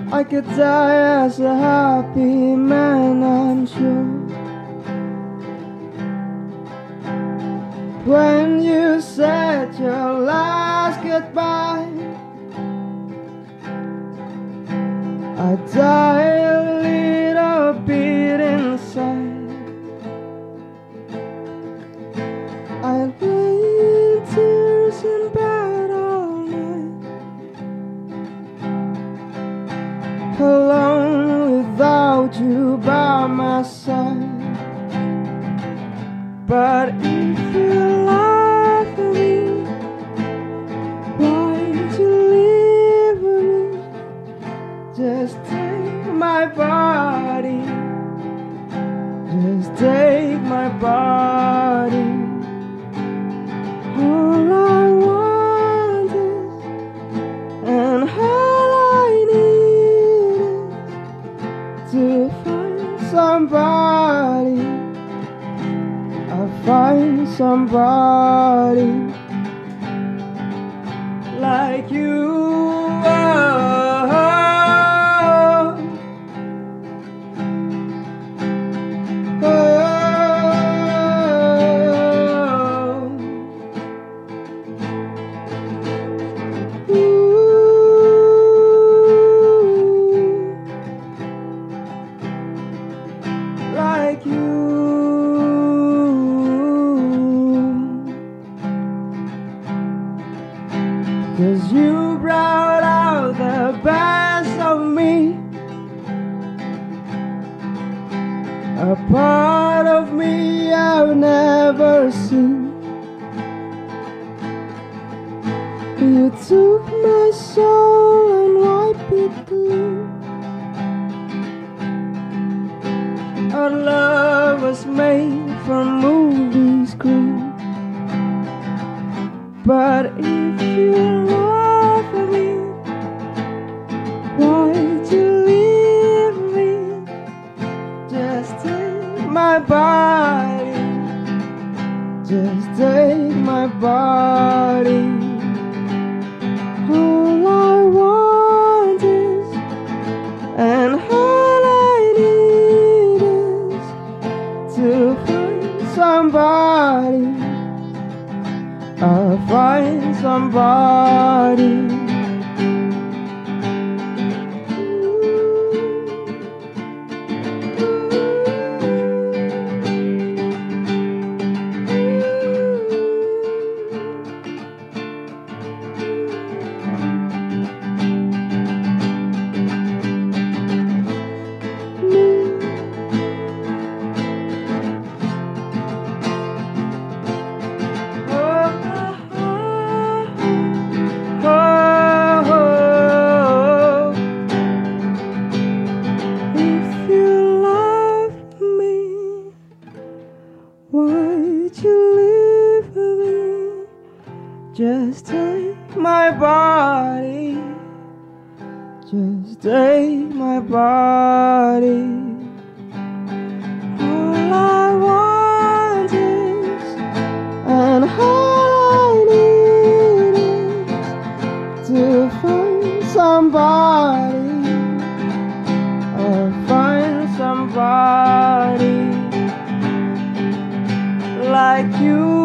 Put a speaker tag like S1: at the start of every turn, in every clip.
S1: I could die as a happy man, I'm sure. When you said your last goodbye, I died a little bit inside. I lay in tears in bed all night, alone without you by my side. But if you love me, why did you leave me? Just take my body, just take my body. All I want is, and all I need is to find somebody. I'll find somebody like you. Like you. 'Cause you brought out the best of me, a part of me I've never seen. You took my soul and wiped it clean. Our love was made for movie screen. But if you love me, why'd you leave me? Just take my body, just take my body. All I want is, and all I need is to find somebody. I'll find somebody. Why'd you leave me? Just take my body, just take my body. All I want is, and all I need is to find somebody. I'll find somebody like you.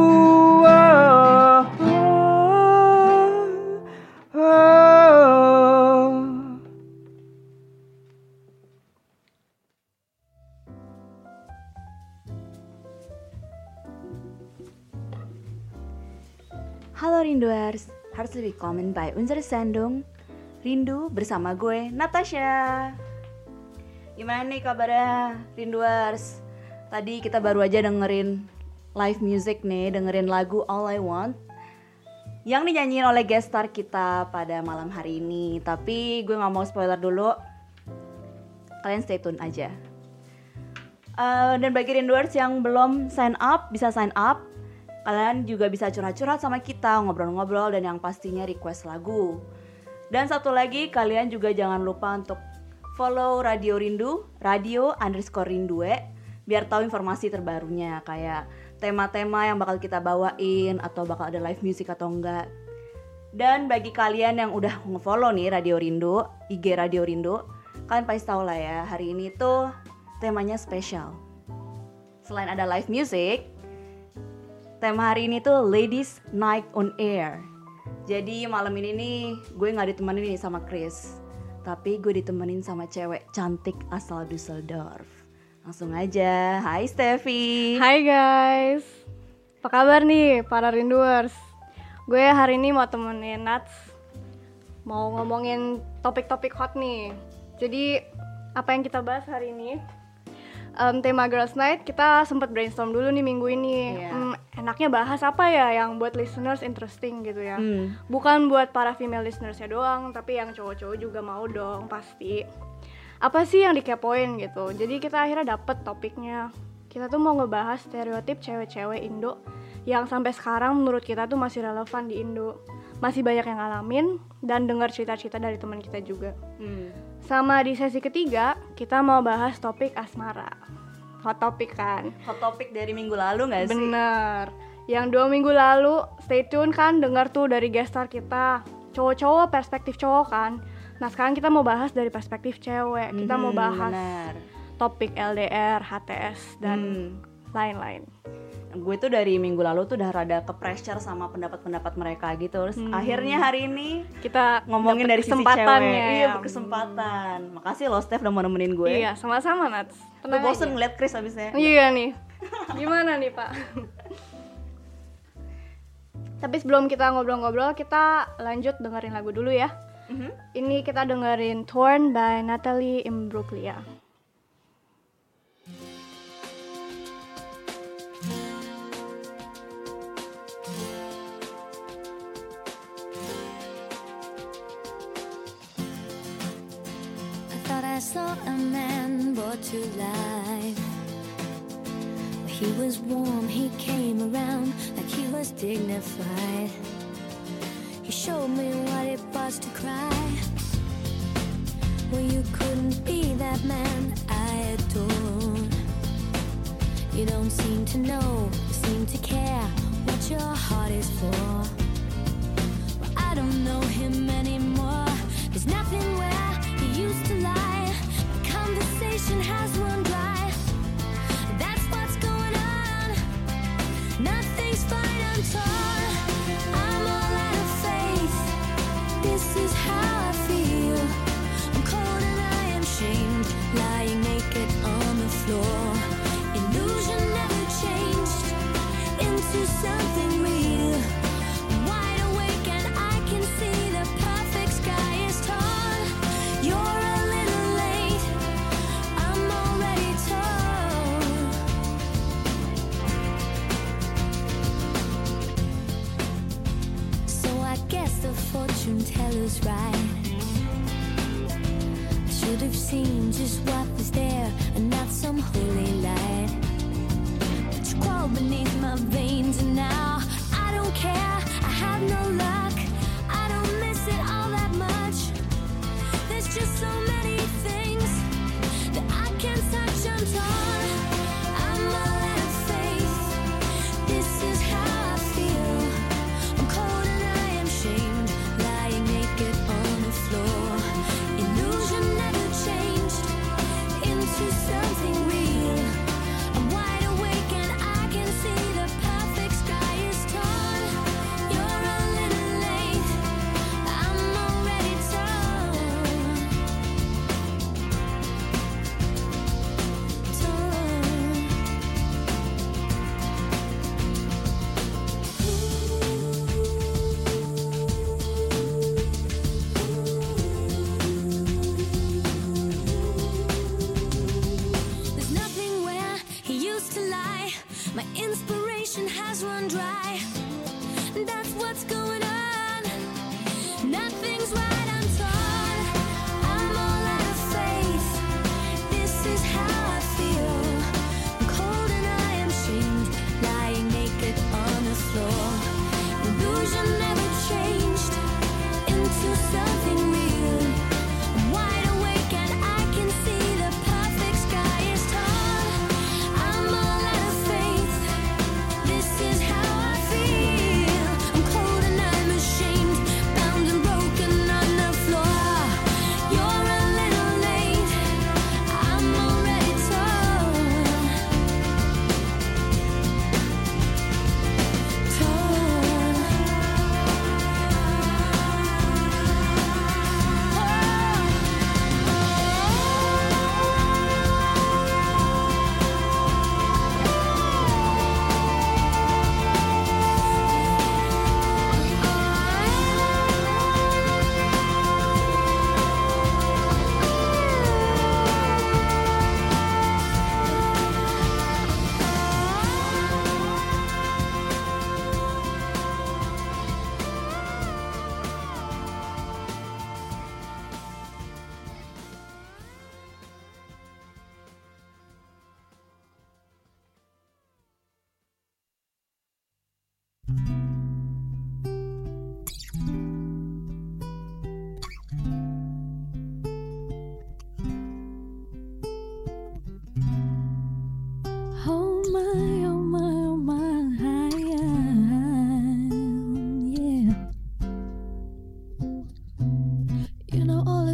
S2: Halo Rinduers, herzlich willkommen bei unserer Sendung Rindu bersama gue, Natasha. Gimana nih kabarnya Rinduers? Tadi kita baru aja dengerin live music nih, dengerin lagu All I Want yang dinyanyiin oleh guest star kita pada malam hari ini. Tapi gue gak mau spoiler dulu, kalian stay tune aja. Dan bagi Rinduers yang belum sign up, bisa sign up. Kalian juga bisa curhat-curhat sama kita, ngobrol-ngobrol, dan yang pastinya request lagu. Dan satu lagi, kalian juga jangan lupa untuk follow Radio Rindu, radio_rindue, biar tahu informasi terbarunya, kayak tema-tema yang bakal kita bawain, atau bakal ada live music atau enggak. Dan bagi kalian yang udah nge-follow nih Radio Rindu, IG Radio Rindu, Kalian pasti tahu lah ya, hari ini tuh temanya spesial. Selain ada live music, tema hari ini tuh Ladies Night on Air. Jadi malam ini nih gue gak ditemenin nih sama Chris, tapi gue ditemenin sama cewek cantik asal Düsseldorf. Langsung aja, hai Steffi.
S3: Hai guys, apa kabar nih para rinduers? Gue hari ini mau temenin Nats, mau ngomongin topik-topik hot nih. Jadi apa yang kita bahas hari ini? Tema Girls Night kita sempat brainstorm dulu nih minggu ini. Enaknya bahas apa ya yang buat listeners interesting gitu ya. Bukan buat para female listeners-nya doang, tapi yang cowok-cowok juga mau dong pasti. Apa sih yang dikepoin gitu. Jadi kita akhirnya dapet topiknya. Kita tuh mau ngebahas stereotip cewek-cewek Indo yang sampai sekarang menurut kita tuh masih relevan di Indo. Masih banyak yang ngalamin dan dengar cerita-cerita dari teman kita juga. Sama di sesi ketiga, kita mau bahas topik asmara. Hot topic kan?
S2: Hot topic dari minggu lalu gak sih?
S3: Bener. Yang 2 minggu lalu, stay tune kan, dengar tuh dari guest star kita. Cowok-cowok, perspektif cowok kan. Nah sekarang kita mau bahas dari perspektif cewek. Kita mau bahas topik LDR, HTS, dan lain-lain.
S2: Gue tuh dari minggu lalu tuh udah rada ke-pressure sama pendapat-pendapat mereka gitu. Terus akhirnya hari ini
S3: kita
S2: ngomongin dari sisi cewek.
S3: kesempatannya.
S2: Iya, berkesempatan. Makasih loh Steph udah mau nemenin gue.
S3: Iya, sama-sama Nats.
S2: Gue bosen ngeliat Chris abisnya.
S3: Iya nih. Gimana nih Pak? Tapi sebelum kita ngobrol-ngobrol, kita lanjut dengerin lagu dulu ya. Ini kita dengerin Torn by Natalie Imbruglia.
S4: I saw a man brought to life. He was warm, he came around like he was dignified. He showed me what it was to cry. Well, you couldn't be that man I adored. You don't seem to know, seem to care what your heart is for. Well, I don't know him anymore. There's nothing where he used to lie. Conversation has run dry. That's what's going on. Nothing's fine, I'm torn. I'm all out of faith. This is how I feel. I'm cold and I am shamed, lying naked on the floor. Illusion never changed into something real. I'm wide awake and I can see the perfect sky is torn. You're a little late, I'm already torn. So I guess the fortune teller's right. I should have seen just what was there and not some holy light. But you crawl beneath my veins and now I don't care, I have no luck. I don't miss it all that much. There's just so many things that I can't touch, I'm torn. I'm all out of faith. This is how I feel. I'm cold and I am shamed, lying naked on the floor. Illusion never changed into something real. I'm wide awake and I can see the perfect sky is torn. You're a little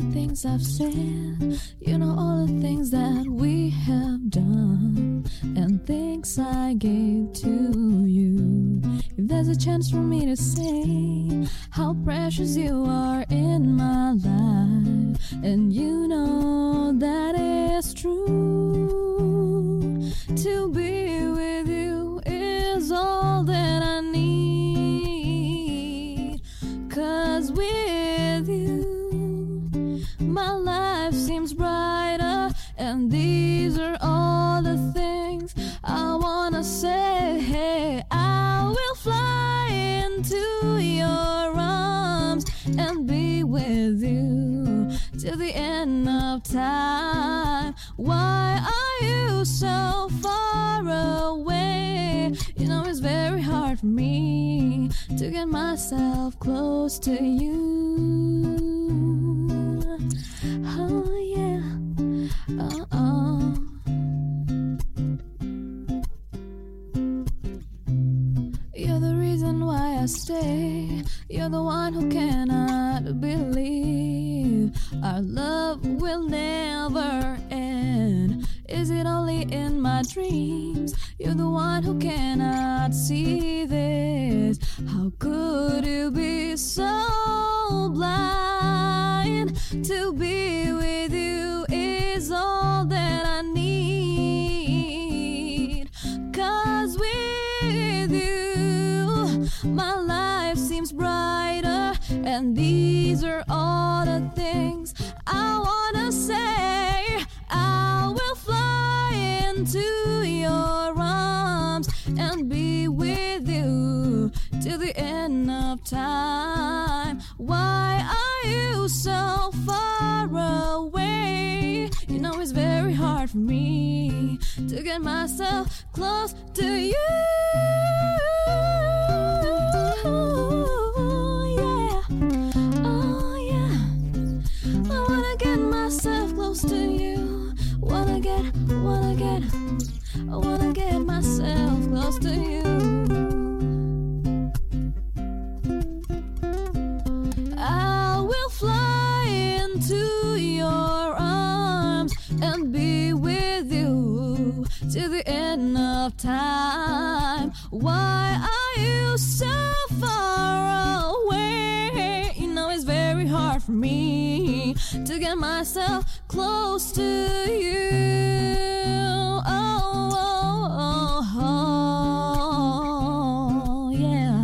S5: things I've said. You know all the things that we have done and things I gave to you. If there's a chance for me to say how precious you are in my life, and you know that is true, to be with you is all that I need. 'Cause with you my life seems brighter, and these are all the things I wanna say. Hey, I will fly into your arms and be with you till the end of time. Why are you so far away? You know it's very hard for me to get myself close to you. Oh yeah, oh. You're the reason why I stay. You're the one who cannot believe our love will never end. Is it only in my dreams? You're the one who cannot see this. How could you be so blind? To be with you is all that I need. 'Cause with you my life seems brighter, and these are all the things I wanna say. I will fly into your arms and be with you till the end of time. Why are you so far away? You know it's very hard for me to get myself close to you. Yeah, oh yeah. I wanna get myself close to you. I wanna get myself close to you. I will fly into your arms and be with you till the end of time. Why are you so far away? You know it's very hard for me to get myself close to you. Oh, yeah.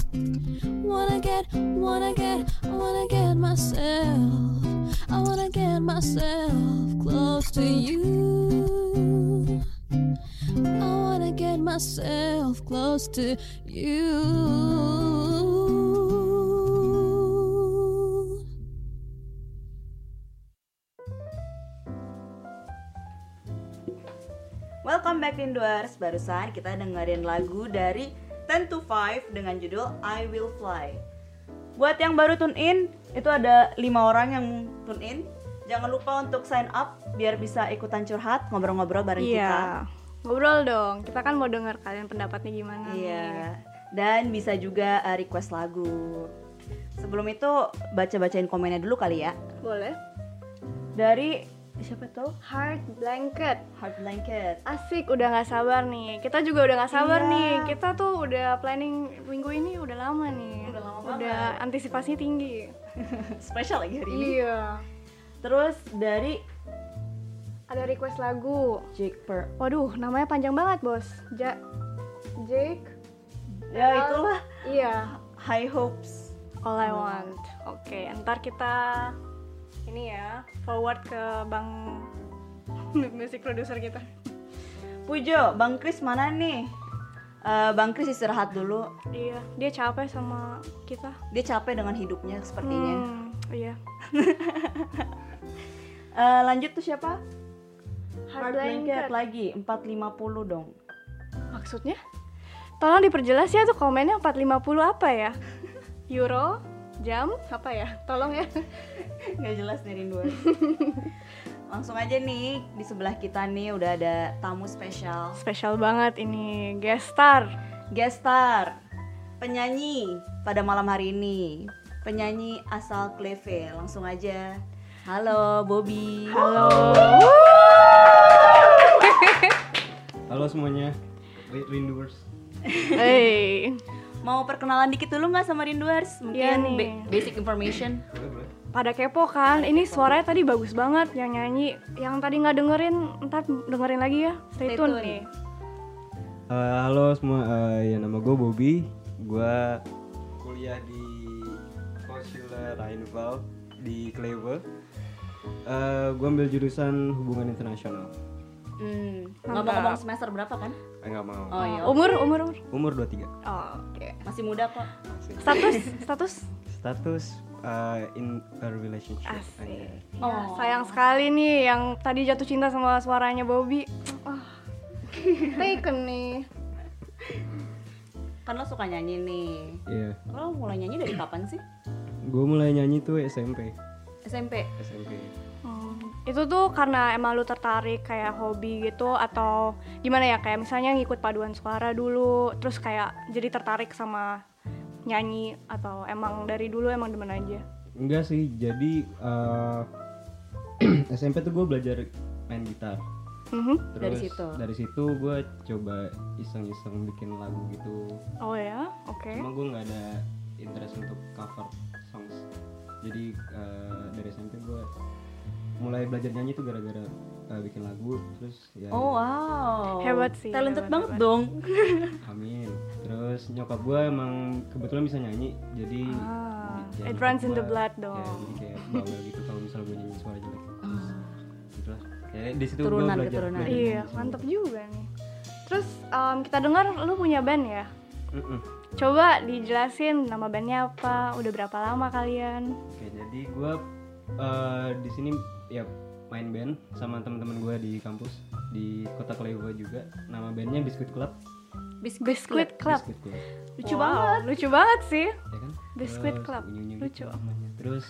S5: I wanna get myself close to you. I wanna get myself close to you.
S2: Welcome back Rinduers. Barusan kita dengerin lagu dari 10 to 5 dengan judul I Will Fly. Buat yang baru tune in, itu ada 5 orang yang tune in. Jangan lupa untuk sign up biar bisa ikutan curhat, ngobrol-ngobrol bareng kita.
S3: Ngobrol dong, kita kan mau denger kalian pendapatnya gimana.
S2: Iya. Dan bisa juga request lagu. Sebelum itu baca-bacain komennya dulu kali ya.
S3: Boleh.
S2: Dari siapa tuh?
S3: Heart Blanket. Asik, udah gak sabar nih. Kita juga udah gak sabar nih. Kita tuh udah planning minggu ini udah lama nih. Udah antisipasi tinggi.
S2: Spesial lagi hari ini.
S3: Iya.
S2: Terus dari
S3: ada request lagu
S2: Jake Per.
S3: Waduh, namanya panjang banget, Bos. Jake.
S2: Ya itulah.
S3: Iya.
S2: High Hopes.
S3: All I Want. Oke, ntar kita ini ya forward ke Bang music producer kita.
S2: Pujo, Bang Kris mana nih? Bang Kris istirahat dulu.
S3: Iya, dia capek sama kita.
S2: Dia capek dengan hidupnya sepertinya.
S3: Iya.
S2: Lanjut tuh siapa?
S3: Heart
S2: Blanket lagi 450 dong.
S3: Maksudnya? Tolong diperjelas ya tuh komennya 450 apa ya? Euro? Jam? Apa ya? Tolong ya.
S2: Gak jelas nih Rinduan. Langsung aja nih, di sebelah kita nih udah ada tamu spesial.
S3: Spesial banget ini, guest star,
S2: penyanyi pada malam hari ini. Penyanyi asal Kleve, langsung aja. Halo Bobby.
S3: Halo.
S1: Halo semuanya, Rinduers.
S3: Hey.
S2: Mau perkenalan dikit dulu nggak sama Rinduers? Mungkin
S3: Iya nih.
S2: basic information.
S1: Boleh.
S3: Pada kepo kan? Ini suaranya tadi bagus banget yang nyanyi. Yang tadi nggak dengerin, ntar dengerin lagi ya. Stay tune nih.
S1: Halo semua, ya nama gue Bobby. Gue kuliah di Consular Rijnval di Kleve. Gue ambil jurusan hubungan internasional.
S2: Ngomong-ngomong semester berapa kan?
S1: Nggak mau.
S2: Oh iya.
S3: Umur
S1: 23.
S3: Oh, oke.
S2: Masih muda kok.
S3: Status
S1: In a relationship.
S3: Asik.
S1: Anjay.
S2: Oh.
S3: Sayang sekali nih yang tadi jatuh cinta sama suaranya Bobby. Taken nih.
S2: Kan lo suka nyanyi nih.
S1: Iya.
S2: Lo mulai nyanyi dari kapan sih?
S1: Gue mulai nyanyi tuh SMP.
S2: SMP.
S3: Itu tuh karena emang lu tertarik kayak hobi gitu atau gimana ya, kayak misalnya ngikut paduan suara dulu terus kayak jadi tertarik sama nyanyi atau emang dari dulu emang demen aja?
S1: Enggak sih, jadi SMP tuh gue belajar main gitar. Terus dari situ gue coba iseng-iseng bikin lagu gitu.
S3: Oh ya, oke.
S1: Cuma gue nggak ada interest untuk cover songs. Jadi dari SMP gue mulai belajar nyanyi tuh gara-gara bikin lagu, terus ya.
S2: Oh wow.
S3: Hebat sih.
S2: Talented
S3: hebat.
S2: banget dong.
S1: Amin. Terus nyokap gue emang kebetulan bisa nyanyi, jadi ya
S3: it
S1: nyokap
S3: runs in the
S1: gua-
S3: blood
S1: Ya,
S3: dong.
S1: jadi kayak bawel gitu kalau misalnya gue nyanyi suara jelek. Terus gitulah. Kayak di situ gue
S2: Keturunan.
S1: belajar.
S3: Iya, mantep juga nih. Terus kita dengar lu punya band ya? Coba dijelasin nama bandnya apa, udah berapa lama kalian?
S1: Oke, jadi gue di sini ya main band sama teman-teman gue di kampus di kota Kleve juga. Nama bandnya Biscuit Club.
S3: Biscuit Club.
S1: Biscuit Club.
S2: Lucu
S3: Wow,
S2: banget.
S3: lucu banget sih.
S1: Ya kan?
S3: Biscuit
S1: Terus
S3: Club.
S1: unyu-unyu
S3: Lucu.
S1: gitu namanya. Terus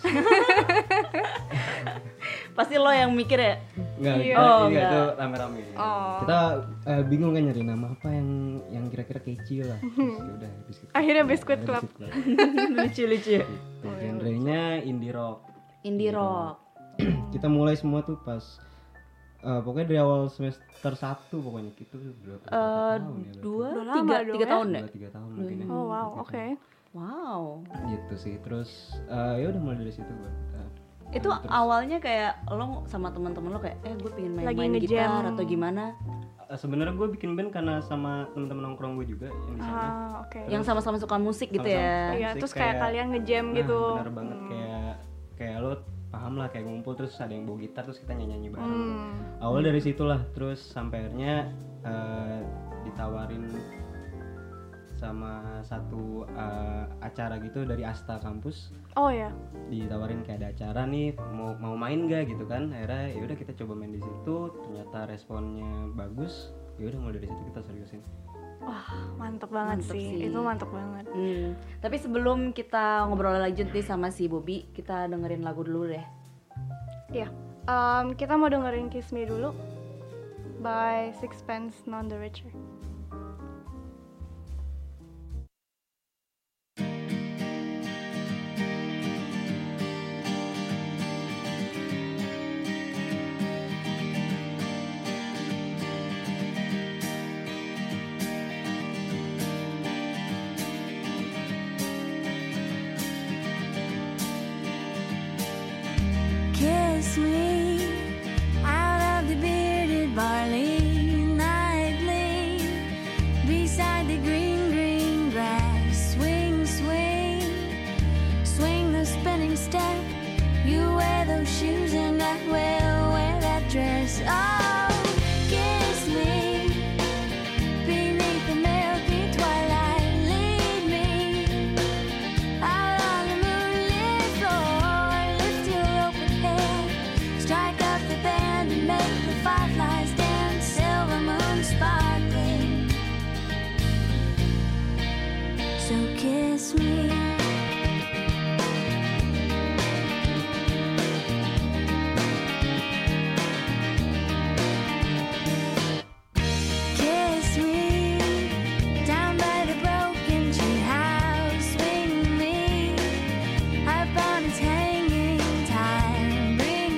S2: Pasti lo yang mikir ya?
S1: enggak,
S3: Iya.
S1: kita,
S2: Oh,
S1: iya,
S2: enggak.
S1: itu rame-rame.
S3: Oh.
S1: Kita bingung kan nyari nama apa yang kira-kira catchy lah. Terus ya udah Biscuit Club.
S3: Akhirnya Biscuit
S1: Akhirnya
S3: Club.
S1: Biscuit Club.
S2: Lucu-lucu ya?
S1: Gitu. Genrenya indie rock.
S2: Indie rock.
S1: Kita mulai semua tuh pas pokoknya dari awal semester 1 pokoknya gitu berapa tahun ya?
S2: Dua,
S3: Udah lama
S2: tiga,
S3: dong
S2: tiga
S3: ya?
S2: tahun ya?
S1: 2-3 tahun mungkin ya.
S3: Oh wow, oke.
S2: Wow.
S1: Gitu sih. Terus ya udah mulai dari situ buat
S2: Itu awalnya kayak lo sama teman-teman lo kayak gue pengen
S3: Lagi
S2: main
S3: ngejam.
S2: gitar atau gimana?
S1: sebenarnya gue bikin band karena sama teman-teman nongkrong gue juga yang di sana.
S3: Oke.
S2: Yang sama-sama suka musik gitu
S1: Sama-sama.
S2: ya?
S3: Iya,
S1: musik
S3: terus kayak kalian ngejam
S1: Nah,
S3: gitu.
S1: benar banget kayak lo paham lah kayak ngumpul terus ada yang bawa gitar terus kita nyanyi bareng. Awal dari situlah terus sampai akhirnya ditawarin sama satu acara gitu dari Asta kampus.
S3: Oh ya.
S1: Ditawarin kayak ada acara nih mau main gak gitu kan. Akhirnya ya udah kita coba main di situ, ternyata responnya bagus. Ya udah mulai dari situ kita seriusin.
S3: Wah, mantep banget
S2: Mantep
S3: sih.
S2: sih.
S3: Itu mantep banget.
S2: Tapi sebelum kita ngobrol lanjut nih sama si Bobby, kita dengerin lagu dulu deh.
S3: Iya. Kita mau dengerin Kiss Me dulu by Sixpence None the Richer.
S4: Kiss me out of the bearded barley nightly, beside the green, green grass. Swing, swing, swing the spinning step. You wear those shoes and I will wear that dress. Oh, kiss me beneath the milky twilight. Lead me out on the moonlit floor. Lift your open head, strike up the band and make the fireflies dance. Silver moon sparkling. So kiss me. Kiss me down by the broken tree house. Swing me up on its hanging time. Bring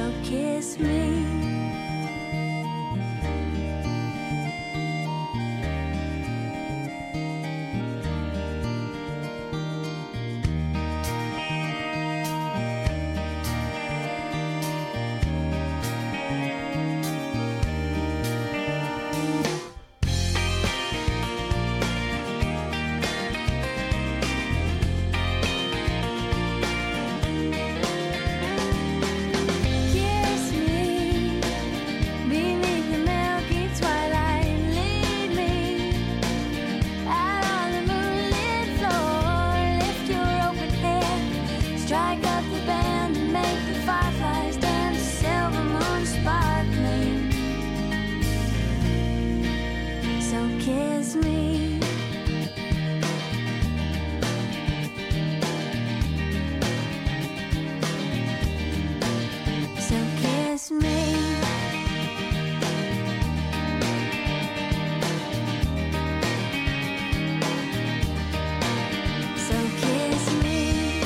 S4: So kiss me. Kiss me beneath the milky twilight. Lead me out on the moonlit floor. Lift your open hand, strike up the band, and make the fireflies dance. Silver moon sparkling. So kiss me. So kiss me. So kiss me.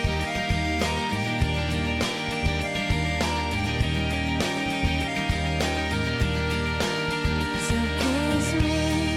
S4: So kiss me.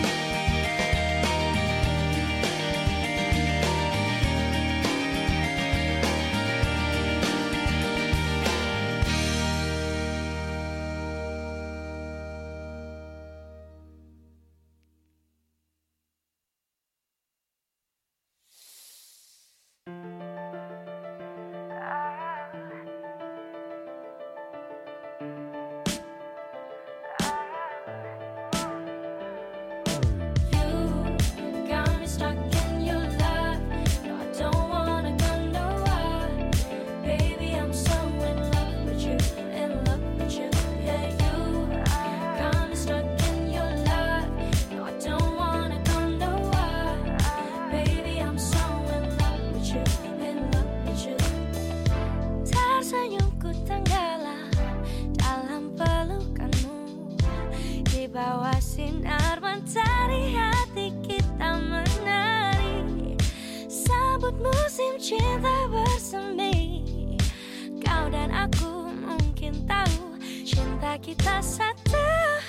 S4: You got me stuck in your love. No, I don't wanna go nowhere. Baby, I'm so in love with you, in love with you. Yeah, you got me stuck in your love. No, I don't wanna go nowhere. Baby, I'm so in love with you, in love with you. Tersenyumku tenggelam dalam pelukanmu. Di bawah sinar mentari hati kita menari. Sambut musim cinta bersemi. Kau dan aku mungkin tahu cinta kita satu.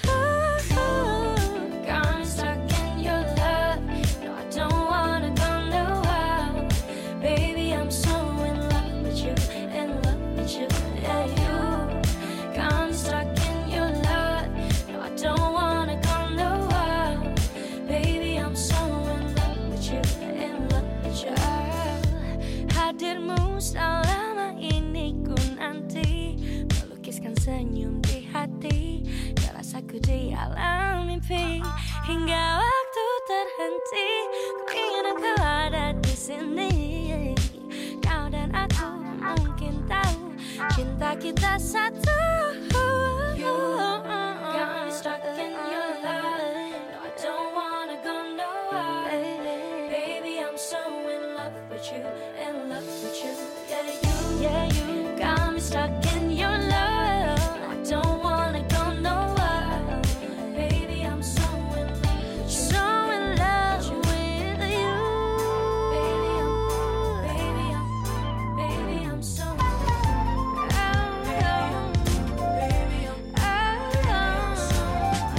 S4: Got me stuck in your love. No, I don't wanna go nowhere. Baby, I'm so in love with you, in love with you. Yeah, you got me stuck in your love. No, I don't wanna go nowhere. Baby, I'm so in love with you, in love with you. Hadirmu selama ini ku nanti, melukiskan senyum di hati, rasaku di alam mimpi. Hingga waktu terhenti, ku ingin engkau ada di sini. Kau dan aku mungkin tahu cinta kita satu. You got me stuck in your love. No, I don't wanna go nowhere. Baby, I'm so in love with you, in love with you. Yeah, you got me stuck in your love. I don't wanna go nowhere. Baby, I'm so in love with you, so in love with you. Baby, I'm so. Baby, I'm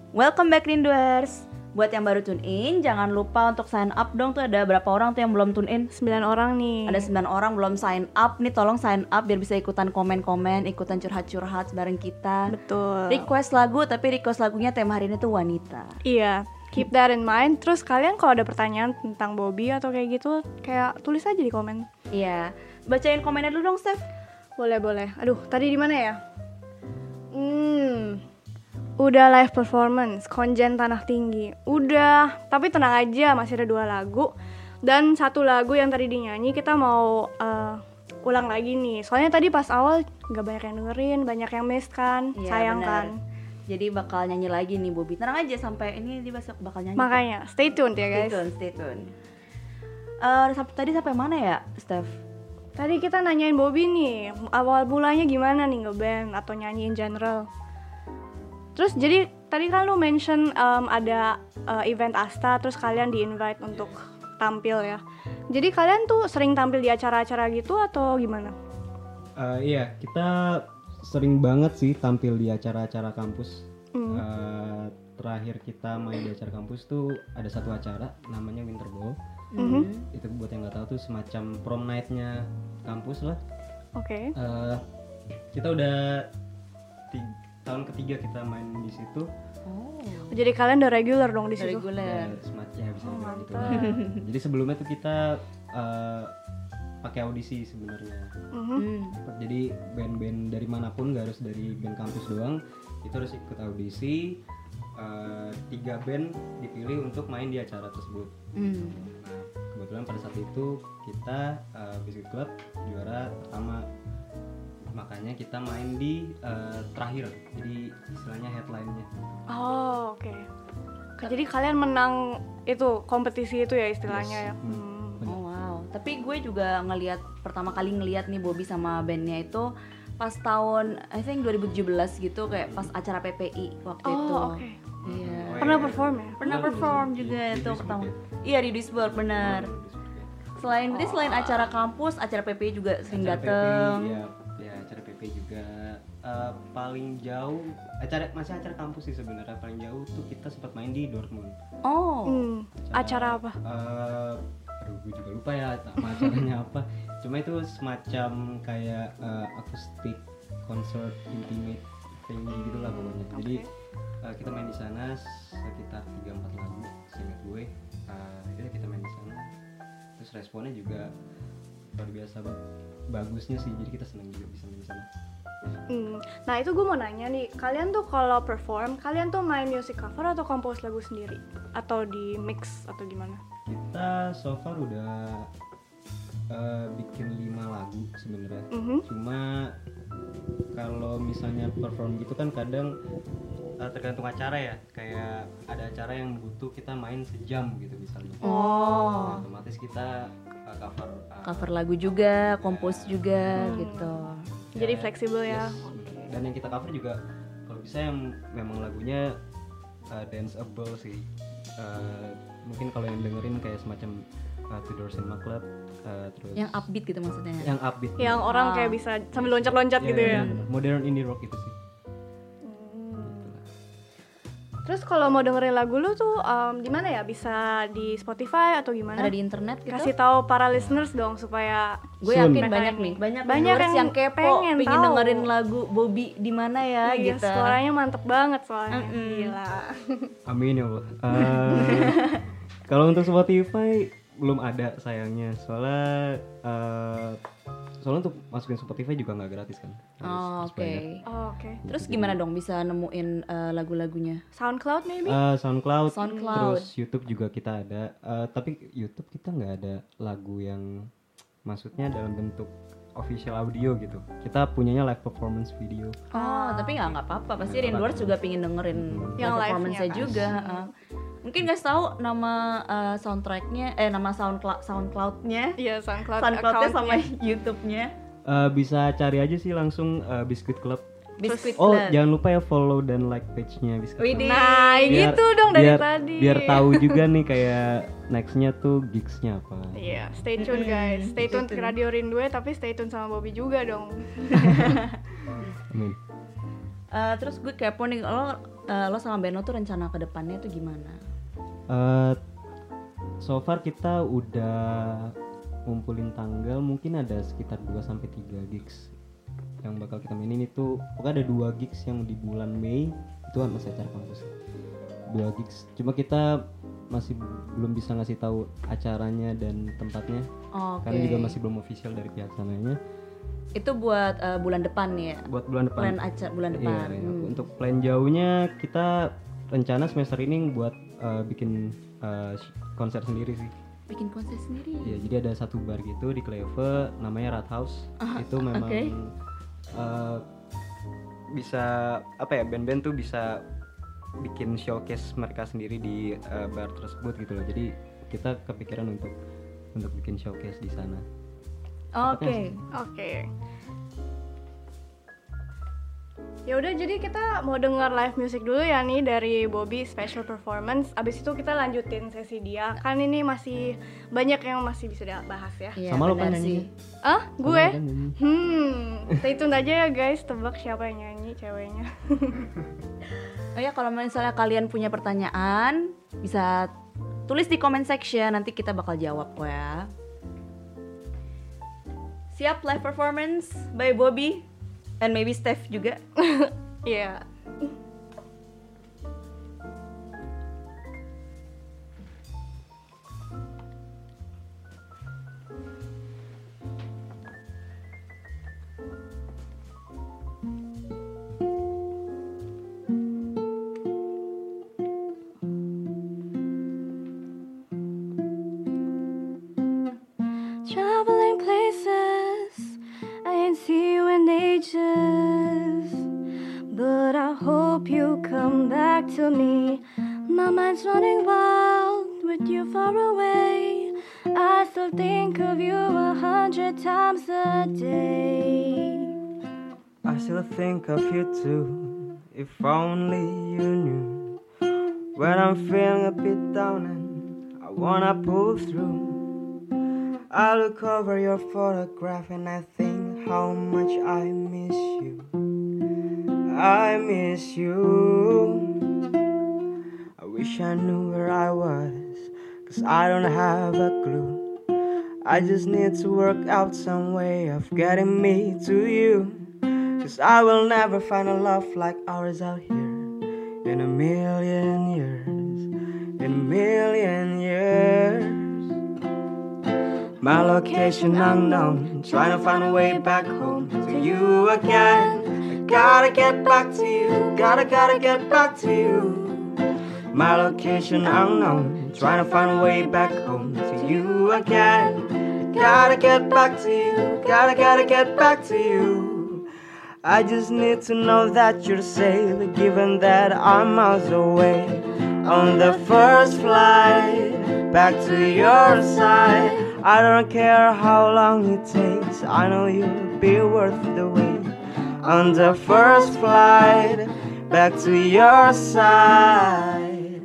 S2: Welcome back Rinduers. Buat yang baru tune in, jangan lupa untuk sign up dong. Tuh ada berapa orang tuh yang belum tune in?
S3: 9 orang nih.
S2: Ada 9 orang belum sign up. Nih tolong sign up biar bisa ikutan komen-komen, ikutan curhat-curhat bareng kita.
S3: Betul.
S2: Request lagu, tapi request lagunya tema hari ini tuh wanita.
S3: Iya, keep that in mind. Terus kalian kalau ada pertanyaan tentang Bobby atau kayak gitu, kayak tulis aja di komen.
S2: Iya. Bacain komennya dulu dong, Steph.
S3: Boleh. Aduh, tadi di mana ya? Udah live performance, Konjen Tanah Tinggi. Udah, tapi tenang aja, masih ada 2 lagu. Dan 1 lagu yang tadi dinyanyi kita mau ulang lagi nih. Soalnya tadi pas awal gak banyak yang dengerin, banyak yang miss kan,
S2: Iya,
S3: sayang
S2: bener.
S3: kan.
S2: Jadi bakal nyanyi lagi nih Bobby. Tenang aja sampai ini dia bakal nyanyi.
S3: Makanya, stay tuned ya guys.
S2: Stay tune. Tadi sampai mana ya, Steph?
S3: Tadi kita nanyain Bobby nih, awal mulanya gimana nih ngeband atau nyanyi in general. Terus jadi tadi kan lu mention ada event Asta, terus kalian di-invite untuk tampil ya. Jadi kalian tuh sering tampil di acara-acara gitu atau gimana?
S1: Iya, kita sering banget sih tampil di acara-acara kampus. Terakhir kita main di acara kampus tuh ada 1 acara namanya Winter Ball. Itu buat yang nggak tahu tuh semacam prom night-nya kampus lah.
S3: Oke.
S1: Kita udah tahun ketiga kita main di situ.
S3: Jadi kalian udah regular dong di situ.
S2: Reguler.
S1: Semacam bisa dibilang gitu. Jadi sebelumnya tuh kita pakai audisi sebenarnya. Jadi band-band dari manapun, gak harus dari band kampus doang, itu harus ikut audisi. 3 band dipilih untuk main di acara tersebut. Nah, kebetulan pada saat itu kita Biscuit Club juara pertama. Makanya kita main di terakhir, jadi istilahnya headline-nya.
S3: Oh, oke. Jadi kalian menang itu kompetisi itu ya istilahnya ya.
S2: Oh wow. Tapi gue juga pertama kali ngeliat nih Bobby sama bandnya itu pas tahun I think 2017 gitu, kayak pas acara PPI waktu itu.
S3: Oh, oke.
S2: Iya.
S3: Pernah perform ya?
S2: Pernah perform juga
S1: Di
S2: itu
S1: Duisburg
S2: pertama.
S1: ya?
S2: Iya di Duisburg benar. Selain acara kampus, acara PPI juga sering
S1: Acara
S2: dateng.
S1: PPI, ya acara PPI juga. Paling jauh masih acara kampus sih sebenarnya. Paling jauh tuh kita sempat main di Dortmund.
S2: Oh.
S3: Acara apa?
S1: Aduh, gue juga lupa ya nama acaranya apa. Cuma itu semacam kayak akustik concert intimate venue gitulah pokoknya. Jadi kita main di sana sekitar 3-4 lagu seingat gue. Akhirnya kita main di sana. Terus responnya juga luar biasa bagusnya sih. Jadi kita senang juga bisa main di sana.
S3: Nah itu gue mau nanya nih, kalian tuh kalau perform, kalian tuh main music cover atau compose lagu sendiri? Atau di mix atau gimana?
S1: Kita so far udah bikin 5 lagu sebenarnya. Cuma kalau misalnya perform gitu kan kadang tergantung acara ya. Kayak ada acara yang butuh kita main sejam gitu misalnya.
S2: Oh.
S1: Nah, otomatis kita
S2: Cover lagu juga, compose juga gitu.
S3: Jadi fleksibel ya.
S1: Yes. Dan yang kita cover juga kalau bisa yang memang lagunya danceable sih. Mungkin kalau yang dengerin kayak semacam Tudor Cinema Club, terus
S2: Yang upbeat gitu maksudnya.
S1: yang upbeat,
S3: Yang orang kayak bisa sambil loncat-loncat gitu ya.
S1: bener. Modern indie rock itu sih.
S3: Terus kalau mau dengerin lagu lu tuh di mana ya? Bisa di Spotify atau gimana?
S2: Ada di internet gitu.
S3: Kasih tahu para listeners dong supaya
S2: Gue
S1: Soon.
S2: yakin
S3: Mereka
S2: banyak
S3: ini.
S2: nih, banyak
S3: Banyak yang
S2: kepo,
S3: pengen
S2: pengen
S3: tahu.
S2: dengerin lagu Bobby di mana ya
S3: iya,
S2: gitu.
S3: suaranya mantep banget soalnya. Gila.
S1: Amin ya Allah. Kalau untuk Spotify belum ada sayangnya, soalnya untuk masukin Spotify juga nggak gratis kan.
S2: Oh,
S1: Harus
S2: oke.
S1: bayar.
S3: Oh, oke.
S2: Terus gimana dong bisa nemuin lagu-lagunya?
S3: SoundCloud maybe?
S1: SoundCloud,
S2: SoundCloud.
S1: terus YouTube juga kita ada. Tapi YouTube kita nggak ada lagu yang maksudnya dalam bentuk official audio gitu. Kita punyanya live performance video.
S2: Oh, tapi nggak apa-apa. Pasti
S1: Nggak
S2: Rinduers
S1: apa-apa.
S2: juga pingin dengerin
S3: Yang live-nya
S2: performance-nya
S3: kan.
S2: juga. Mungkin nggak tahu nama soundtracknya, nama SoundCloud-nya,
S3: Iya, SoundCloud
S2: SoundCloud-nya sama
S3: account-nya.
S2: YouTube-nya.
S1: Bisa cari aja sih langsung Biscuit Club.
S2: Biscuit
S1: Oh,
S2: Club.
S1: jangan lupa ya follow dan like page-nya Biscuit Club.
S2: Widih.
S3: Nah, gitu dong dari tadi.
S1: Biar tahu juga nih kayak next-nya tuh gigs-nya apa.
S3: Iya, stay tune guys. Stay tune ke Radio Rindu tapi stay tune sama Bobby juga dong.
S1: Amin.
S2: Terus gue kepo nih, lo sama band lo tuh rencana ke depannya tuh gimana?
S1: So far kita udah ngumpulin tanggal, mungkin ada sekitar 2-3 gigs yang bakal kita mainin. Itu pokoknya ada 2 gigs yang di bulan Mei, itu masih acara kampus. 2 gigs, cuma kita masih belum bisa ngasih tahu acaranya dan tempatnya. Karena juga masih belum official dari pihak sananya.
S2: Itu buat bulan depan ya?
S1: Buat bulan depan.
S2: Plan acara bulan depan.
S1: Iya. Untuk plan jauhnya kita rencana semester ini buat bikin konser sendiri sih.
S2: Bikin konser sendiri?
S1: Iya, jadi ada satu bar gitu di Kleve namanya Rat House. Itu memang bisa apa ya, band-band tuh bisa bikin showcase mereka sendiri di bar tersebut gitu loh. Jadi kita kepikiran untuk bikin showcase di sana.
S2: Oke.
S3: Ya udah, jadi kita mau dengar live music dulu ya nih dari Bobby special performance. Abis itu kita lanjutin sesi dia. Kan ini masih banyak yang masih bisa dibahas ya.
S2: Iya,
S1: Sama lo kan
S2: benar sih.
S1: nyanyi.
S3: Gue?
S1: Kan nyanyi.
S3: Stay tune aja ya guys, tebak siapa yang nyanyi ceweknya.
S2: Oh ya, kalau misalnya kalian punya pertanyaan bisa tulis di comment section, nanti kita bakal jawab kok ya. Siap live performance by Bobby and maybe Steph juga.
S3: Iya.
S5: Traveling places, I ain't see you in ages, but I hope you come back to me. My mind's running wild with you far away. I still think of you 100 times a day.
S1: I still think of you too, if only you knew. When I'm feeling a bit down and I wanna pull through, I look over your photograph and I think how much I miss you. I miss you. I wish I knew where I was, 'cause I don't have a clue. I just need to work out some way of getting me to you, 'cause I will never find a love like ours out here in a million years, in a million years. My location unknown, trying to find a way back home to you again. I gotta get back to you, gotta get back to you. My location unknown, trying to find a way back home to you again. I gotta get back to you, gotta get back to you. I just need to know that you're safe, given that I'm miles away. On the first flight back to your side, I don't care how long it takes, I know you'll be worth the wait. On the first flight back to your side.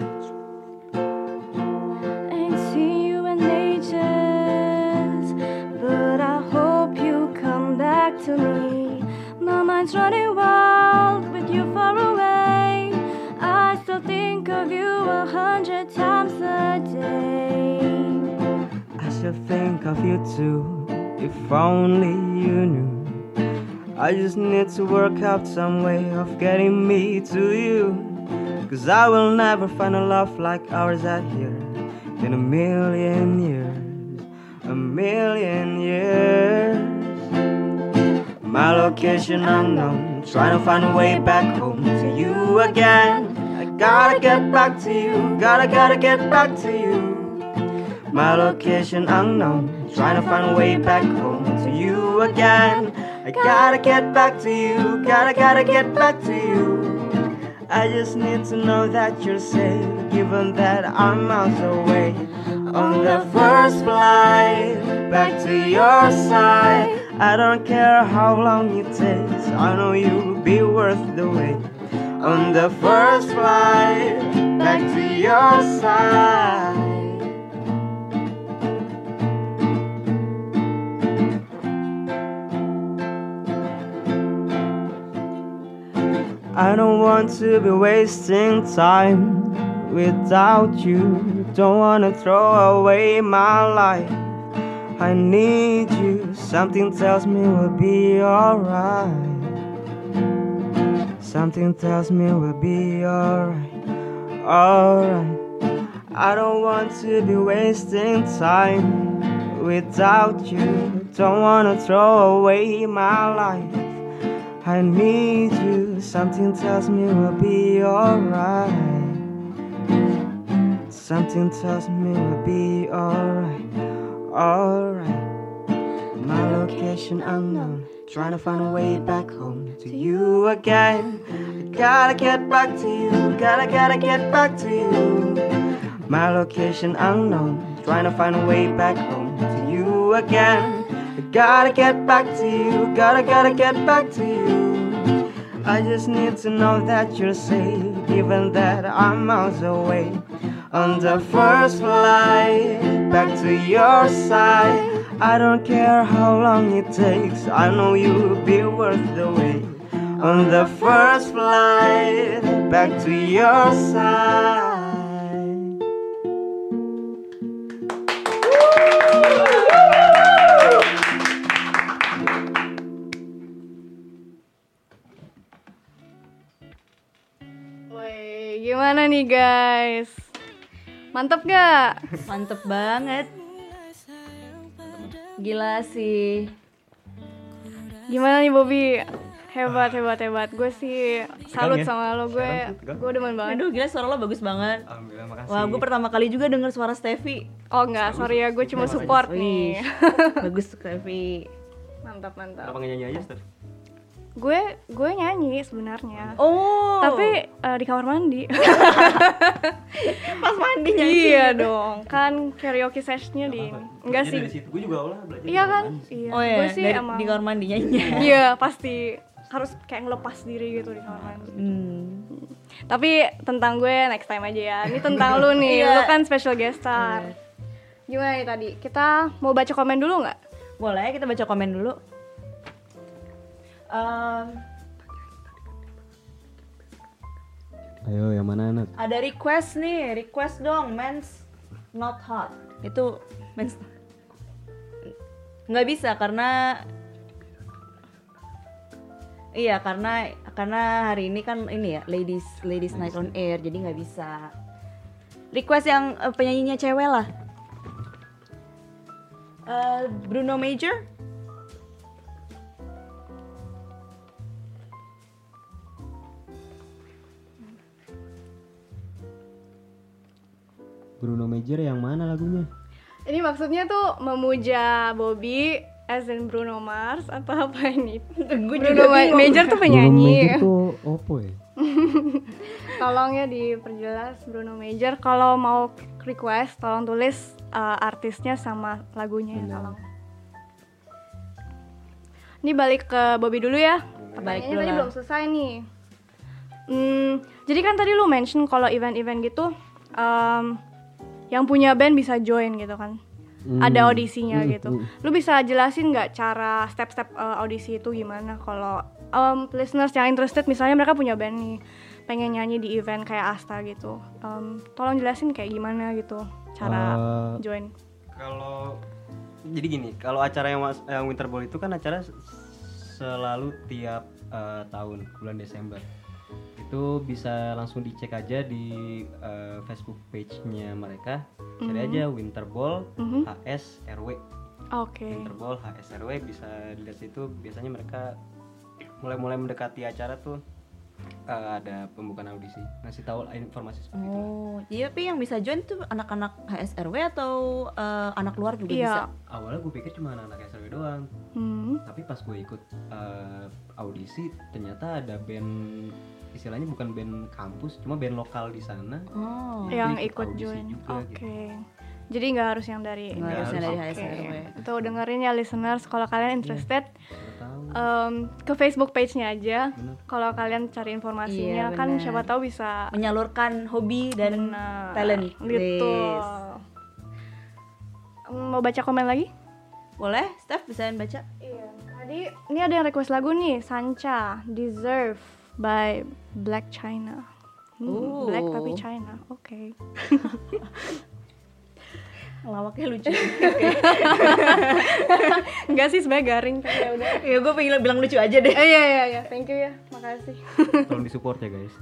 S5: Ain't seen you in ages, but I hope you come back to me. My mind's running wild with you far away. I still think of you 100 times a day.
S1: I still think of you too, if only you knew. I just need to work out some way of getting me to you, 'cause I will never find a love like ours out here in a million years, a million years. My location unknown, trying to find a way back home to you again. I gotta get back to you, gotta get back to you. My location unknown, trying to find a way back home to you again. I gotta get back to you, gotta get back to you. I just need to know that you're safe, given that I'm miles away. On the first flight back to your side, I don't care how long it takes, I know you'll be worth the wait. On the first flight back to your side. I don't want to be wasting time without you. Don't wanna throw away my life. I need you. Something tells me we'll be alright. Something tells me we'll be alright. Alright. I don't want to be wasting time without you. Don't wanna throw away my life. I need you. Something tells me we'll be alright. Something tells me we'll be alright. Alright. My location unknown. Trying to find a way back home to you again. Gotta get back to you. Gotta get back to you. My location unknown. Trying to find a way back home to you again. Gotta get back to you. Gotta get back to you. I just need to know that you're safe, given that I'm miles away. On the first flight back to your side. I don't care how long it takes. I know you'll be worth the wait. On the first flight back to your side.
S3: Woi, gimana nih guys? Mantep gak?
S2: Mantep banget. Gila sih.
S3: Gimana nih Bobby? Hebat. Gue sih salut
S1: ya?
S3: sama lo. Gue demen banget.
S2: Aduh gila suara lo bagus banget.
S1: Alhamdulillah, makasih.
S2: Wah gue pertama kali juga denger suara Steffi.
S3: Oh enggak, sorry ya, gue cuma support nih.
S2: Bagus Steffi.
S3: Mantap.
S1: Kenapa nggak nyanyi aja, Steph?
S3: Gue nyanyi sebenarnya.
S2: Oh.
S3: Tapi di kamar mandi.
S2: Pas mandi nyanyi.
S3: Iya dong, kan karaoke sessionnya di enggak sih.
S1: Dari situ gue juga awalnya belajar.
S3: Iya kan? Iya.
S2: Oh iya,
S3: Gue sih emang
S2: di kamar mandi nyanyi.
S3: iya, pasti harus kayak ngelepas diri gitu di kamar mandi. Tapi tentang gue next time aja ya. Ini tentang lu nih,
S2: Iya.
S3: lu kan special guest star. Gimana nih tadi? Kita mau baca komen dulu nggak?
S2: Boleh kita baca komen dulu.
S1: Ayo, yang mana, Nat?
S2: Ada request dong, men's not hot. Itu men's nggak bisa karena hari ini kan ini ya ladies night on air, jadi nggak bisa. Request yang penyanyinya cewek lah. Bruno Major.
S1: Bruno Major yang mana lagunya?
S3: Ini maksudnya tuh memuja Bobby as in Bruno Mars atau apa ini? Bruno Major tuh penyanyi.
S1: Bruno Major tuh opo ya?
S3: Tolong ya diperjelas Bruno Major. Kalau mau request tolong tulis artisnya sama lagunya ya, tolong. Ini balik ke Bobby dulu ya.
S2: Balik
S3: Ini
S2: dulu
S3: tadi
S2: lah.
S3: belum selesai nih. Jadi kan tadi lu mention kalau event-event gitu yang punya band bisa join gitu kan. Ada audisinya gitu. Lu bisa jelasin nggak cara step-step audisi itu gimana? Kalau listeners yang interested misalnya mereka punya band nih, pengen nyanyi di event kayak Asta gitu. Tolong jelasin kayak gimana gitu cara join.
S1: Kalau jadi gini, kalau acara yang Winter Ball itu kan acara selalu tiap tahun bulan Desember. Itu bisa langsung dicek aja di Facebook page-nya mereka. Cari aja Winter Ball HSRW.
S3: Oke.
S1: Winter Ball HSRW bisa dilihat situ. Biasanya mereka mulai mendekati acara tuh ada pembukaan audisi, ngasih tahu informasi seperti itu.
S2: Oh, iya, tapi yang bisa join tuh anak-anak HSRW atau anak luar juga
S3: Iya.
S2: bisa?
S1: Awalnya gue pikir cuma anak SRW doang, tapi pas gue ikut audisi ternyata ada band, istilahnya bukan band kampus, cuma band lokal di sana.
S2: Oh,
S3: Yang
S1: Itu
S3: ikut
S1: audisi
S3: join.
S1: juga,
S3: Oke.
S1: gitu.
S3: Jadi nggak harus yang dari
S2: Nggak harus yang dari
S3: Oke.
S2: HSRW.
S3: Itu dengerin ya listeners, kalau kalian interested
S1: Tahu.
S3: ke Facebook page-nya aja.
S1: Bener.
S3: Kalau kalian cari informasinya
S2: Iya,
S3: kan
S2: bener.
S3: siapa tahu bisa
S2: menyalurkan hobi dan
S3: Bener.
S2: talent.
S3: Gitu.
S2: Yes.
S3: Mau baca komen lagi?
S2: Boleh, Steph bisa baca?
S3: Iya. Tadi ini ada yang request lagu nih, Sancha, Deserve. by Black China.
S2: Oh.
S3: Black tapi China. Oke.
S2: Lawaknya lucu.
S3: Enggak sih, sebenarnya garing tapi ya udah.
S2: Ya gue pengen bilang lucu aja deh.
S3: Iya, thank you ya, makasih.
S1: Tolong disupport ya guys.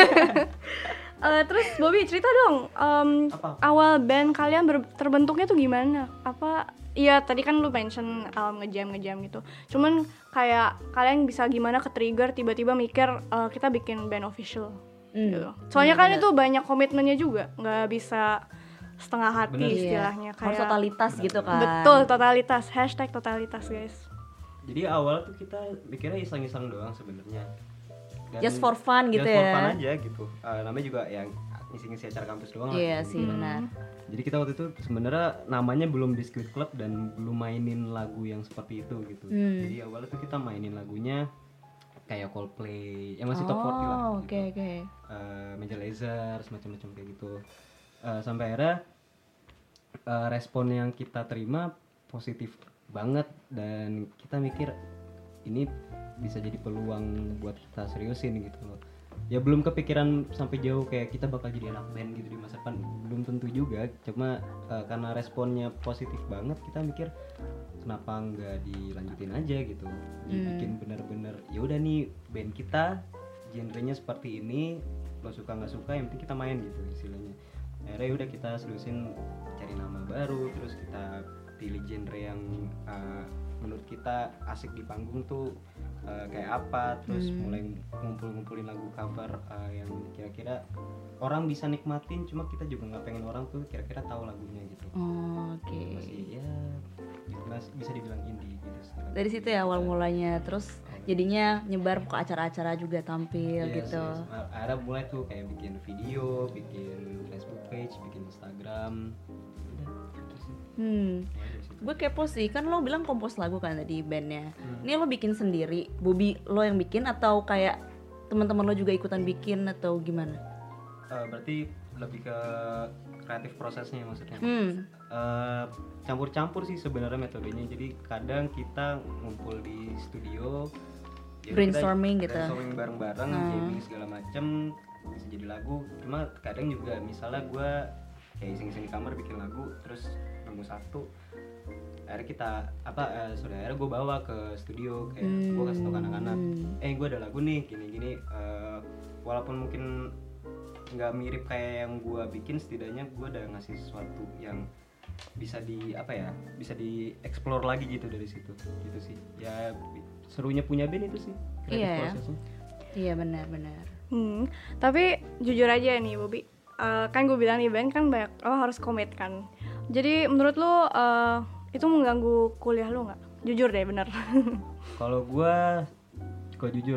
S3: Terus Bobby cerita dong,
S1: Apa?
S3: awal band kalian terbentuknya tuh gimana? Apa? Iya tadi kan lu mention ngejam gitu. Cuman kayak kalian bisa gimana ke trigger tiba-tiba mikir kita bikin band official gitu. Soalnya kan itu banyak komitmennya juga, nggak bisa setengah hati
S1: Bener.
S3: istilahnya.
S2: Iya. Harus totalitas gitu kan.
S3: Betul, totalitas. #totalitas guys.
S1: Jadi awal tuh kita mikirnya iseng-iseng doang sebenarnya. Dan
S2: Just for fun gitu
S1: just for
S2: ya.
S1: fun aja gitu. Namanya juga yang ngisi-ngisi acara kampus doang lah.
S2: Iya sih benar.
S1: Jadi kita waktu itu sebenarnya namanya belum Biscuit Club dan belum mainin lagu yang seperti itu gitu. Jadi awalnya tuh kita mainin lagunya kayak Coldplay, yang masih top 40 lah.
S2: Oh, oke.
S1: Major Lazer, semacam-macam kayak gitu. Sampai akhirnya respon yang kita terima positif banget dan kita mikir ini bisa jadi peluang buat kita seriusin gitu loh. Ya belum kepikiran sampai jauh kayak kita bakal jadi anak band gitu di masa depan, belum tentu juga. Cuma karena responnya positif banget kita mikir kenapa nggak dilanjutin aja gitu. Bikin bener-bener ya udah nih band kita genrenya seperti ini, lo suka nggak suka yang penting kita main gitu istilahnya. Akhirnya udah kita seriusin cari nama baru, terus kita pilih genre yang menurut kita asik di panggung tuh kayak apa, terus mulai ngumpulin lagu cover yang kira-kira orang bisa nikmatin, cuma kita juga nggak pengen orang tuh kira-kira tahu lagunya gitu.
S2: Oke.
S1: Masih ya bisa dibilang indie gitu.
S2: Dari situ ya awal mulanya, terus jadinya nyebar ke acara-acara juga tampil
S1: Yes,
S2: gitu.
S1: yes. Akhirnya mulai tuh kayak bikin video, bikin Facebook page, bikin Instagram. Udah, gitu sih. Mulai dari situ.
S2: Gue kepo sih, kan lo bilang kompos lagu kan tadi bandnya. Ini lo bikin sendiri, Bobby lo yang bikin atau kayak teman-teman lo juga ikutan bikin atau gimana?
S1: Berarti lebih ke kreatif prosesnya maksudnya. Campur-campur sih sebenarnya metodenya. Jadi kadang kita ngumpul di studio, ya
S2: Brainstorming
S1: kita
S2: gitu.
S1: brainstorming bareng-bareng, jamming segala macem, bisa jadi lagu. Cuma kadang juga misalnya gue kayak iseng-iseng di kamar bikin lagu, terus nemu satu, akhirnya kita akhirnya gue bawa ke studio, kayak gue kasih tau ke anak-anak, gue ada lagu nih gini-gini, walaupun mungkin nggak mirip kayak yang gue bikin, setidaknya gue udah ngasih sesuatu yang bisa bisa dieksplor lagi gitu dari situ gitu sih. Ya serunya punya band itu sih, kreatif
S2: Iya ya.
S1: prosesnya.
S2: Iya benar-benar.
S3: Tapi jujur aja nih Bobby, kan gue bilang nih band kan banyak lo harus komit kan. Jadi menurut lo itu mengganggu kuliah lo nggak? Jujur deh bener.
S1: Kalau jujur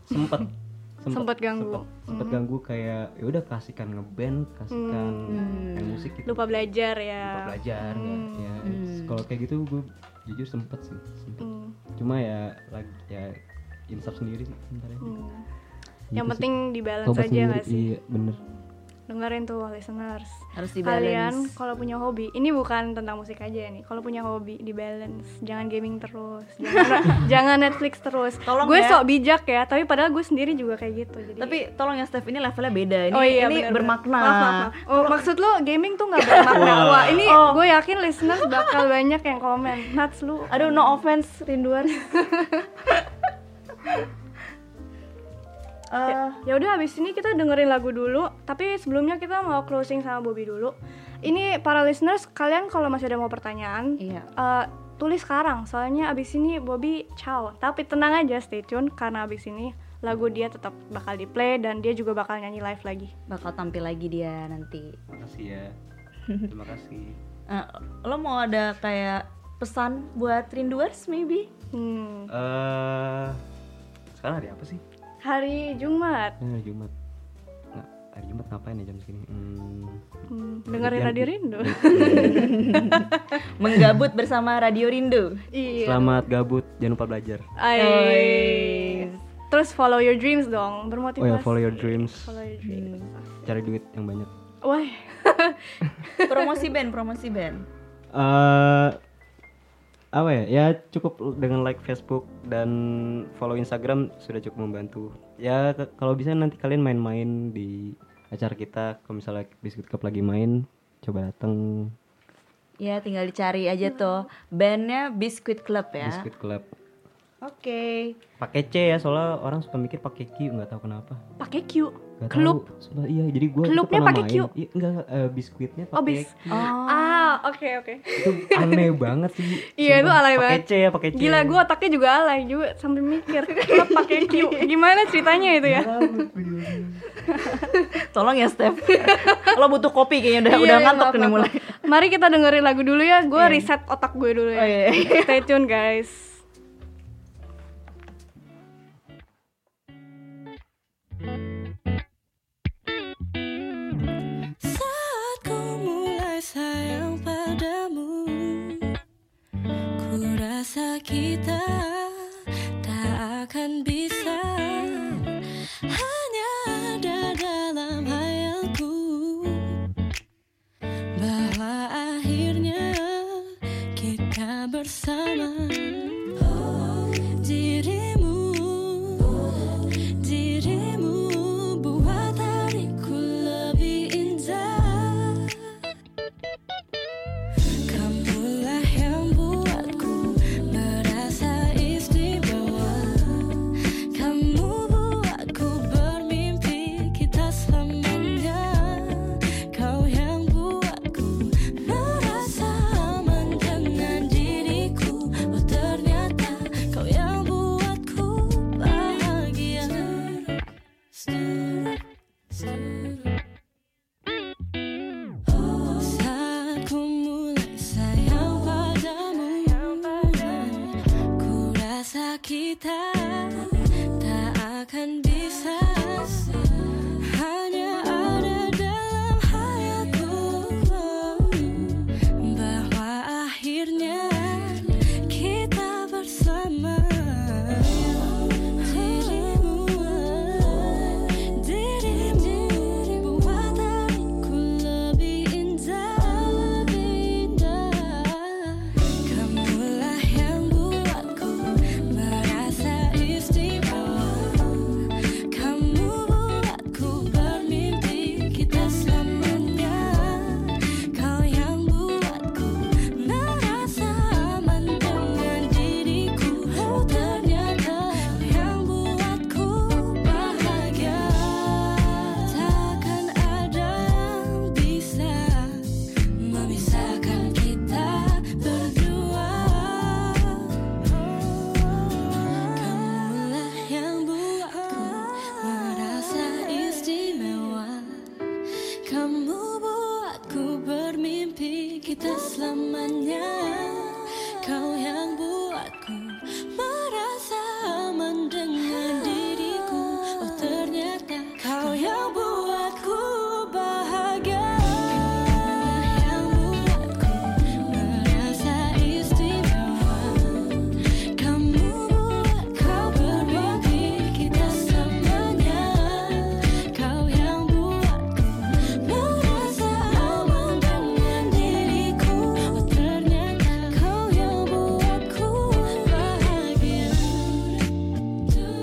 S1: sempet ganggu kayak ya udah kasihkan ngeband, kasihkan main musik gitu.
S3: Lupa belajar ya.
S1: Belajar ya. Kalau kayak gitu gue jujur sempet. Cuma ya lagi ya insaf sendiri sih sebenarnya.
S3: Yang
S1: Gitu
S3: penting di balance
S1: Tobat
S3: aja nggak
S1: sendiri,
S3: sih?
S1: iya bener.
S3: Dengerin tuh listeners.
S2: Harus di-balance.
S3: Kalian kalau punya hobi, ini bukan tentang musik aja nih. Kalau punya hobi di balance, jangan gaming terus, jangan Netflix terus.
S2: Tolong
S3: Gue
S2: ya.
S3: sok bijak ya, tapi padahal gue sendiri juga kayak gitu. Jadi
S2: Tapi tolong ya Steph, ini levelnya beda. Ini,
S3: bener-bener.
S2: bermakna.
S3: Maaf. Oh, maksud lo gaming tuh nggak bermakna? Wah, ini gue yakin listeners bakal banyak yang komen. Nats lu.
S2: Aduh, no offense rinduan.
S3: Ya udah habis ini kita dengerin lagu dulu, tapi sebelumnya kita mau closing sama Bobby dulu. Ini para listeners, kalian kalau masih ada mau pertanyaan,
S2: Iya.
S3: tulis sekarang. Soalnya abis ini Bobby ciao. Tapi tenang aja, stay tune karena abis ini lagu dia tetap bakal di play dan dia juga bakal nyanyi live lagi.
S2: Bakal tampil lagi dia nanti.
S1: Makasih ya. Terima kasih.
S2: Lo mau ada kayak pesan buat rinduers maybe?
S1: Sekarang hari apa sih?
S3: Hari Jumat.
S1: Hari Jumat. Hari Jumat ngapain ya jam segini?
S3: Dengerin Radio Rindu.
S2: Menggabut bersama Radio Rindu.
S3: Iya.
S1: Selamat gabut, jangan lupa belajar.
S3: Terus follow your dreams dong, bermotivasi.
S1: Oh ya, follow your dreams.
S3: Follow your dreams.
S1: Cari duit yang banyak.
S3: Wah.
S2: Promosi band.
S1: apa ya? Ya cukup dengan like Facebook dan follow Instagram sudah cukup membantu. Ya kalau bisa nanti kalian main-main di acara kita. Kalau misalnya Biskuit Club lagi main, coba datang.
S2: Ya tinggal dicari aja tuh bandnya Biskuit Club ya.
S1: Biskuit Club.
S2: Oke.
S1: Pakai C ya, soalnya orang suka mikir pakai Q, nggak tahu kenapa.
S3: Pakai Q.
S1: Gak
S3: Klub.
S1: tahu. Sumpah, iya, jadi gue
S3: Klubnya pakai Q.
S1: Iya, enggak, biskuitnya
S3: Oh,
S1: pakai Q.
S3: Oke.
S1: Itu aneh banget sih.
S3: Iya, itu
S1: Sumpah,
S3: alay
S1: pakai
S3: banget.
S1: C ya, pakai C.
S3: Gila, gue otaknya juga alay juga sambil mikir. Klub pakai Q. Gimana ceritanya itu ya?
S2: Tolong ya Steph. Lo butuh kopi kayaknya udah
S3: Iya,
S2: ngantuk
S3: maaf,
S2: nih
S3: maaf.
S2: mulai.
S3: Mari kita dengerin lagu dulu ya. Gue reset otak gue dulu ya.
S2: Oh, iya.
S3: Stay tune guys.
S5: Saat ku mulai sayang padamu, ku rasa kita tak akan bisa. Hanya ada dalam hayalku bahwa akhirnya kita bersama. Dirimu buat hariku lebih indah. Kamulah yang buatku merasa istimewa. Kamu buatku bermimpi kita selamanya. Kau yang buatku merasa aman dengan diriku. Oh ternyata kau yang buatku bahagia. Saat ku mulai sayang padamu, ku rasa kita tak akan bisa. Hanya ada dalam hayalku bahwa akhirnya kita bersama. Dirimu buat hariku lebih indah. Kamulah yang buatku merasa istimewa. Kamu buatku bermimpi kita selamanya. Kau yang buatku merasa aman dengan diriku. Oh ternyata kau yang buatku bahagia. Takkan ada yang bisa memisahkan kita berdua. Kamulah yang buatku merasa istimewa. Kamu buatku bermimpi kita selamanya. Kau yang buatku merasa aman dengan diriku. Oh ternyata kau yang buatku bahagia. Yang buatku merasa istimewa. Kamu buatku bermimpi kita selamanya. Kau yang buatku merasa aman dengan diriku. Oh ternyata kau yang buatku bahagia.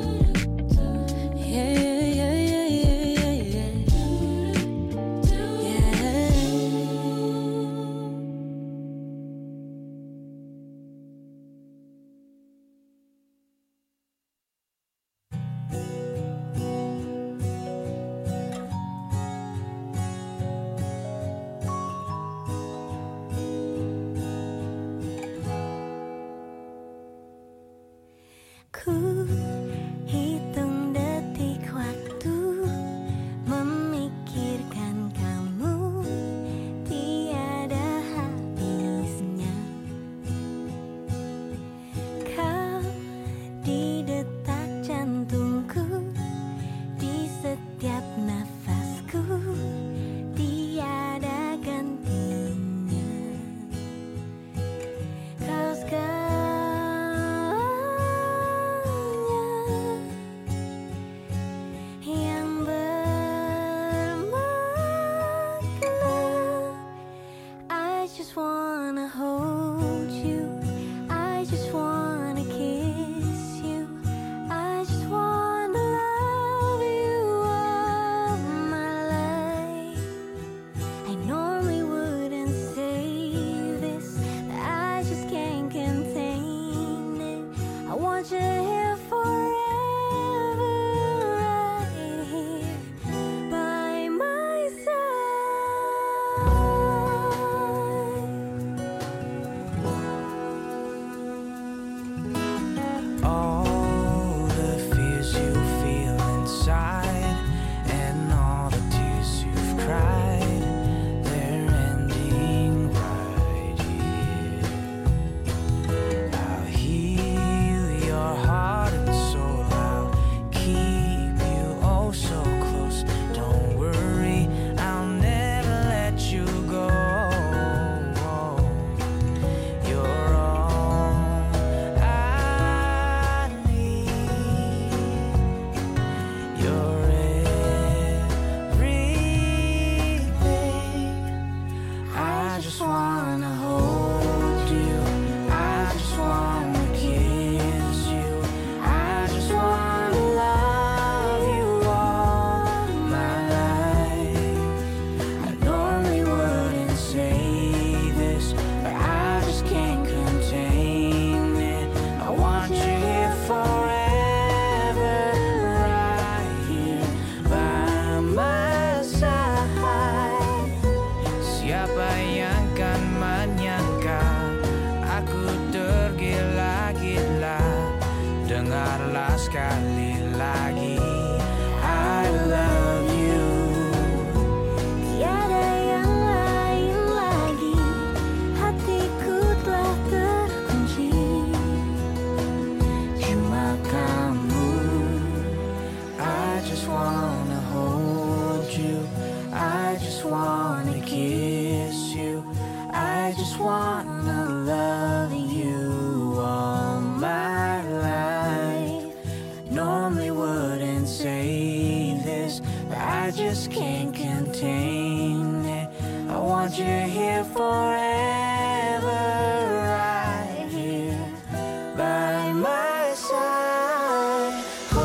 S6: wanna love you all my life. Normally wouldn't say this, but I just can't contain it. I want you here forever, right here by my side.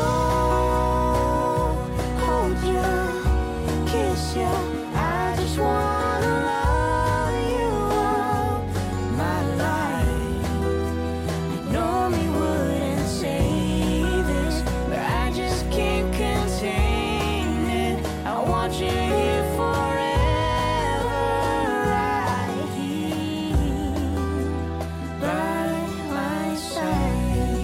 S6: Hold you, kiss you. I just wanna love you all my life. I normally wouldn't say this, but I just can't contain it. I want you here forever, right here by my side.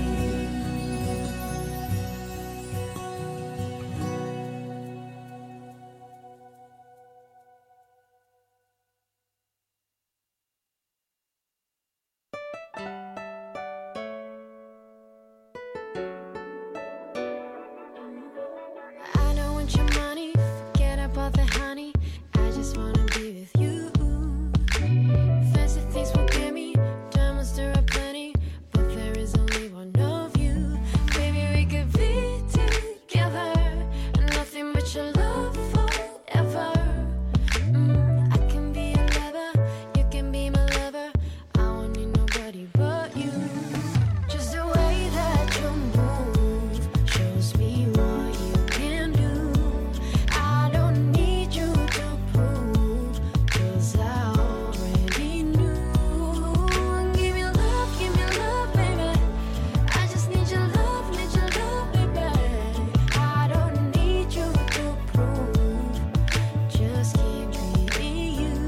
S4: I don't want your money, forget about the honey. I just wanna be with you. Fancy things will get me, diamonds there are plenty, but there is only one of you. Baby, we could be together, and nothing but your love forever. I can be your lover, you can be my lover. I won't need nobody but you. Just the way that you move shows me what you can do. I don't need you to prove, 'cause I already knew. Give me love, baby. I just need your love, baby. I don't need you to prove, just keep being you.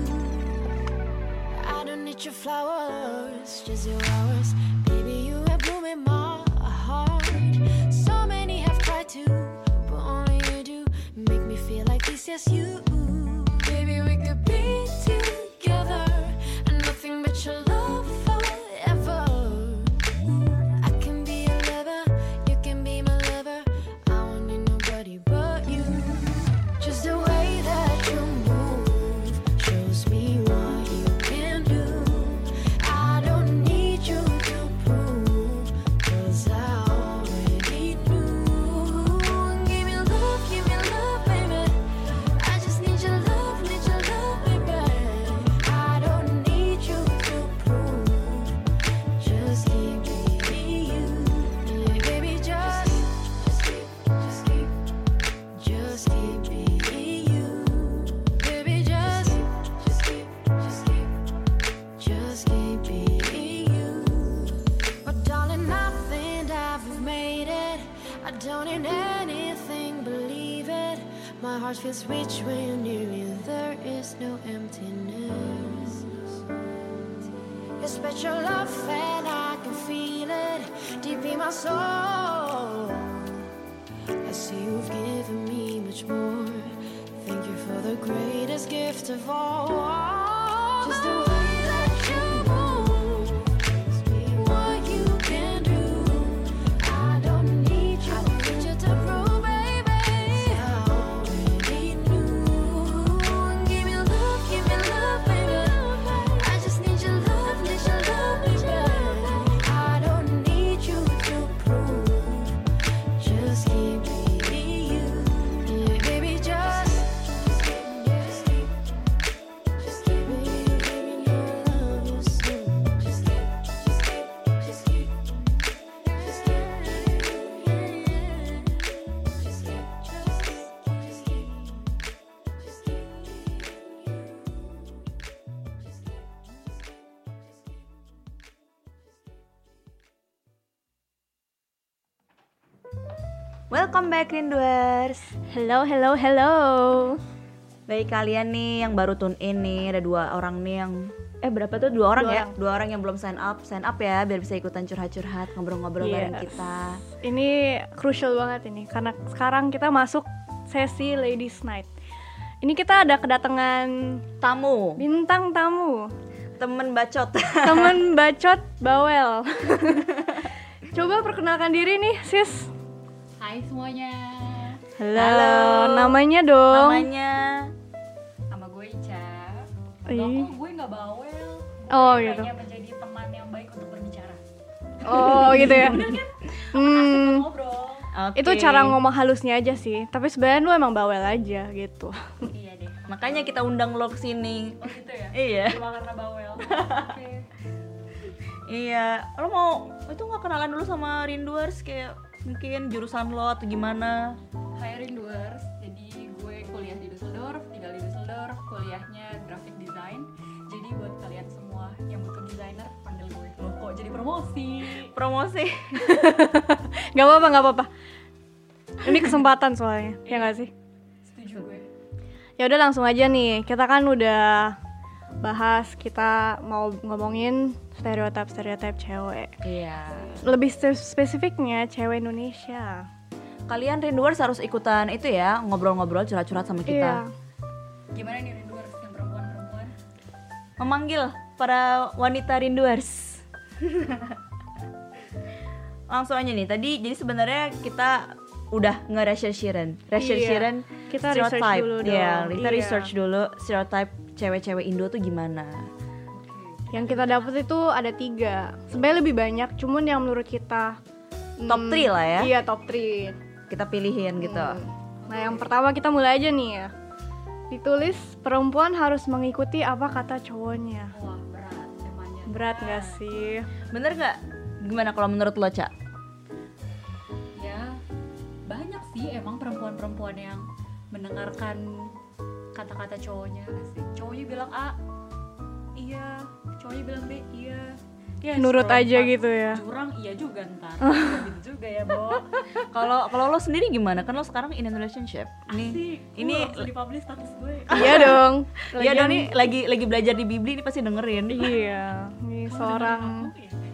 S4: I don't need your flowers, just your hours. Baby, you have bloom in my heart. So many have tried to, but only you do make me feel like this, yes you. Baby, we could be together, and nothing but your love forever. I can be your lover, you can be my lover. I won't need nobody but you. Just the way that you move shows me what you can do. I don't need you to prove, 'cause I already knew. Give me love, baby. I just need your love, baby. I don't need you to prove, just keep being you. Yeah, baby, just keep being you. Baby, just keep being you. But darling, I think I've made it. I don't need anything, believe it. My heart feels rich when you're near me. There is no emptiness. Your special love and I can feel it deep in my soul. I see you've given me much more. Thank you for the greatest gift of all. Just the way that you move, what you can do. I don't need you to prove, baby. I already knew. Give me love, baby. I just need your love, baby. I don't need you to prove, just keep being you. Yeah, baby, just keep being your love, you see. Just keep
S2: Welcome back Rinduers.
S3: Hello.
S2: Bagi kalian nih yang baru tune in nih, ada 2 orang nih yang berapa tuh? 2 orang ya? 2 orang yang belum sign up ya biar bisa ikutan curhat-curhat, ngobrol-ngobrol bareng kita.
S3: Ini crucial banget ini karena sekarang kita masuk sesi Ladies Night. Ini kita ada kedatangan bintang tamu,
S2: temen bacot.
S3: temen bacot bawel. Coba perkenalkan diri nih, sis.
S7: Hai semuanya.
S3: Halo. Namanya dong.
S2: Namanya
S7: Sama gue Ica.
S3: Ih.
S7: Gue nggak bawel.
S3: Oh gitu.
S7: hanya menjadi teman yang baik untuk berbicara.
S3: Oh gitu ya.
S7: Asik ngobrol.
S2: Oke.
S3: Itu cara ngomong halusnya aja sih. Tapi sebenarnya lu emang bawel aja gitu.
S7: Iya deh.
S2: Makanya kita undang lo kesini.
S7: Oh gitu ya.
S2: Iya.
S7: Cuma karena bawel. Oke.
S2: Iya, lo mau itu nggak kenalan dulu sama Rinduers kayak mungkin jurusan lo atau gimana?
S7: Hai Rinduers, jadi gue kuliah di Düsseldorf, tinggal di Düsseldorf, kuliahnya graphic design. Jadi buat kalian semua yang butuh desainer, panggil gue. Loh kok jadi promosi?
S2: Promosi.
S3: Gak apa-apa. Ini kesempatan soalnya, ya nggak sih?
S7: Setuju gue.
S3: Ya udah langsung aja nih. Kita kan udah bahas, kita mau ngomongin stereotip cewek.
S2: Iya.
S3: Lebih spesifiknya cewek Indonesia.
S2: Kalian Rinduers harus ikutan itu ya, ngobrol-ngobrol curhat-curhat sama kita.
S3: Iya.
S7: Gimana nih Rinduers yang perempuan-perempuan?
S2: Memanggil para wanita Rinduers. Langsung aja nih. Tadi jadi sebenarnya kita udah nge-researchiran.
S3: Kita research dulu dong.
S2: Iya, kita
S3: Iya.
S2: research dulu stereotype cewek-cewek Indo tuh gimana.
S3: Yang kita dapet itu ada 3. Sebenarnya lebih banyak, cuman yang menurut kita
S2: Top 3 lah ya.
S3: Iya, top 3.
S2: Kita pilihin gitu.
S3: Nah, yang pertama kita mulai aja nih ya. Ditulis perempuan harus mengikuti apa kata cowoknya.
S7: Wah berat temanya.
S3: Berat gak sih?
S2: Bener nggak? Gimana kalau menurut lo, Ca?
S7: Ya banyak sih emang perempuan-perempuan yang mendengarkan kata-kata cowoknya. Asik. Cowoknya bilang A, iya. Cowoknya bilang B, iya. Ya,
S3: Nurut
S7: scroll
S3: aja
S7: 4
S3: gitu ya.
S7: Jurang iya juga ntar. Nggak gitu juga ya, Bo.
S2: Kalau lo sendiri gimana? Kan lo sekarang in a relationship.
S7: Asik.
S2: Ini
S7: langsung dipublish status gue.
S3: Iya dong.
S2: Iya dong nih lagi belajar di Bibli nih pasti dengerin.
S3: Iya, ini seorang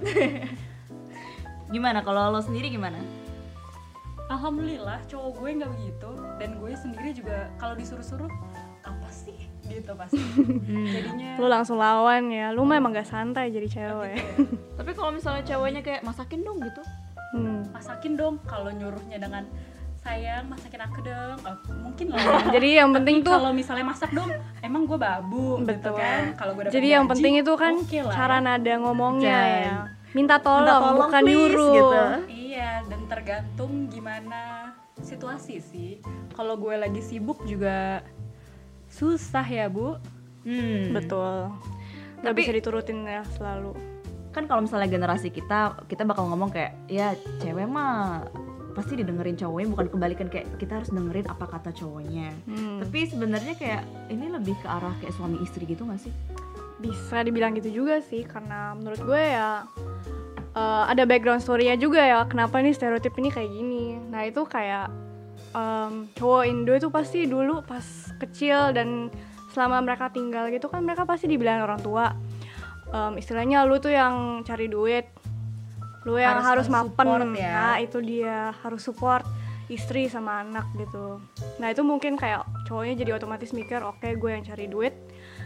S2: Gimana kalau lo sendiri gimana?
S7: Alhamdulillah cowok gue nggak begitu, dan gue sendiri juga kalau disuruh-suruh apa sih gitu pasti. Jadinya
S3: lu langsung lawan ya. Lu mah emang gak santai jadi cewek.
S2: Tapi kalau misalnya ceweknya kayak masakin dong gitu.
S7: masakin dong, kalau nyuruhnya dengan sayang masakin aku dong, oh, mungkin lah.
S3: Jadi yang penting
S7: Tapi
S3: tuh
S7: kalau misalnya masak dong, emang gue babu gitu
S3: betul
S7: kan. Kalau gue dapet
S3: jadi yang
S7: gaji,
S3: penting itu kan
S7: oke lah
S3: cara
S7: ya.
S3: nada ngomongnya
S2: Jan.
S3: ya. Minta tolong bukan
S2: please,
S3: nyuruh.
S2: gitu.
S7: Iya, dan tergantung gimana situasi sih. Kalau gue lagi sibuk juga susah ya, Bu.
S3: Betul. Gak
S2: Tapi-
S3: bisa diturutin ya selalu.
S2: Kan kalau misalnya generasi kita bakal ngomong kayak ya cewek mah pasti didengerin cowoknya, bukan kebalikan kayak kita harus dengerin apa kata cowoknya. Tapi sebenarnya kayak ini lebih ke arah kayak suami istri gitu nggak sih?
S3: Bisa dibilang gitu juga sih, karena menurut gue ya ada background story-nya juga ya kenapa nih stereotip ini kayak gini. Nah itu kayak cowok Indo itu pasti dulu pas kecil dan selama mereka tinggal gitu kan mereka pasti dibilang orang tua, istilahnya lu tuh yang cari duit, lu yang harus mapen
S7: support ya.
S3: Nah itu dia, harus support istri sama anak gitu. Nah itu mungkin kayak cowoknya jadi otomatis mikir oke, gue yang cari duit,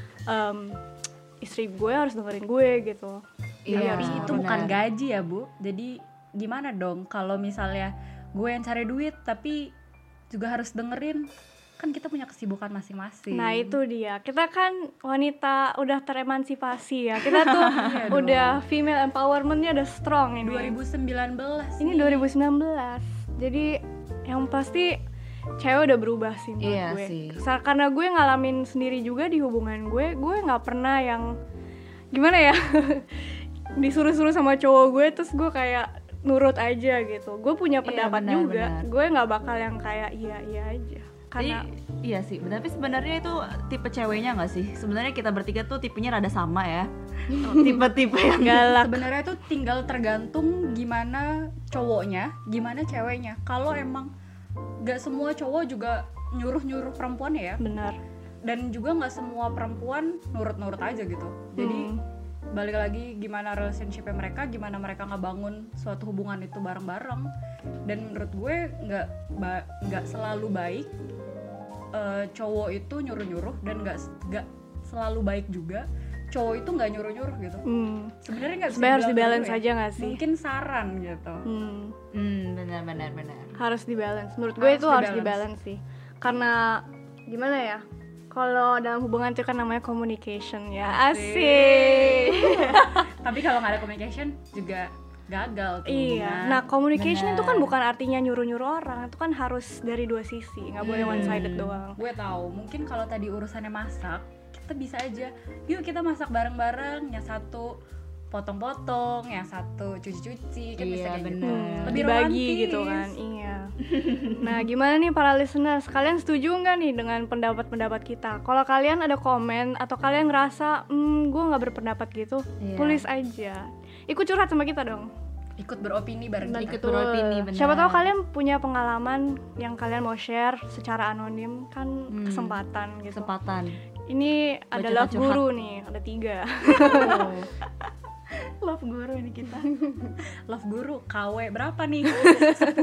S3: istri gue harus dengerin gue gitu.
S2: Iya,
S7: Tapi itu
S2: benar.
S7: bukan gaji ya, Bu. Jadi gimana dong kalau misalnya gue yang cari duit tapi juga harus dengerin, kan kita punya kesibukan masing-masing.
S3: Nah itu dia, kita kan wanita udah teremansipasi ya, kita tuh
S7: Iya dong.
S3: udah female empowermentnya udah strong ini.
S7: 2019
S3: Ini 2019, jadi yang pasti cewek udah berubah sih menurut
S2: Iya
S3: gue.
S2: sih.
S3: Karena gue ngalamin sendiri juga di hubungan gue nggak pernah yang gimana ya disuruh-suruh sama cowok gue terus gue kayak nurut aja gitu. Gue punya pendapat
S2: benar,
S3: juga,
S2: benar.
S3: gue nggak bakal yang kayak iya aja. Karena
S2: Iya sih, tapi sebenarnya itu tipe ceweknya nggak sih? Sebenarnya kita bertiga tuh tipenya rada sama ya. Tipe-tipe yang
S3: galak.
S7: sebenarnya itu tinggal tergantung gimana cowoknya, gimana ceweknya. Kalau emang gak semua cowok juga nyuruh-nyuruh perempuannya ya,
S3: Benar.
S7: dan juga gak semua perempuan nurut-nurut aja gitu. Jadi balik lagi gimana relationship-nya mereka, gimana mereka ngebangun suatu hubungan itu bareng-bareng. Dan menurut gue nggak selalu baik cowok itu nyuruh-nyuruh, dan nggak selalu baik juga cowok itu nggak nyuruh-nyuruh gitu. Sebenarnya nggak bisa
S3: Sebenarnya harus
S7: dibilang
S3: di-balance
S7: gitu ya.
S3: aja nggak sih?
S7: Mungkin saran gitu.
S2: benar.
S3: Harus di-balance. Menurut gue itu harus di-balance sih. Karena gimana ya? kalau dalam hubungan itu kan namanya communication ya. Asik.
S7: Tapi kalau nggak ada communication juga gagal tuh.
S3: Iya. Nah, communication itu kan bukan artinya nyuruh-nyuruh orang, itu kan harus dari dua sisi, nggak boleh one sided doang.
S7: Gue tahu, mungkin kalau tadi urusannya masak, kita bisa aja, yuk kita masak bareng-bareng, yang satu potong-potong, yang satu cuci-cuci, kan bisa kayak gitu. Lebih
S3: Dibagi
S7: romantis
S3: gitu kan. Iya. Nah, gimana nih para listeners? Kalian setuju nggak nih dengan pendapat-pendapat kita? Kalau kalian ada komen atau kalian ngerasa gue nggak berpendapat gitu, tulis aja. Ikut curhat sama kita dong.
S7: Ikut beropini bareng kita.
S3: Betul. Siapa tahu kalian punya pengalaman yang kalian mau share secara anonim, kan kesempatan gitu. Ini ada love guru nih, ada 3. Love guru ini kita.
S7: Love guru, KW berapa nih? 10.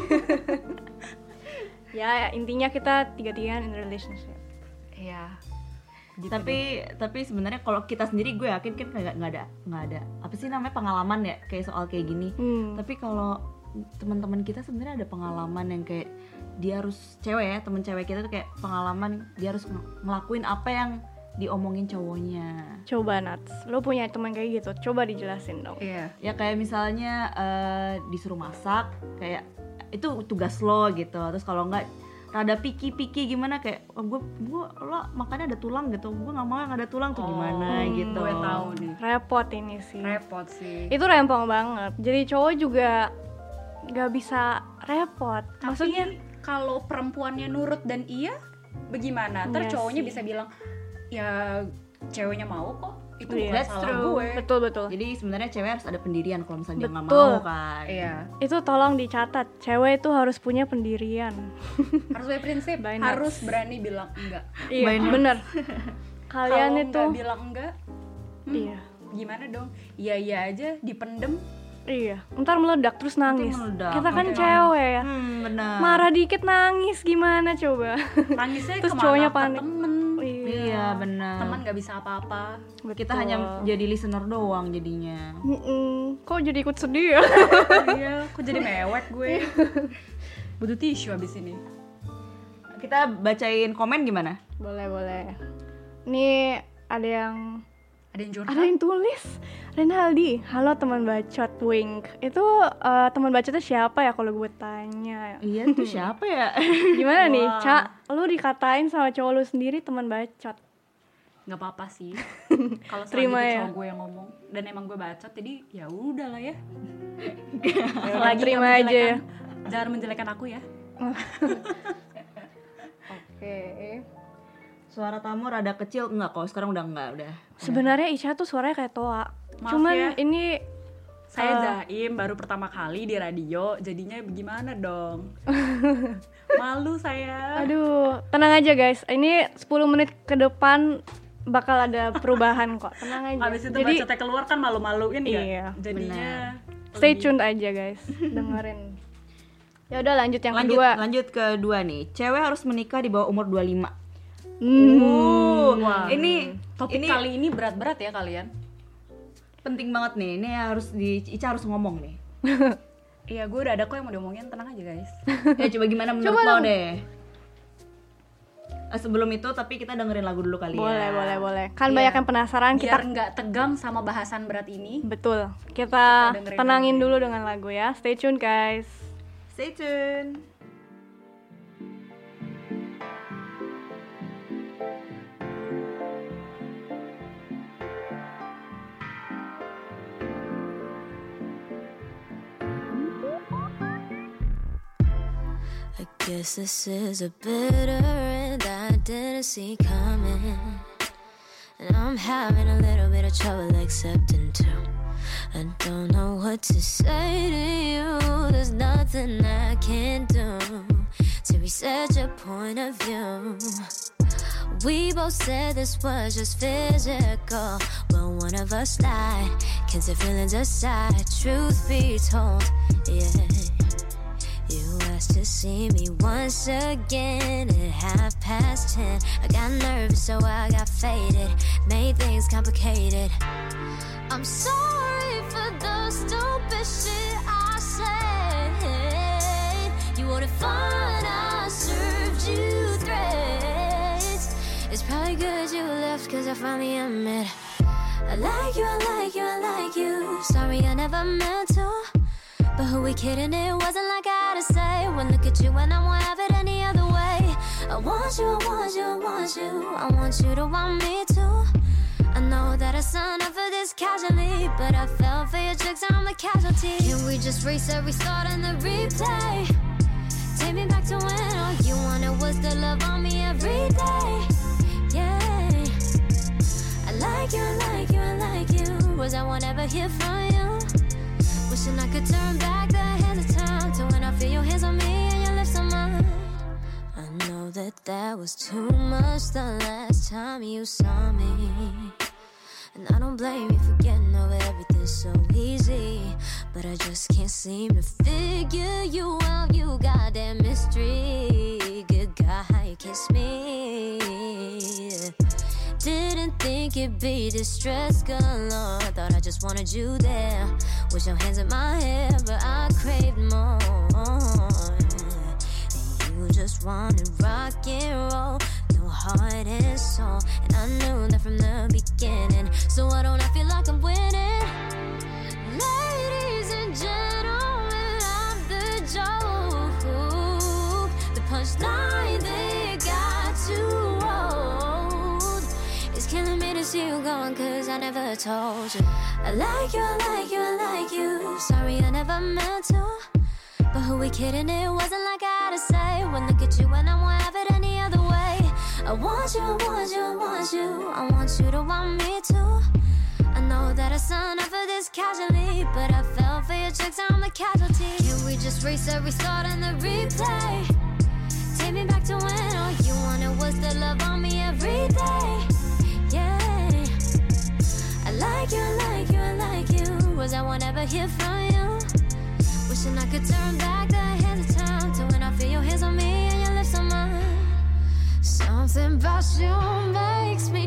S3: Ya, intinya kita tiga-tigaan in relationship.
S2: Iya. Gitu tapi sebenarnya kalau kita sendiri gue yakin kan nggak ada apa sih namanya pengalaman ya kayak soal kayak gini. Tapi kalau teman-teman kita sebenarnya ada pengalaman yang kayak dia harus cewek ya, temen cewek kita tuh kayak pengalaman dia harus ngelakuin apa yang diomongin cowoknya.
S3: Coba Nats, lo punya teman kayak gitu, coba dijelasin dong.
S7: Iya.
S2: Ya kayak misalnya disuruh masak, kayak itu tugas lo gitu. Terus kalau enggak rada piki-piki gimana kayak gue lo makannya ada tulang gitu, gue nggak mau yang ada tulang tuh gimana gitu.
S7: Gue tahu nih.
S3: Repot ini sih.
S7: Repot sih.
S3: Itu rempong banget. Jadi cowok juga nggak bisa repot. Maksudnya
S7: kalau perempuannya nurut dan iya, bagaimana? Ntar
S3: Iya
S7: cowoknya
S3: sih.
S7: bisa bilang, ya ceweknya mau kok. Itu
S3: Iya,
S7: bukan
S2: that's
S7: salah
S2: true.
S7: gue.
S3: betul.
S2: Jadi sebenarnya cewek harus ada pendirian kalau misalnya dia nggak
S3: Betul.
S2: mau kan.
S7: Iya.
S3: Itu tolong dicatat. Cewek itu harus punya pendirian.
S7: Harus punya prinsip.
S3: By
S7: Harus berani bilang enggak.
S3: Iya, bener. Kalian
S7: Kalau
S3: itu
S7: nggak bilang enggak,
S3: iya.
S7: gimana dong? Iya aja, dipendem.
S3: Iya, ntar meledak terus nangis.
S2: meledak.
S3: Kita kan cewek ya.
S2: Benar.
S3: Marah dikit nangis gimana coba?
S7: Nangisnya
S3: Terus
S7: kemana?
S3: cowoknya
S7: Ke
S3: panik.
S7: temen.
S2: Iya benar.
S7: Teman nggak bisa apa-apa.
S2: Kita hanya jadi listener doang jadinya.
S3: Kok jadi ikut sedih ya?
S7: Iya, kok jadi mewek gue. Butuh tisu abis ini.
S2: Kita bacain komen gimana?
S3: Boleh. Nih ada yang
S7: Ada yang curhat.
S3: Ada yang tulis, Renaldi, halo teman bacot wink. Itu teman bacotnya siapa ya kalau gue tanya?
S2: Iya tuh siapa ya?
S3: Gimana nih, Cak? Lu dikatain sama cowok lu sendiri teman bacot.
S7: Nggak apa-apa sih. Kalau
S3: Terima
S7: selanjutnya
S3: ya.
S7: cowok gue yang ngomong dan emang gue bacot, jadi ya udahlah ya.
S3: Lagi terima aja ya.
S7: Jangan menjelekan aku ya.
S3: Oke.
S2: Suara tamu rada kecil enggak kok, sekarang udah enggak, udah.
S3: Sebenarnya Ica tuh suaranya kayak Toa.
S7: Maaf
S3: Cuman
S7: ya.
S3: ini
S7: Saya Zaim, baru pertama kali di radio, jadinya bagaimana dong? Malu saya.
S3: aduh, tenang aja guys. Ini 10 menit ke depan bakal ada perubahan kok. Tenang aja.
S7: Abis itu
S3: Jadi
S7: bacotnya keluar kan malu-maluin ya.
S3: Iya,
S7: Jadinya
S3: stay tuned aja guys. Dengerin. Ya udah lanjut yang kedua.
S2: Lanjut kedua nih. Cewek harus menikah di bawah umur 25.
S7: Wah.
S2: Ini
S7: Topik kali ini berat-berat ya kalian.
S2: penting banget nih. Ini harus Ica harus ngomong nih.
S7: Iya, gue udah ada kok yang mau diomongin, tenang aja guys.
S2: Ya coba gimana menurut lo deh. Sebelum itu tapi kita dengerin lagu dulu kali ya.
S3: Boleh. Kan banyak yang penasaran
S7: Biar
S3: kita.
S7: nggak tegang sama bahasan berat ini.
S3: Betul. Kita
S7: dengerin
S3: tenangin dulu dengan lagu ya. Stay tune guys.
S2: Stay tune.
S4: I guess this is a bitter end I didn't see coming. And I'm having a little bit of trouble accepting too. I don't know what to say to you. There's nothing I can do to reset your point of view. We both said this was just physical. Well, one of us lied. Can't say feelings aside. Truth be told, yeah. You asked to see me once again at 10:30. I got nervous, so I got faded. Made things complicated. I'm sorry for the stupid shit I said. You wanted fun, I served you threats. It's I finally admit I like you, I like you, I like you. Sorry I never meant to, but who we kidding, it wasn't like I had to say. When look at you and I won't have it any other way. I want you, I want you, I want you. I want you to want me too. I know that I signed up for this casually, but I fell for your tricks, I'm a casualty. Can we just reset, restart, and the replay? Take me back to when all you wanted was to love on me every day. Yeah, I like you, I like you, I like you. Was I won't ever hear from you. Wishing I could turn back the hands of time to when I feel your hands on me and your lips on mine. I know that was too much the last time you saw me, and I don't blame you for getting over everything so easy, but I just can't seem to figure you out. You got that mystery. Good God, how you kiss me. Didn't think it'd be this stress galore. Thought I just wanted you there with your hands in my hair, but I craved more. And you just wanted rock and roll, no heart and soul. And I knew that from the beginning. So why don't I feel like I'm winning? Ladies and gentlemen, I'm the joke. The punchline they got too old. It's killing me to see you gone, cause I never told you I like you, I like you, I like you. Sorry I never meant to, but who we kidding, it wasn't like I had to say. When look at you and I won't have it any other way. I want you, I want you, I want you. I want you to want me too. I know that I signed up for this casually, but I fell for your tricks, I'm a casualty. Can we just reset, restart, and the replay? Take me back to when all you wanted was to love on me every day. Yeah, I like you, I like you, I like you. Was I won't ever hear from you. Wishing I could turn back the hands of time to when I feel your hands on me and your lips on mine. Something about you makes me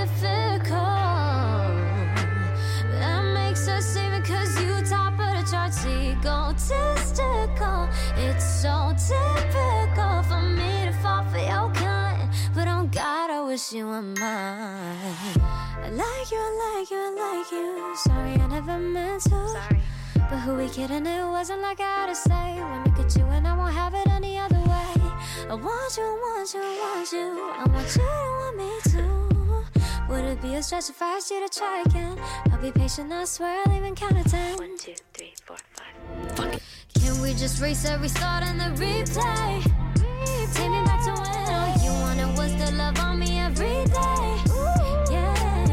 S4: difficult. That makes us even, cause you top of the charts, egotistical. It's so typical for me to fall for your kind, but on God I wish you were mine. I like you, I like you, I like you. Sorry I never meant to. Sorry. But who we kidding, it wasn't like I had to say. When I look at you and I won't have it any other way. I want you, I want you, I want you. I want you to want me too. Would it be a stretch if I asked you to try again? I'll be patient, I swear I'll even count to 10. 1, 2, 3, 4, 5. Fuck it. Can we just reset, restart, and the replay? Take me back to when all you wanted was to love on me every day. Yeah,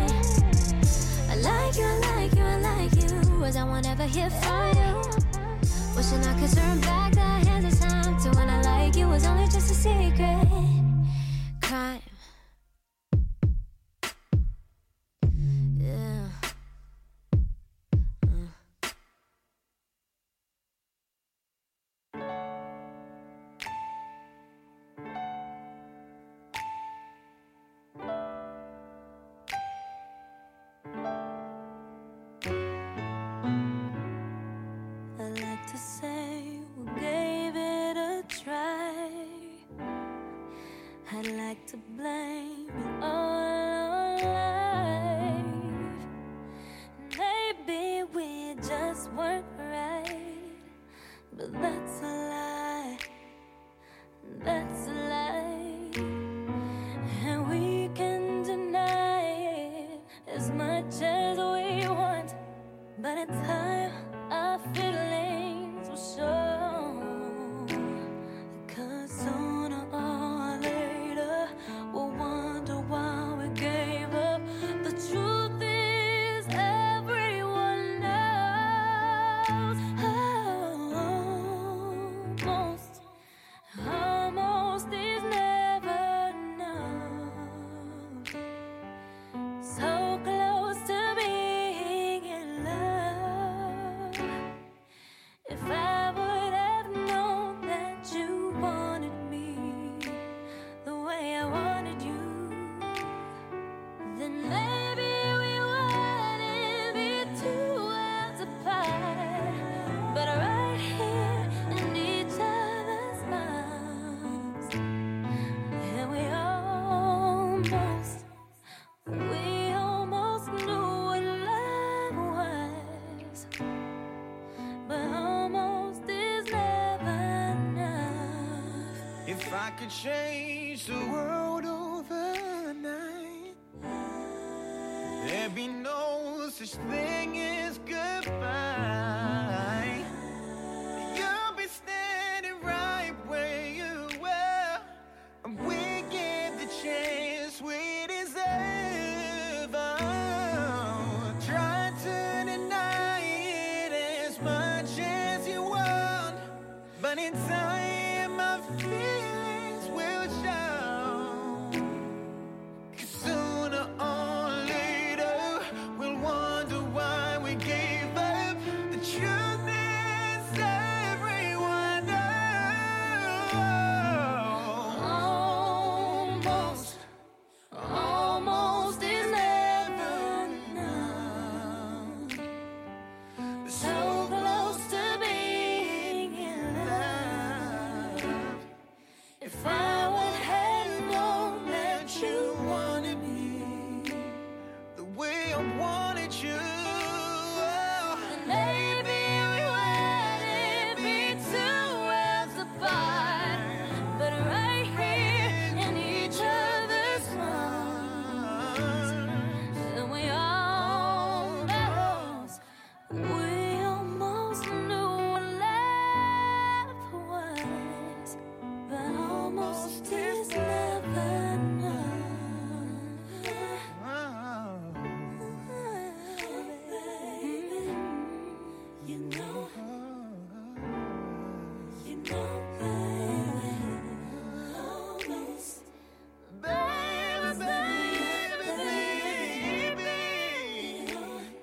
S4: I like you, I like you, I like you. Was I won't ever hear from you. Wishing I could turn back the hands of time to when I like you was only just a secret crime. Yeah.
S6: I'd like to blame it all on life. Maybe we just weren't right, but that's a lie. That's a lie, and we can deny it as much as we want, but in time our feelings will show. 'Cause sooner or later we'll wonder why we gave up. The truth is everyone knows. Almost is never enough. So close to being in love.
S8: I could change the world overnight, there'd be no such thing as goodbye. You'll be standing right where you were, and we give the chance we deserve. Oh, try to deny it as much as you want, but in time my feelings will show. 'Cause sooner or later we'll wonder why we gave up. The truth is everyone knows. Almost is never enough. So close to being in love. If I would have known that you wanted me the way I wanted you, then maybe we wouldn't be 2 worlds apart, but right here in each other's arms. And we almost knew what love was, but almost is never enough. You know, almost, baby.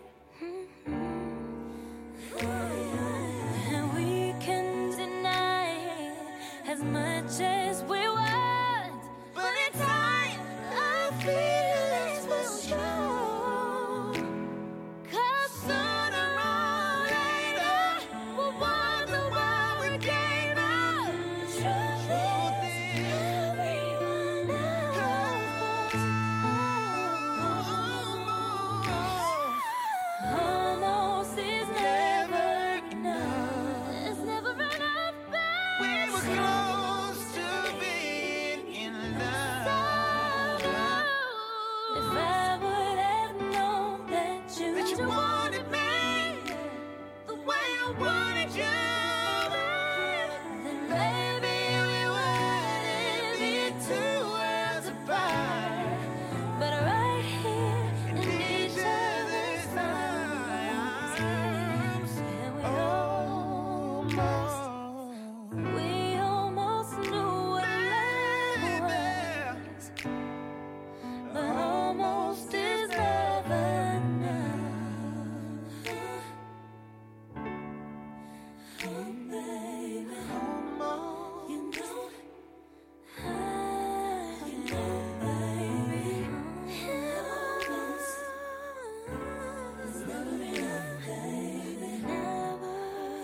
S8: And we can deny it as much as we want, but in time our feelings will show. 'Cause sooner or later we'll wonder why we gave up. The truth is everyone knows. Almost is never enough. It's never enough, babe. We were close to being in love. If I would have known that you wanted me the way I wanted you, then maybe we wouldn't be 2 worlds apart, but right here in each other's arms. And we almost knew what love was, but almost is never enough. Oh, baby, you know, baby, almost is never enough, baby, never.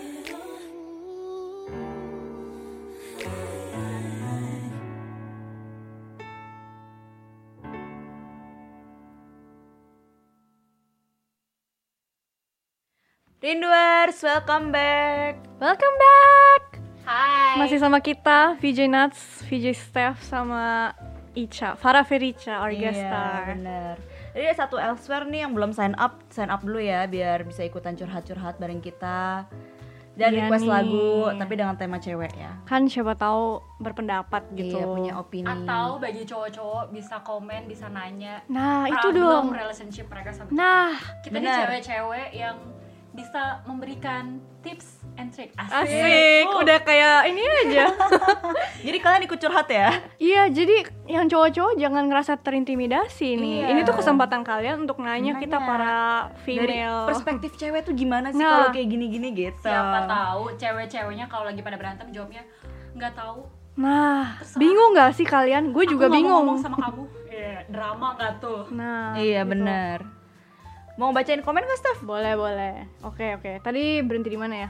S2: Rinduers, welcome back.
S3: Welcome back.
S2: Hai.
S3: Masih sama kita VJ Nuts, VJ Steph sama Ica, Farah Ferica, our guest
S2: Iya,
S3: star.
S2: bener. Jadi ada satu elsewhere nih yang belum sign up dulu ya biar bisa ikutan curhat-curhat bareng kita. Dan
S3: Iya
S2: request
S3: nih.
S2: lagu tapi dengan tema cewek ya.
S3: Kan siapa tahu berpendapat gitu.
S2: Iya, punya opini.
S7: Atau bagi cowok-cowok bisa komen, bisa nanya
S3: Nah, itu
S7: problem
S3: dong.
S7: relationship mereka sama
S3: Nah,
S7: kita nih
S2: benar.
S7: cewek-cewek yang bisa memberikan tips and trick.
S3: asik. Udah kayak ini aja.
S2: Jadi kalian ikut curhat ya?
S3: Iya, jadi yang cowok-cowok jangan ngerasa terintimidasi nih.
S2: Iya.
S3: Ini tuh kesempatan kalian untuk nanya kita para
S2: Dari
S3: female.
S2: perspektif cewek tuh gimana sih
S3: Nah.
S2: kalau kayak gini-gini gitu.
S7: Siapa tahu cewek-ceweknya kalau lagi pada berantem jawabnya nggak tahu.
S3: Nah, bingung gak sih kalian? Gue juga
S7: Aku nggak mau
S3: bingung.
S7: ngomong sama kamu. Drama nggak tuh?
S3: Nah,
S2: Iya
S3: gitu.
S2: benar. Mau bacain komen gak, Steph?
S3: Boleh. Oke. Tadi berhenti di mana ya?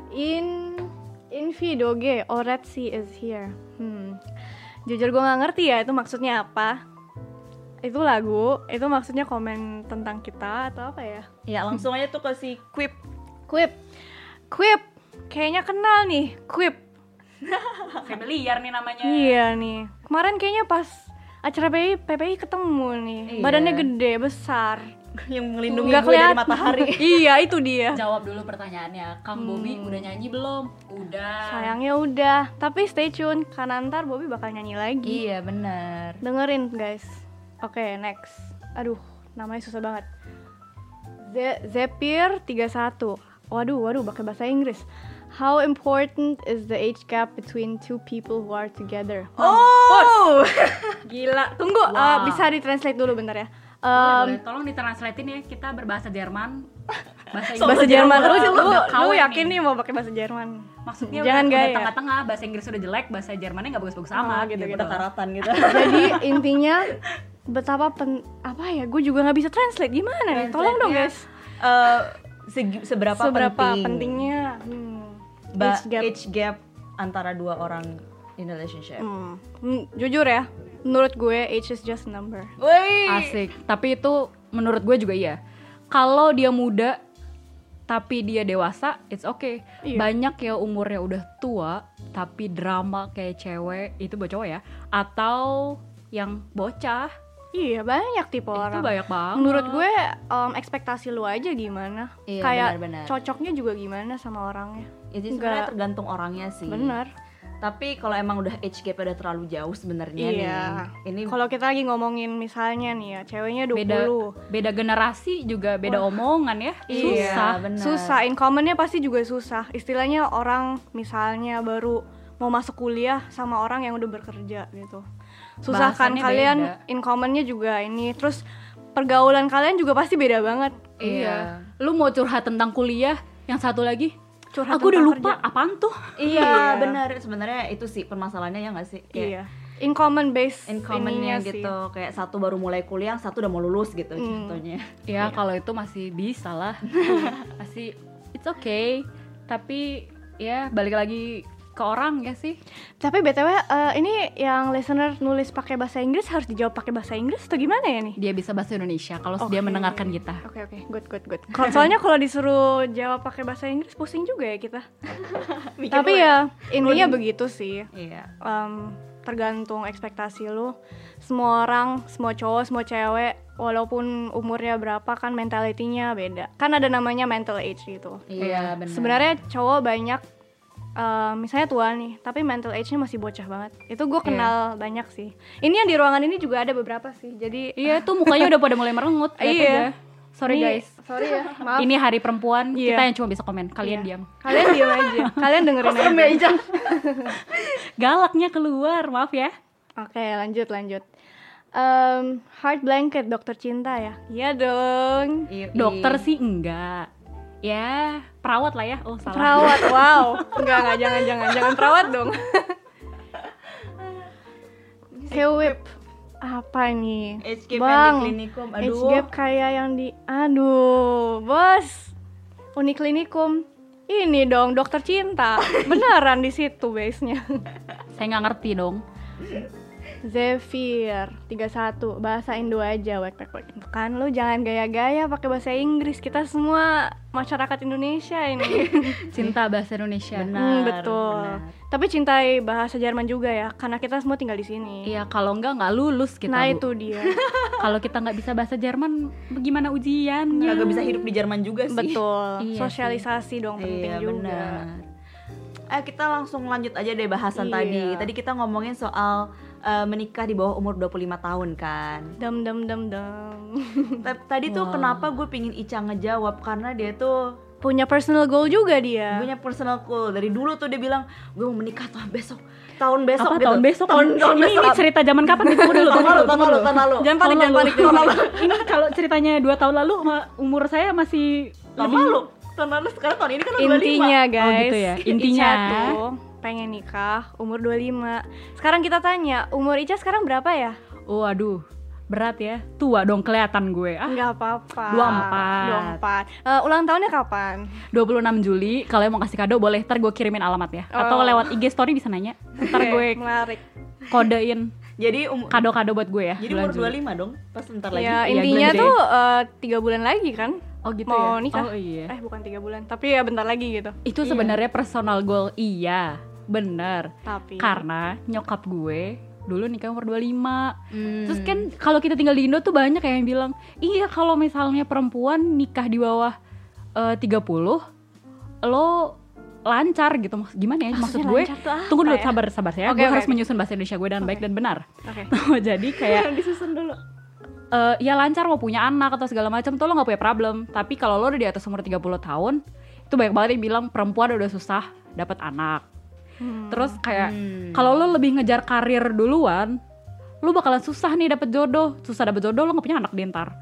S3: In Vidoge, Oretsi is here. Jujur gue nggak ngerti ya itu maksudnya apa. Itu lagu, itu maksudnya komen tentang kita atau apa ya?
S2: Ya langsung aja tuh kasih quip.
S3: Quip, kayaknya kenal nih, Quip.
S7: Familiar nih namanya.
S3: Iya nih. Kemarin kayaknya pas acara PPI ketemu nih.
S2: Iya.
S3: Badannya gede, besar.
S2: Yang melindungi
S3: Nggak
S2: gue dari
S3: kelihatan.
S2: matahari.
S3: Iya, itu dia.
S7: Jawab dulu pertanyaannya, Kang Bobby udah nyanyi belum? Udah.
S3: Sayangnya udah. Tapi stay tune karena ntar Bobby bakal nyanyi lagi.
S2: Iya benar.
S3: Dengerin guys. Oke, next. Aduh, namanya susah banget. Zephyr 31. Waduh, pakai bahasa Inggris. How important is the age gap between two people who are together?
S2: Oh.
S3: Gila. Tunggu, bisa ditranslate dulu bentar ya.
S7: Boleh, tolong ditranslatein ya, kita berbahasa Jerman. Bahasa Inggris.
S3: Bahasa Jerman.
S7: Udah
S3: Lu
S7: KW
S3: yakin nih mau pakai bahasa Jerman?
S7: Maksudnya
S3: Jangan
S7: udah
S3: gaya.
S7: tengah-tengah, bahasa Inggris udah jelek, bahasa Jermannya nggak bagus-bagus sama gitu.
S2: Kita karatan gitu.
S3: Jadi intinya betapa apa ya? Gue juga nggak bisa translate gimana nih? Tolong dong guys.
S2: Seberapa
S3: pentingnya
S2: age gap antara dua orang in a relationship.
S3: Jujur ya, menurut gue age is just a number.
S7: Asik. Tapi itu menurut gue juga iya. Kalau dia muda tapi dia dewasa, it's okay.
S3: Iya.
S7: Banyak ya umurnya udah tua tapi drama kayak cewek, itu buat cowok ya, atau yang bocah.
S3: Iya, banyak tipe
S7: Itu
S3: orang.
S7: banyak banget.
S3: Menurut gue ekspektasi lu aja gimana.
S2: Iya,
S3: Kayak
S2: benar-benar.
S3: cocoknya juga gimana sama orangnya.
S2: Itu sebenarnya tergantung orangnya sih.
S3: Bener.
S2: Tapi kalau emang udah age gap udah terlalu jauh sebenarnya
S3: Iya.
S2: nih. Ini
S3: Kalau kita lagi ngomongin misalnya nih ya, ceweknya 20.
S7: beda generasi juga beda omongan ya. Susah.
S2: Iya, benar.
S3: Susah, in common-nya pasti juga susah. Istilahnya orang misalnya baru mau masuk kuliah sama orang yang udah bekerja gitu. Susah kan
S7: Bahasannya
S3: kalian
S7: beda.
S3: in common-nya juga ini. Terus pergaulan kalian juga pasti beda banget.
S7: Iya. Lu mau curhat tentang kuliah, yang satu lagi
S3: Curhat
S7: aku udah
S3: tentang
S7: lupa apaan tuh.
S2: Iya, benar. Sebenarnya itu sih permasalahannya ya nggak sih? Kayak
S3: Iya. In common base
S2: in common-nya
S3: ininya sih.
S2: gitu. Kayak satu baru mulai kuliah, satu udah mau lulus gitu contohnya.
S7: Ya kalau itu masih bisa lah. Masih it's okay. Tapi ya balik lagi ke orang ya sih.
S3: Tapi BTW ini yang listener nulis pakai bahasa Inggris harus dijawab pakai bahasa Inggris atau gimana ya nih?
S7: Dia bisa bahasa Indonesia kalau dia mendengarkan kita.
S3: Oke, good. Soalnya kalau disuruh jawab pakai bahasa Inggris pusing juga ya kita. Tapi ya intinya begitu sih.
S2: Iya.
S3: Tergantung ekspektasi lu. Semua orang, semua cowok, semua cewek, walaupun umurnya berapa kan mentalitinya beda. Kan ada namanya mental age gitu.
S2: Iya, benar.
S3: Sebenarnya cowok banyak misalnya tua nih, tapi mental age-nya masih bocah banget. Itu gue kenal banyak sih. Ini yang di ruangan ini juga ada beberapa sih. Jadi
S7: Iya tuh mukanya udah pada mulai merengut. lihat
S3: Iya.
S7: aja. Sorry
S3: Ini-
S7: guys.
S3: sorry ya, maaf.
S7: Ini hari perempuan,
S3: Iya.
S7: kita yang cuma bisa komen. Kalian
S3: Iya.
S7: diam.
S3: Kalian diam aja. Kalian dengerin aja.
S7: Galaknya keluar, maaf ya.
S3: Oke, lanjut. Heart Blanket, Dokter Cinta ya? Iya dong.
S7: Dokter sih enggak. Ya, perawat lah ya. Oh, salah.
S3: Perawat, wow. Enggak, jangan perawat dong. Whip. Apa nih?
S2: Age gap yang
S3: Bang,
S2: di klinikum.
S3: age
S2: Aduh.
S3: gap kayak yang di bos. Uniklinikum. Ini dong, Dokter Cinta. Beneran di situ base-nya.
S7: Saya nggak ngerti dong.
S3: Zephyr 31, bahasa Indo aja, wek. Kan lu jangan gaya-gaya pakai bahasa Inggris. Kita semua masyarakat Indonesia ini.
S7: Cinta bahasa Indonesia.
S3: Betul. Tapi cintai bahasa Jerman juga ya, karena kita semua tinggal di sini.
S7: Iya, kalau nggak lulus kita.
S3: Nah
S7: Bu.
S3: itu dia.
S7: Kalau kita nggak bisa bahasa Jerman, bagaimana ujiannya?
S2: Kagak bisa hidup di Jerman juga sih.
S3: Betul.
S7: Iya
S3: Sosialisasi dong penting
S2: Iya,
S3: juga.
S2: benar. Kita langsung lanjut aja deh bahasan
S3: Iya.
S2: tadi. Tadi kita ngomongin soal menikah di bawah umur 25 tahun kan.
S3: Dem.
S2: Tadi tuh kenapa gue pingin Ica ngejawab, karena dia tuh
S3: Punya personal goal juga dia.
S2: punya personal goal. Dari dulu tuh dia bilang gue mau menikah tahun besok gitu.
S7: Tahun besok?
S2: Tahun
S7: ini
S2: besok.
S7: cerita zaman kapan? Tunggu dulu.
S2: Tahun lalu.
S3: Jangan panik.
S7: Ini kalau ceritanya 2 tahun lalu, umur saya masih
S2: Tahun lalu sekarang tahun ini kan udah 25.
S3: Intinya guys,
S7: Oh, gitu ya. Intinya.
S3: Ica tuh pengen nikah umur 25. Sekarang kita tanya, umur Ica sekarang berapa ya?
S7: Oh, aduh. Berat ya. Tua dong kelihatan gue.
S3: Enggak apa-apa. 24.
S7: 24.
S3: Ulang tahunnya kapan?
S7: 26 Juli. Kalau mau kasih kado boleh, ntar gue kirimin alamat ya. Atau
S3: Oh.
S7: lewat IG story bisa nanya. Ntar gue
S3: Menarik.
S7: kodein
S2: Jadi
S7: kado-kado buat gue ya.
S2: Jadi
S7: bulan
S2: umur
S7: Juli.
S2: 25 dong. Pas bentar lagi.
S3: Ya
S7: Iya,
S3: intinya
S7: bulan
S3: tuh 3 bulan lagi kan?
S7: Oh gitu
S3: Mau
S7: ya.
S3: nikah.
S7: Oh iya.
S3: Bukan 3 bulan, tapi ya bentar lagi gitu.
S7: Itu sebenarnya personal goal iya. bener.
S3: Tapi
S7: Karena nyokap gue dulu nikah umur 25. Terus kan kalau kita tinggal di Indo tuh banyak yang bilang, iya kalau misalnya perempuan nikah di bawah 30 lo lancar gitu. Gimana ya maksud gue?
S3: lancar tuh apa
S7: Tunggu dulu,
S3: ya?
S7: sabar ya.
S3: Oke,
S7: Gue harus
S3: oke.
S7: menyusun bahasa Indonesia gue dengan baik dan benar.
S3: Oke.
S7: Jadi kayak
S3: disusun dulu.
S7: ya lancar mau punya anak atau segala macam tuh lo nggak punya problem. Tapi kalau lo udah di atas umur 30 tahun, itu banyak banget yang bilang perempuan udah susah dapat anak. Terus kayak kalau lo lebih ngejar karir duluan, lo bakalan susah nih dapet jodoh. Susah dapet jodoh, lo nggak punya anak di ntar.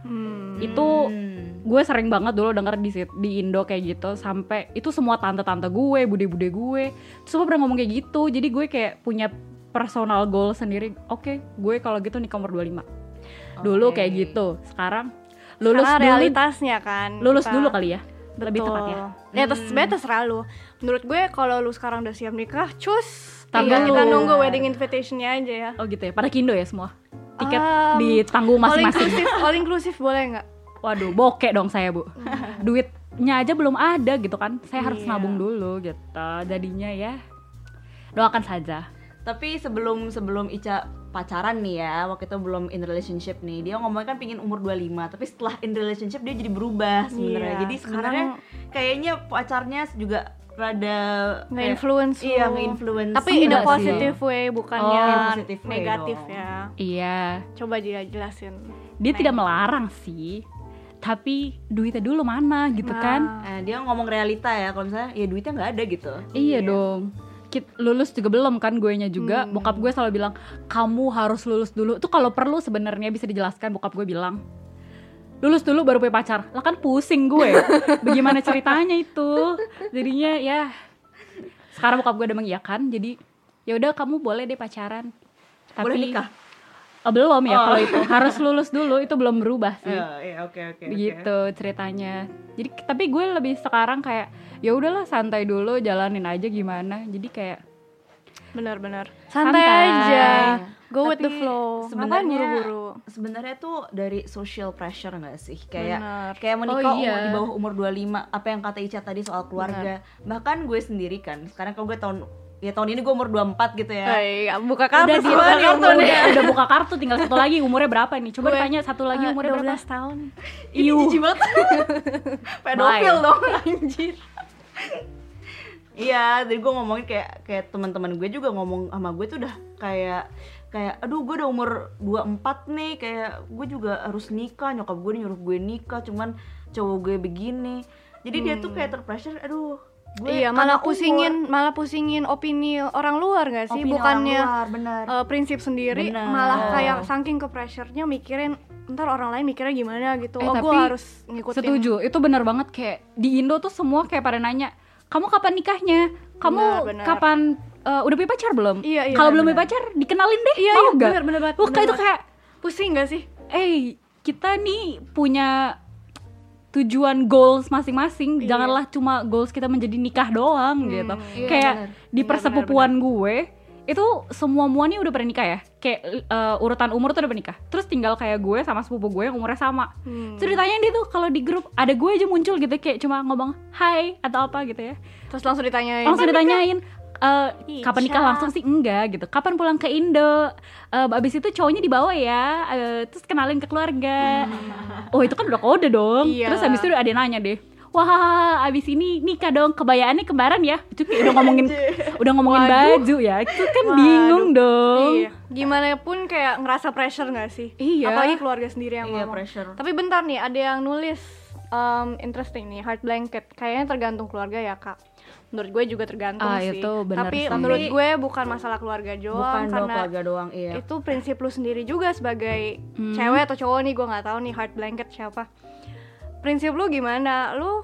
S7: Itu gue sering banget dulu denger di Indo kayak gitu. Sampai itu semua tante-tante gue, bude-bude gue, semua pernah ngomong kayak gitu. Jadi gue kayak punya personal goal sendiri. Oke, gue kalau gitu nikah umur 25. Dulu kayak gitu. Sekarang lulus
S3: Karena
S7: dulu.
S3: realitasnya kan.
S7: Lulus
S3: kita-
S7: dulu kali ya. Lebih
S3: Betul.
S7: tepatnya.
S3: Ya sebenarnya terserah lu. Menurut gue kalau lu sekarang udah siap nikah, cus.
S7: Tar
S3: Tinggal
S7: dulu.
S3: kita nunggu wedding invitation-nya aja ya.
S7: Oh gitu ya. Pada Kindo ya semua. Tiket
S3: Um,
S7: ditanggung masing-masing.
S3: All inclusive boleh nggak?
S7: Waduh, bokek dong saya, Bu. Duitnya aja belum ada gitu kan. Saya harus
S3: Iya.
S7: nabung dulu gitu. Jadinya ya doakan saja.
S2: Tapi sebelum Ica pacaran nih ya, waktu itu belum in relationship nih, dia ngomongnya kan pingin umur 25, tapi setelah in relationship dia jadi berubah sebenarnya.
S3: Iya,
S2: Jadi sebenarnya kayaknya pacarnya juga rada
S3: Nge-influence lu.
S2: Iya, nge-influence.
S3: Tapi in a
S7: Enggak sih.
S3: positive way, bukannya
S2: Oh, in positive way
S3: negatif
S2: dong.
S3: ya.
S7: Iya.
S3: Coba jelasin.
S7: Dia tidak melarang sih. Tapi duitnya dulu mana gitu
S3: Nah.
S7: kan.
S2: Dia ngomong realita ya, kalau misalnya ya duitnya nggak ada gitu.
S7: Iya dong. Lulus juga belum kan, guenya juga. Bokap gue selalu bilang, kamu harus lulus dulu. Itu kalau perlu sebenarnya bisa dijelaskan, bokap gue bilang. Lulus dulu baru punya pacar. Lah kan pusing gue. Bagaimana ceritanya itu? Jadinya ya sekarang bokap gue udah mengiyakan. Jadi ya udah kamu boleh deh pacaran. Tapi
S2: Boleh nikah?
S7: belum ya kalau itu. Harus lulus dulu, itu belum berubah sih.
S2: Iya, oke.
S7: Begitu ceritanya. Jadi tapi gue lebih sekarang kayak ya udahlah santai dulu, jalanin aja gimana. Jadi kayak
S3: Benar-benar.
S7: Santai.
S3: Santai aja. Go with the
S2: Tapi
S3: flow. Ngapain
S2: sebenarnya
S3: buru-buru?
S2: Sebenarnya tuh dari social pressure nggak sih? Kayak
S3: Benar.
S2: kayak menikah
S7: Oh, iya.
S2: di bawah umur 25, apa yang kata Ica tadi soal keluarga. Bahkan gue sendiri kan, sekarang kalau gue tahun ini gue umur 24 gitu ya.
S3: Buka kartu
S7: udah
S3: semua nih umurnya.
S7: udah buka kartu, tinggal satu lagi umurnya berapa nih? Coba
S3: Gue,
S7: ditanya satu lagi umurnya berapa?
S3: 12 tahun.
S2: Ini jijik banget. Pedofil
S7: Bye.
S2: dong anjir. Iya, jadi gue ngomongin kayak teman-teman gue juga ngomong sama gue tuh udah kayak aduh gue udah umur 24 nih, kayak gue juga harus nikah, nyokap gue nyuruh gue nikah, cuman cowok gue begini. Jadi dia tuh kayak terpressure, aduh gue
S3: Iya, malah pusingin opini orang luar nggak sih?
S2: Opini
S3: Bukannya
S2: orang luar, benar.
S3: prinsip sendiri,
S2: Benar.
S3: malah kayak saking ke pressure-nya mikirin ntar orang lain mikirnya gimana gitu.
S7: Tapi
S3: Gue harus ngikutin.
S7: Setuju, itu benar banget. Kayak di Indo tuh semua kayak pada nanya, kamu kapan nikahnya? Kamu
S3: Benar.
S7: kapan udah punya pacar belum?
S3: Iya,
S7: Kalau belum
S3: benar.
S7: punya pacar, dikenalin deh.
S3: Iya,
S7: mau
S3: iya,
S7: nggak?
S3: benar banget.
S7: Wah,
S3: benar
S7: itu
S3: banget.
S7: kayak
S3: pusing nggak sih?
S7: kita nih punya tujuan goals masing-masing.
S3: Iya.
S7: Janganlah cuma goals kita menjadi nikah doang gitu.
S2: Iya,
S7: Kayak
S2: benar.
S7: di persepupuan gue itu semua nih udah pernah nikah ya. Kayak urutan umur tuh udah pernah nikah. Terus tinggal kayak gue sama sepupu gue yang umurnya sama. Terus ditanyain dia tuh kalau di grup ada gue aja muncul gitu kayak cuma ngomong hai atau apa gitu ya.
S3: Terus langsung ditanyain.
S7: Langsung ditanyain kapan nikah,
S3: Ica.
S7: langsung sih enggak gitu. Kapan pulang ke Indo? Abis itu cowoknya dibawa ya. Terus kenalin ke keluarga. Oh itu kan udah kode dong.
S3: Iya.
S7: Terus abis itu ada yang nanya deh. Wah abis ini nikah dong, kebayaannya kembaran ya. Itu kayak udah ngomongin baju ya. Itu kan bingung dong.
S3: Iya. Gimana pun kayak ngerasa pressure nggak sih?
S7: Iya.
S3: Apalagi keluarga sendiri yang
S2: Iya,
S3: ngomong.
S2: pressure.
S3: Tapi bentar nih, ada yang nulis interesting nih, heart blanket. Kayaknya tergantung keluarga ya kak. Menurut gue juga tergantung sih.
S7: Itu benar
S3: Tapi
S7: sih.
S3: menurut gue bukan masalah keluarga doang,
S2: Bukan dong
S3: karena
S2: keluarga doang, iya.
S3: itu prinsip lu sendiri juga sebagai cewek atau cowok nih, gue nggak tahu nih heart blanket siapa. Prinsip lu gimana? Lu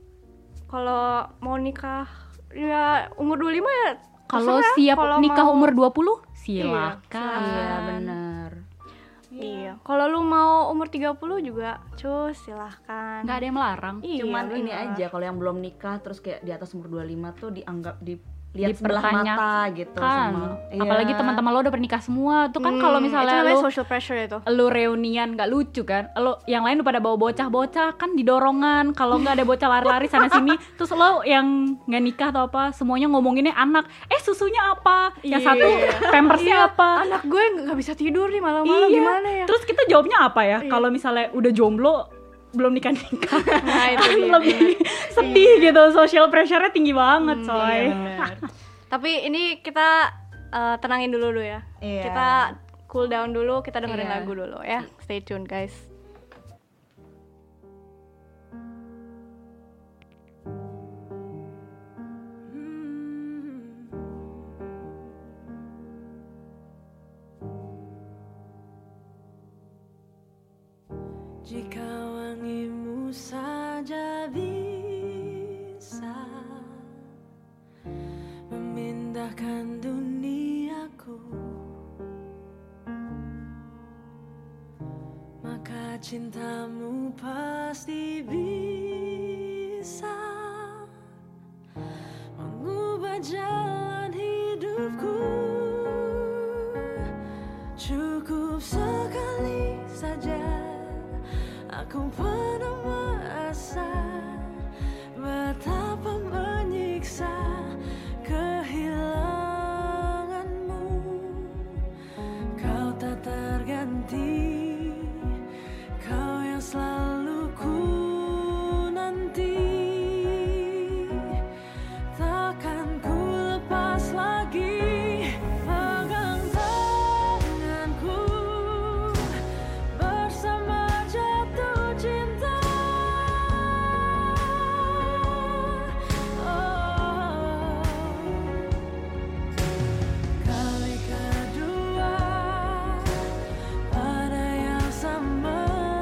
S3: kalau mau nikah ya umur 25 ya
S7: Kalau
S3: terserah.
S7: siap
S3: Kalau
S7: nikah
S3: mau-
S7: umur 20 silakan.
S2: Iya, benar.
S3: Iya. Kalau lu mau umur 30 juga cus silahkan.
S7: Nggak ada yang melarang.
S3: Iya,
S2: Cuman ini
S3: benar.
S2: aja kalau yang belum nikah terus kayak di atas umur 25 tuh dianggap lihat sebelah mata gitu sama
S9: apalagi teman-teman lo udah pernikah semua tuh kan. Kalau misalnya
S3: itu namanya
S9: lo
S3: social pressure itu.
S9: lo reunian nggak lucu kan, lo yang lain udah pada bawa bocah-bocah kan didorongan, kalau nggak ada bocah lari-lari sana sini terus lo yang nggak nikah atau apa semuanya ngomonginnya anak, susunya apa, yang satu pampersnya apa,
S3: Anak gue nggak bisa tidur nih malam-malam, gimana ya?
S9: terus kita jawabnya apa ya kalau misalnya udah jomblo belum nikah
S3: Nah, itu dia.
S9: lebih sedih gitu, social pressure-nya tinggi banget coy.
S3: Tapi ini kita tenangin dulu ya.
S2: Iya.
S3: Kita cool down dulu, kita dengerin
S2: Iya.
S3: lagu dulu ya. Stay tune guys.
S8: Jika wangimu saja bisa memindahkan duniaku, maka cintamu pasti bisa mengubah jalan hidupku. Cukup sekali saja aku pernah merasa betapa menyiksa kehilanganmu. Kau tak terganti, kau yang selalu ku nanti. Takkan ku lepas lagi pegang tanganku bersama jatuh cinta. Kali kedua pada yang sama.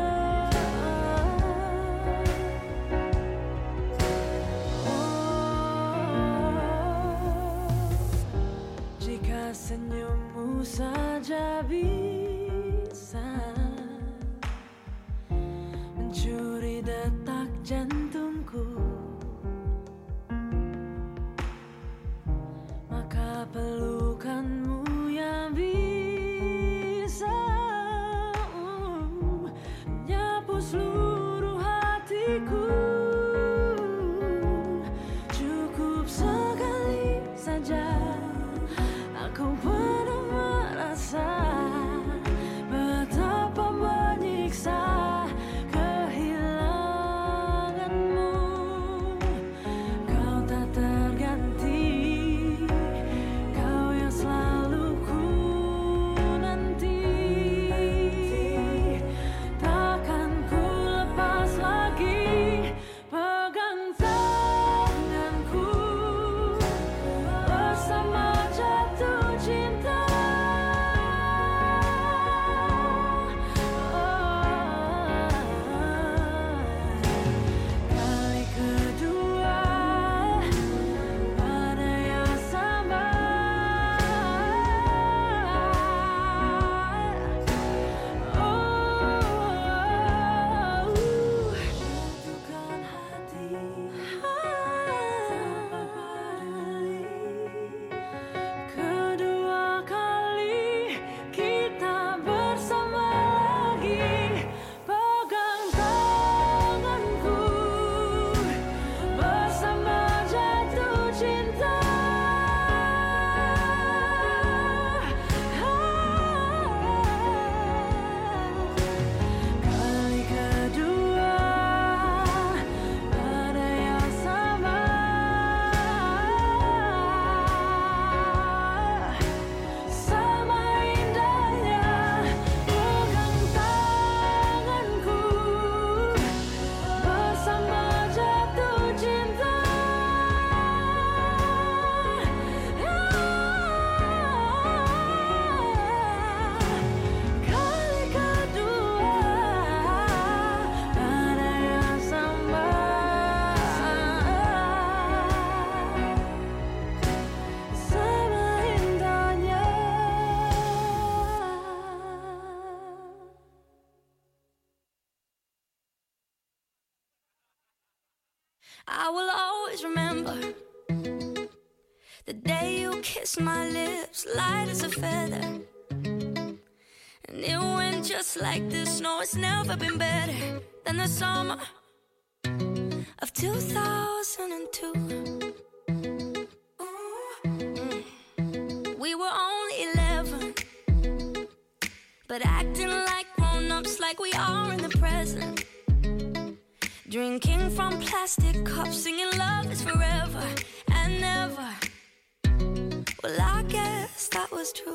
S8: Jika senyummu saja bisa mencuri detak jantungku, maka pelukanmu yang bisa menyapu seluruh hatiku. Cukup sekali saja aku pernah merasa betapa menyiksa kehilanganmu. Kau tak terganti, kau yang selalu ku nanti. Takkan ku lepas lagi pegang tanganku bersama jatuh cinta. Kali kedua pada yang sama. Jatuhkan hati tanpa peduli. Kedua kali kita bersama lagi. Pegang tanganku bersama jatuh cinta. Kali kedua pada yang sama. Sama indahnya pegang tanganku bersama jatuh cinta. Kali kedua pada yang sama. Sama indahnya.
S6: I will always remember The day you kissed my lips, light as a feather. And it went just like this. No, it's never been better than the summer of 2002. We were only 11, but acting like grown-ups, like we are in the present. Drinking from plastic cups, singing love is forever and never. Well, I guess that was true.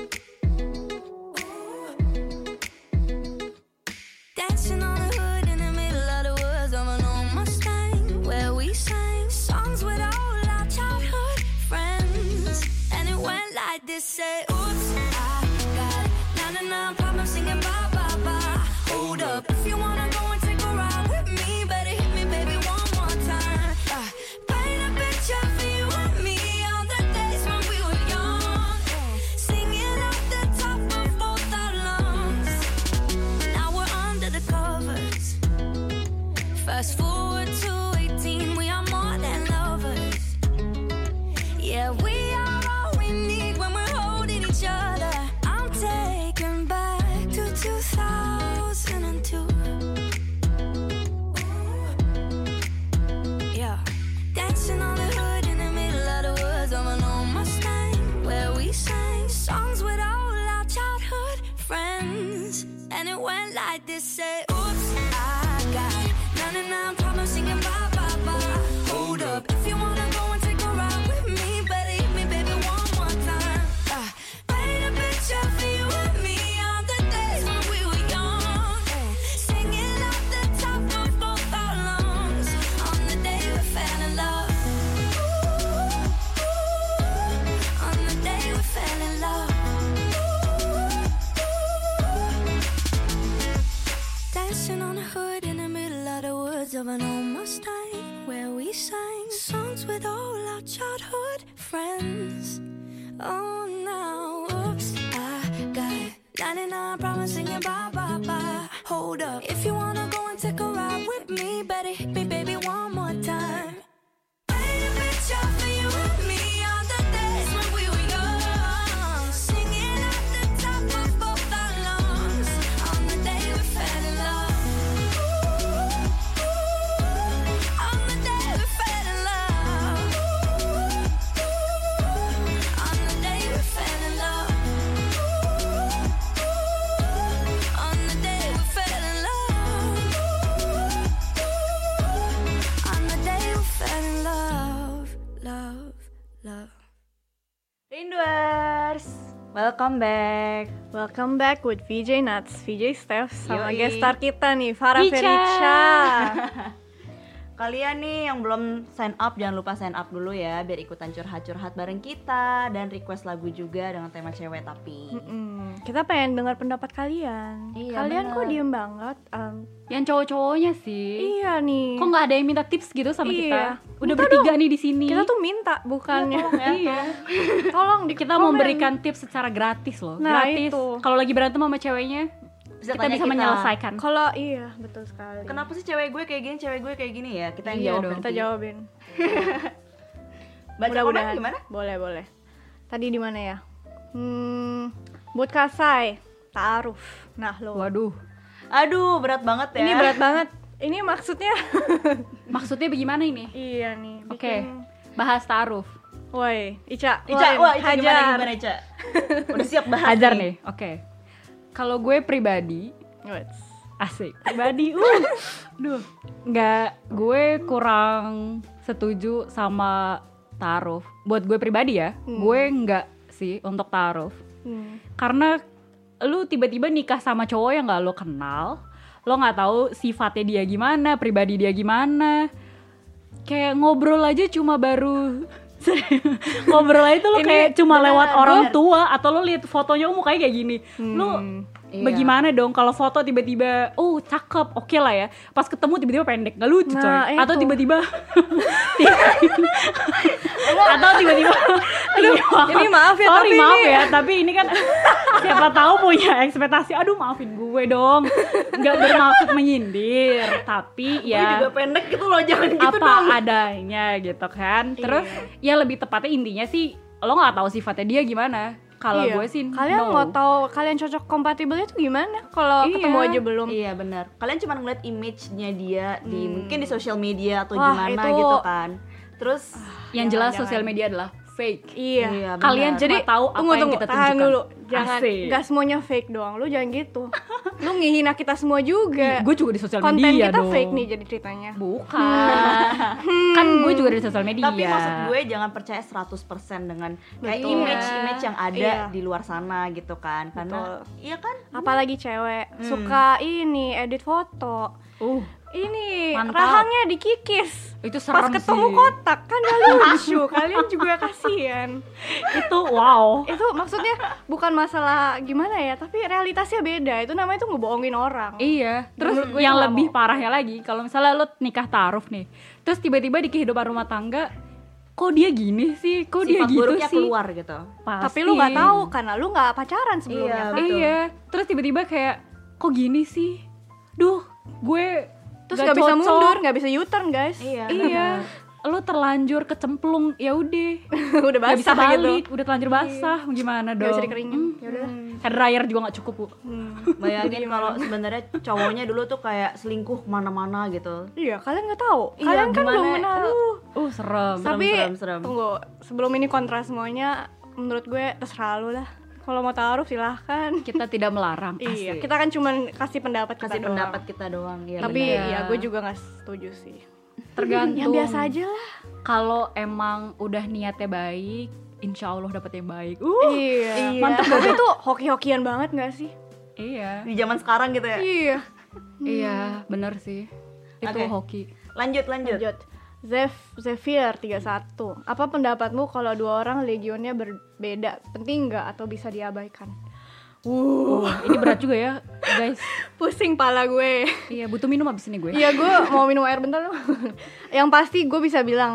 S6: Dancing on the hood in the middle of the woods of an old Mustang, where we sang songs with all our childhood friends. And it went like this, say, oops, I got 99 problems singing bye, bye, bye. Hold up, if you wanna go and take a ride with me, better hit me, baby, one more time. Paint a picture for you and me on the days when we were young, singing at the top of both our lungs. Now we're under the covers. Fast forward to 18, we are more than lovers. Yeah, we are all we need when we're holding each other. I'm taken back to 2002. Yeah, dancing on the hood in the middle of the woods of an old Mustang, where we sang songs with all our childhood friends. And it went like this, say, oops, I got 99 problems singing bye, bye, bye. Hold up, if you wanna go and take a ride with me, better hit me, baby, one more time. Paint a picture for you and me on the days when we were young, singing at the top of both our lungs on the day we fell in love. On the day we fell in love. Dancing on the hood in the middle of the woods of an old Mustang, where we sang songs with all our childhood friends. Oh, now, oops, I got 99 problems singing bye, bye, bye. Hold up, if you wanna go and take a ride with me, better hit me, baby, one more time. Paint a picture for you and me on the days when we were young, singing at the top of both our lungs on the day we fell in love. On the day we fell in love. On the day we fell in love. On the day we fell in love. On the day we fell in love. Love, love.
S2: Rinduers, welcome back.
S3: Welcome back with VJ Nuts, VJ Steph, sama
S2: Yoi.
S3: guest star kita nih, Farah
S2: Richa.
S3: Fericha.
S2: Kalian nih yang belum sign up, jangan lupa sign up dulu ya, biar ikutan curhat-curhat bareng kita dan request lagu juga dengan tema cewek tapi.
S3: Kita pengen dengar pendapat kalian.
S2: Iya,
S3: Kalian
S2: bener.
S3: kok diem banget?
S9: Yang cowok-cowoknya sih.
S3: Iya nih.
S9: Kok nggak ada yang minta tips gitu sama
S3: Iya.
S9: kita? Udah
S3: Minta
S9: bertiga
S3: dong.
S9: nih di sini.
S3: Kita tuh minta, bukannya.
S9: Iya.
S3: Tolong di
S9: Kita
S3: komen.
S9: memberikan tips secara gratis loh.
S3: Nah,
S9: Gratis.
S3: itu.
S9: Kalau lagi berantem sama ceweknya,
S2: Bisa
S9: kita
S2: tanya
S9: bisa menyelesaikan.
S3: Kalau iya, betul sekali.
S2: Kenapa sih cewek gue kayak gini, cewek gue kayak gini ya? Kita yang
S9: Iya
S2: jawab
S9: dong.
S2: nanti.
S3: Kita jawabin.
S2: Baca komen gimana?
S3: Boleh. Tadi di mana ya? Buat Kasai, Ta'aruf. Nah, lo.
S9: Waduh.
S2: Aduh, berat banget ya.
S3: Ini berat banget. Ini maksudnya
S9: Maksudnya bagaimana ini?
S3: iya nih.
S9: Oke.
S3: bikin-
S9: Bahas taaruf.
S3: Woi, Ica,
S2: Wah, Ica
S3: hajar.
S2: gimana Ica? Udah siap bahas
S9: Hajar nih. Oke. Kalau gue pribadi,
S3: Wets.
S9: asik. Pribadi, duh. Nggak, gue kurang setuju sama taaruf. Buat gue pribadi ya, gue nggak sih untuk taaruf. Karena lu tiba-tiba nikah sama cowok yang nggak lo kenal, lo nggak tahu sifatnya dia gimana, pribadi dia gimana. Kayak ngobrol aja cuma baru ngobrol aja tuh lo
S3: Ini
S9: kayak cuma
S2: beneran,
S9: lewat orang
S2: bener.
S9: tua, atau lo lihat fotonya mukanya kayak gini. Lo
S2: Iya.
S9: bagaimana dong kalau foto tiba-tiba cakep, oke lah ya. Pas ketemu tiba-tiba pendek, nggak lucu
S3: Nah,
S9: coy. Atau
S3: itu.
S9: tiba-tiba Atau tiba-tiba
S3: Ini maaf ya,
S9: sorry,
S3: tapi
S9: maaf
S3: ini-
S9: ya, tapi ini kan siapa tahu punya ekspektasi. Aduh, maafin gue dong. Nggak bermaksud menyindir, tapi
S2: Gue
S9: ya
S2: juga pendek gitu loh, jangan gitu
S9: apa
S2: dong.
S9: adanya gitu kan. Terus ya lebih tepatnya intinya sih lo nggak tahu sifatnya dia gimana. Kalau
S3: Iya.
S9: gue sih
S3: Kalian
S9: no.
S3: mau tahu kalian cocok kompatibelnya tuh gimana kalau
S9: Iya.
S3: ketemu aja belum?
S2: Iya benar. Kalian cuma ngeliat image-nya dia di mungkin di sosial media atau
S3: Wah,
S2: gimana
S3: itu-
S2: gitu kan. Terus
S9: Yang jelas
S3: Jangan.
S9: sosial media adalah fake.
S3: Iya.
S2: iya,
S9: Kalian
S2: benar.
S9: jadi tahu apa
S3: Tunggu,
S9: yang kita
S3: tahan
S9: tunjukkan.
S3: dulu. Jangan,
S9: Asik.
S3: gak semuanya fake doang. Lu jangan gitu. Lu ngehina kita semua juga.
S9: Gue juga di sosial
S3: Konten
S9: media
S3: kita
S9: dong.
S3: fake nih jadi ceritanya.
S9: Bukan. Kan gue juga di sosial media.
S2: Tapi maksud gue jangan percaya 100% dengan kayak
S3: Betul.
S2: image-image yang ada
S3: Iya.
S2: di luar sana gitu kan. Karena iya kan?
S3: Apalagi cewek suka ini edit foto. Ini
S9: Mantap.
S3: rahangnya dikikis.
S9: Itu serem
S3: Pas ketemu
S9: sih.
S3: kotak kan gak lucu. Kalian juga kasihan.
S9: Itu wow.
S3: Itu maksudnya bukan masalah gimana ya, tapi realitasnya beda. Itu namanya tuh ngebohongin orang.
S9: Iya, terus
S3: Menurut gue
S9: yang
S3: itu nggak
S9: lebih
S3: mau.
S9: parahnya lagi, kalau misalnya lo nikah ta'aruf nih, terus tiba-tiba di kehidupan rumah tangga, kok dia gini sih, kok dia
S2: Sifat
S9: gitu
S2: buruknya
S9: sih,
S2: keluar gitu.
S9: Pasti.
S3: Tapi lu nggak tahu karena lu nggak pacaran sebelumnya.
S2: Iya,
S3: kan?
S2: betul.
S9: Iya, terus tiba-tiba kayak, kok gini sih, duh, gue
S3: Terus nggak bisa
S9: cocok.
S3: mundur, nggak bisa U-turn guys.
S9: Iya, lo terlanjur kecemplung, ya udah,
S3: Udah
S9: nggak bisa
S3: basah gitu.
S9: balik, udah terlanjur basah, gimana dong?
S3: Nggak bisa dikeringin. Ya udah.
S9: Hair dryer juga nggak cukup, Bu.
S2: Bayangin kalau sebenarnya cowoknya dulu tuh kayak selingkuh kemana-mana gitu.
S3: Iya, kalian nggak tahu.
S2: Iya,
S3: Kalian kan
S2: gimana?
S3: belum kenal.
S9: Serem.
S3: Tapi
S2: serem.
S3: tunggu, sebelum ini kontra semuanya, menurut gue terserah lu lah. Kalau mau taruh silahkan.
S9: Kita tidak melarang.
S3: Iya,
S9: asik.
S3: kita kan cuman kasih pendapat
S2: Kasih
S3: kita
S2: pendapat
S3: doang.
S2: kita doang ya.
S3: Tapi
S2: bener.
S3: ya gue juga nggak setuju sih.
S9: Tergantung.
S3: Yang biasa aja lah.
S9: Kalau emang udah niatnya baik, insya Allah dapet yang baik.
S3: Iya.
S2: Mantap.
S3: Tapi itu hoki-hokian banget nggak sih?
S9: Iya.
S2: Di zaman sekarang gitu ya.
S3: Iya.
S9: Iya, bener sih. Itu
S2: Oke.
S9: hoki.
S2: Lanjut.
S3: Lanjut. Zephyr 31. Apa pendapatmu kalau dua orang legionnya berbeda? Penting nggak atau bisa diabaikan?
S9: Ini berat juga ya, guys.
S3: Pusing pala gue.
S9: Iya, butuh minum abis ini gue.
S3: Iya, gue mau minum air bentar dong. Yang pasti gue bisa bilang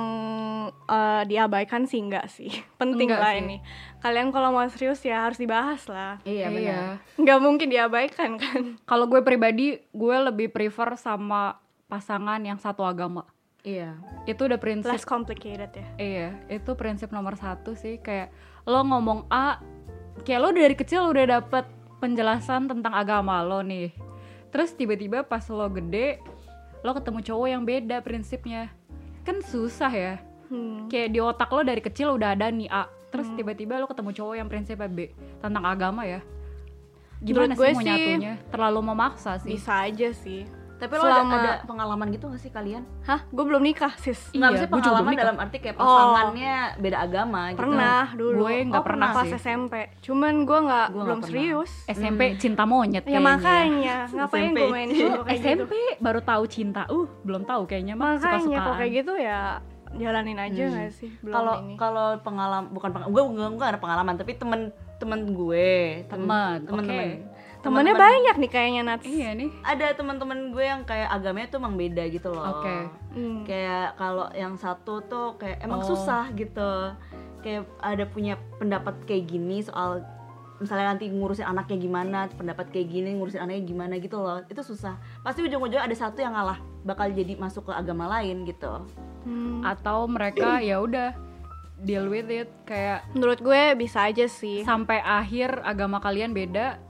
S3: diabaikan sih enggak sih. Penting
S9: Enggak
S3: lah
S9: sih.
S3: ini. Kalian kalau mau serius ya harus dibahas lah.
S2: Iya benar.
S3: Nggak mungkin diabaikan kan.
S9: Kalau gue pribadi, gue lebih prefer sama pasangan yang satu agama.
S2: Iya.
S9: Itu udah prinsip.
S3: Less complicated ya.
S9: Iya, itu prinsip nomor 1 sih. Kayak lo ngomong A, kayak lo dari kecil udah dapet penjelasan tentang agama lo nih. Terus tiba-tiba pas lo gede, lo ketemu cowok yang beda prinsipnya. Kan susah ya. Kayak di otak lo dari kecil udah ada nih A. Terus tiba-tiba lo ketemu cowok yang prinsipnya B tentang agama ya. Gimana
S3: Menurut gue
S9: sih mau
S3: sih
S9: nyatunya? Terlalu memaksa sih.
S3: Bisa aja sih.
S2: Tapi lo ada pengalaman gitu gak sih kalian?
S3: Hah? Gue belum nikah sis.
S9: Iya,
S2: Nggak bisa
S9: gue juga
S2: pengalaman
S9: belum nikah.
S2: dalam arti kayak pasangannya beda agama gitu.
S3: Pernah dulu.
S9: Gue nggak pernah
S3: pas
S9: sih.
S3: SMP. Cuman gue nggak
S2: Gue
S3: belum
S2: nggak
S3: serius.
S9: SMP cinta monyet
S3: Ya
S9: kayaknya.
S3: makanya, ngapain
S2: SMP.
S3: gue main show kayak gitu.
S9: SMP baru tahu cinta. Belum tahu kayaknya mah
S3: Makanya kok
S9: suka-sukaan.
S3: kayak gitu ya jalanin aja nggak sih? Belum
S2: Kalau
S3: ini.
S2: kalau pengalaman bukan gue nggak ada pengalaman tapi temen gue
S9: Temen,
S3: Temennya banyak nih kayaknya Nats.
S9: Iya nih.
S2: ada teman-teman gue yang kayak agamanya tuh emang beda gitu loh.
S9: Oke.
S2: Kayak kalau yang satu tuh kayak emang susah gitu. Kayak ada punya pendapat kayak gini soal misalnya nanti ngurusin anaknya gimana, pendapat kayak gini ngurusin anaknya gimana gitu loh. Itu susah. Pasti ujung-ujungnya ada satu yang ngalah, bakal jadi masuk ke agama lain gitu.
S9: Atau mereka ya udah deal with it kayak
S3: Menurut gue bisa aja sih.
S9: sampai akhir agama kalian beda.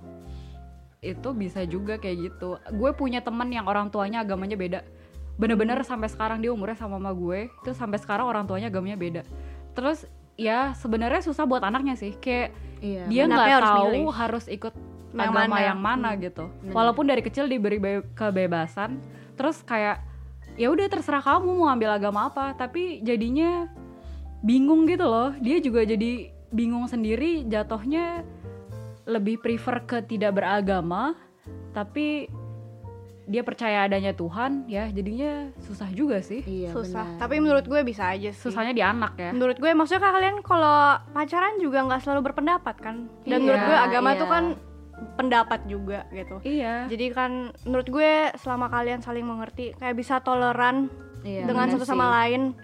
S9: Itu bisa juga kayak gitu. Gue punya teman yang orang tuanya agamanya beda. Bener-bener sampai sekarang dia umurnya sama mama gue. Itu sampai sekarang orang tuanya agamanya beda. Terus ya sebenarnya susah buat anaknya sih. Kayak
S2: Iya.
S9: dia
S3: Anaknya
S9: nggak
S3: harus
S9: tahu
S3: milih.
S9: harus ikut
S3: Yang
S9: agama
S3: mana.
S9: yang mana gitu. Walaupun dari kecil diberi kebebasan. Terus kayak ya udah terserah kamu mau ambil agama apa. Tapi jadinya bingung gitu loh. Dia juga jadi bingung sendiri, jatuhnya lebih prefer ke tidak beragama, tapi dia percaya adanya Tuhan, ya jadinya susah juga sih.
S2: Iya,
S3: Susah.
S2: benar.
S3: Tapi menurut gue bisa aja sih.
S9: Susahnya di anak ya.
S3: Menurut gue maksudnya kalian kalau pacaran juga nggak selalu berpendapat kan. Dan
S9: Iya,
S3: menurut gue agama
S2: iya.
S3: tuh kan pendapat juga gitu.
S9: Iya.
S3: Jadi kan menurut gue selama kalian saling mengerti kayak bisa toleran
S2: Iya,
S3: dengan
S2: benar
S3: satu sama
S2: sih.
S3: lain.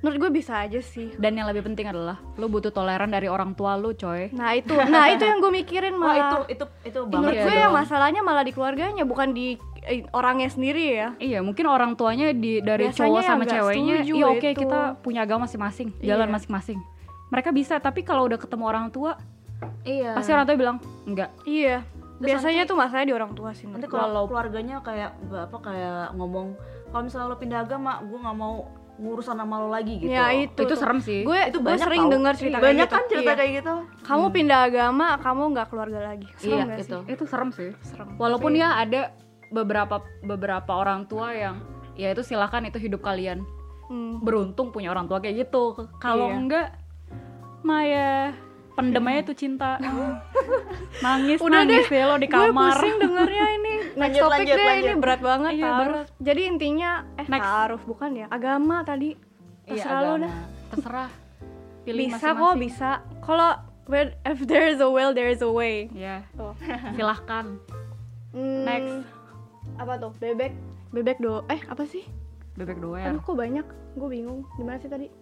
S3: Menurut gue bisa aja sih.
S9: Dan yang lebih penting adalah lu butuh toleran dari orang tua lu, coy.
S3: Nah itu yang gue mikirin malah.
S2: itu
S3: Menurut
S2: banget
S3: gue
S2: sih.
S3: yang masalahnya malah di keluarganya, bukan di orangnya sendiri ya.
S9: Iya, mungkin orang tuanya dari
S3: Biasanya
S9: cowok
S3: yang
S9: sama
S3: nggak
S9: ceweknya,
S3: setuju
S9: iya oke
S3: itu.
S9: kita punya agama masing-masing, jalan
S3: Iya.
S9: masing-masing. Mereka bisa, tapi kalau udah ketemu orang tua,
S2: Iya.
S9: pasti orang tua bilang enggak.
S3: Iya.
S2: Terus
S3: Biasanya
S2: nanti-
S3: tuh masalahnya di orang tua sih.
S2: Nanti
S3: menurut
S2: kalau keluarganya kayak ngomong kalau misalnya lo pindah agama, gue nggak mau ngurusan sama lo lagi gitu.
S3: Ya itu
S9: Itu
S3: tuh.
S9: serem sih.
S3: Gue
S2: Itu
S3: gue
S2: banyak
S3: sering
S2: tau.
S3: dengar cerita
S2: banyak
S3: kayak gitu.
S2: kan cerita
S3: Iya.
S2: kayak gitu.
S3: Kamu pindah agama, kamu nggak keluarga lagi. Serem nggak
S2: Iya,
S3: sih?
S2: itu.
S9: Itu serem sih.
S3: Serem.
S9: Walaupun ya ada beberapa orang tua yang ya itu silakan, itu hidup kalian. Beruntung punya orang tua kayak gitu. Kalau
S3: Iya.
S9: enggak, Maya pendem aja tuh cinta. Nangis
S3: Udah
S9: nangis deh lo di
S3: Gue
S9: kamar.
S3: pusing dengernya ini. Next
S2: Lanjut,
S3: topik
S2: lanjut,
S3: deh,
S2: lanjut.
S3: ini berat banget.
S9: Iya,
S3: taruh.
S9: berat.
S3: Jadi intinya
S9: Next.
S3: taruh bukan ya? Agama tadi. Terserah lo dah.
S9: Terserah. Pilih
S3: Bisa
S9: masing-masing.
S3: kok, bisa. Kalau if there is a will, there is a way.
S9: Ya,
S3: Tuh.
S9: silahkan. Next.
S3: Apa tuh? Bebek apa sih?
S9: Bebek doer.
S3: Aduh kok banyak, gue bingung. Gimana sih tadi?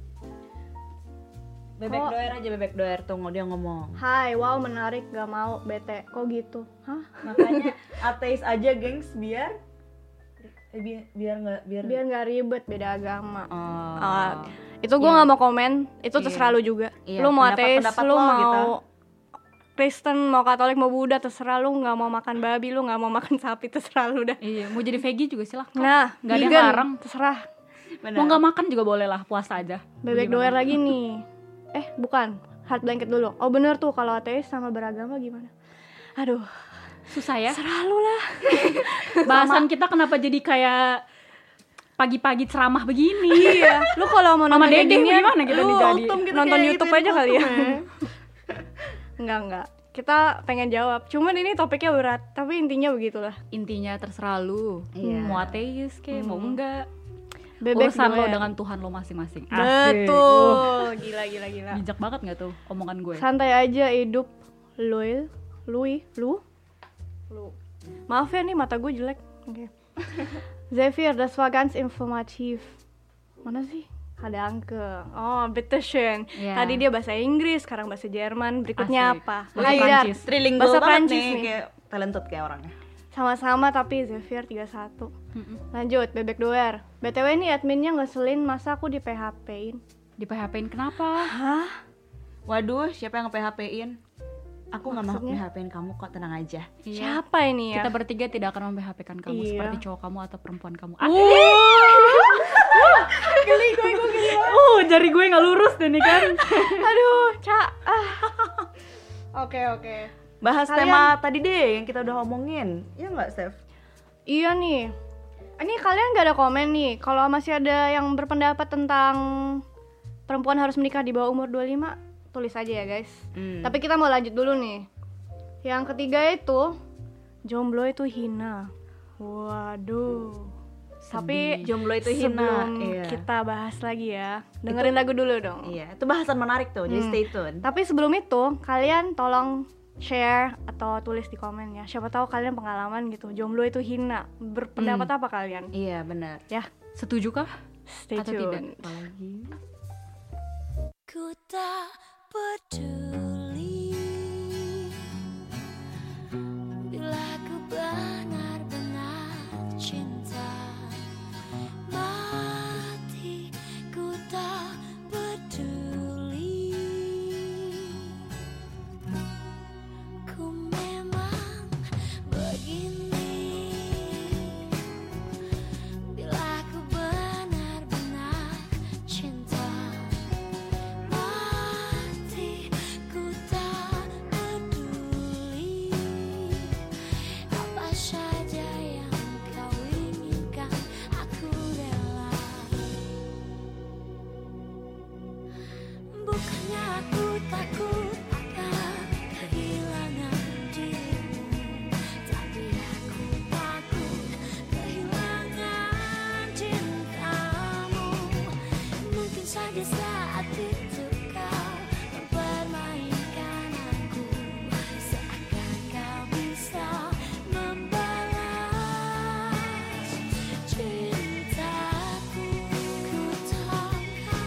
S2: Bebek doer aja, bebek doer tuh dia ngomong.
S3: Hai, wow menarik, gak mau, bete. Kok gitu? Hah?
S2: Makanya ateis aja, gengs, biar
S3: Biar gak ribet beda agama.
S2: Oh.
S3: Itu gue nggak mau komen, itu terserah lu juga.
S2: Iya,
S3: Lu mau ateis,
S2: pendapat
S3: lu
S2: lo
S3: mau
S2: gitu.
S3: Kristen, mau Katolik, mau Buddha, terserah lu. Nggak mau makan babi, lu nggak mau makan sapi, terserah lu dah.
S9: Iya, mau jadi veggie juga silahkan.
S3: Nah,
S9: nggak ada yang
S3: vegan,
S9: larang.
S3: terserah.
S9: Mau nggak makan juga boleh lah, puasa aja.
S3: Bebek doer lagi nih. Bukan, hard blanket dulu. Oh bener tuh, kalau ateis sama beragama gimana? Aduh,
S9: Susah ya.
S3: serah lu lah.
S9: Bahasan kita kenapa jadi kayak pagi-pagi ceramah begini?
S3: Iya, lu kalau mau
S9: Mama
S3: nonton kayak
S9: Dede
S3: ginian,
S9: gimana kita
S3: lu
S9: nih jadi?
S3: nonton
S2: kayak
S3: YouTube
S2: gituin
S3: aja kali ya.
S2: kultum
S3: Enggak. Kita pengen jawab. Cuman ini topiknya berat, tapi intinya begitulah.
S9: Intinya terserah lu.
S2: Iya.
S9: Mau ateis kayak mau enggak.
S3: Bebek
S9: Urusan lo
S3: doer.
S9: dengan Tuhan lo masing-masing. Asik.
S3: Betul. Gila.
S9: Bijak banget nggak tuh omongan gue?
S3: Santai aja hidup, lu. Maaf ya nih mata gue jelek. Oke. Xavier, das war ganz informativ. Mana sih? Ada Anke. Oh, bitteschön.
S9: Iya.
S3: Tadi dia bahasa Inggris, sekarang bahasa Jerman. Berikutnya
S9: Asik.
S3: apa?
S9: Bahasa
S3: Haidar.
S9: Prancis.
S2: Trilingual
S3: Bahasa
S2: banget
S3: Prancis
S2: nih,
S3: nih.
S2: kayak talented kayak orangnya.
S3: Sama-sama tapi Xavier 31. Lanjut, bebek doer. BTW ini adminnya ngeselin, masa aku di PHP-in?
S9: Di PHP-in kenapa?
S3: Hah?
S2: Waduh, siapa yang nge-PHP-in? Aku nggak mau
S3: Maksudnya?
S2: PHP-in kamu kok, tenang aja.
S3: Siapa ini ya?
S9: Kita bertiga tidak akan mem-PHP-kan kamu
S3: Iya.
S9: seperti cowok kamu atau perempuan kamu.
S3: Geli gue geli.
S9: Jari gue nggak lurus deh nih kan.
S3: Aduh, Oke.
S2: Bahas
S3: Kalian-
S2: tema tadi deh yang kita udah omongin. Iya nggak, Steph?
S3: Iya nih. Ini kalian gak ada komen nih. Kalau masih ada yang berpendapat tentang perempuan harus menikah di bawah umur 25, tulis aja ya guys. Tapi kita mau lanjut dulu nih. Yang ketiga itu jomblo itu hina. Waduh. Tapi
S2: Jomblo itu hina.
S3: sebelum
S2: Iya.
S3: kita bahas lagi ya, dengerin lagu dulu dong.
S2: Iya, itu bahasan menarik tuh, jadi stay tune.
S3: Tapi sebelum itu, kalian tolong share atau tulis di komen ya. Siapa tahu kalian pengalaman gitu. Jomblo itu hina. Berpendapat apa kalian?
S2: Iya, benar.
S3: Ya,
S9: Setuju kah?
S3: stay
S9: Atau
S3: tune.
S9: tidak? Apalagi.
S6: Ku tak peduli bila ku benar-benar cinta mati. Ku tak peduli. Ku memang begini bila ku benar-benar cinta mati. Ku tak peduli apa saja yang kau inginkan, aku rela. Bukannya aku takut akan kehilangan dirimu, tapi aku takut kehilangan cintamu. Mungkin saja saat itu kau mempermainkan aku, seakan kau bisa membalas cintaku. Ku takkan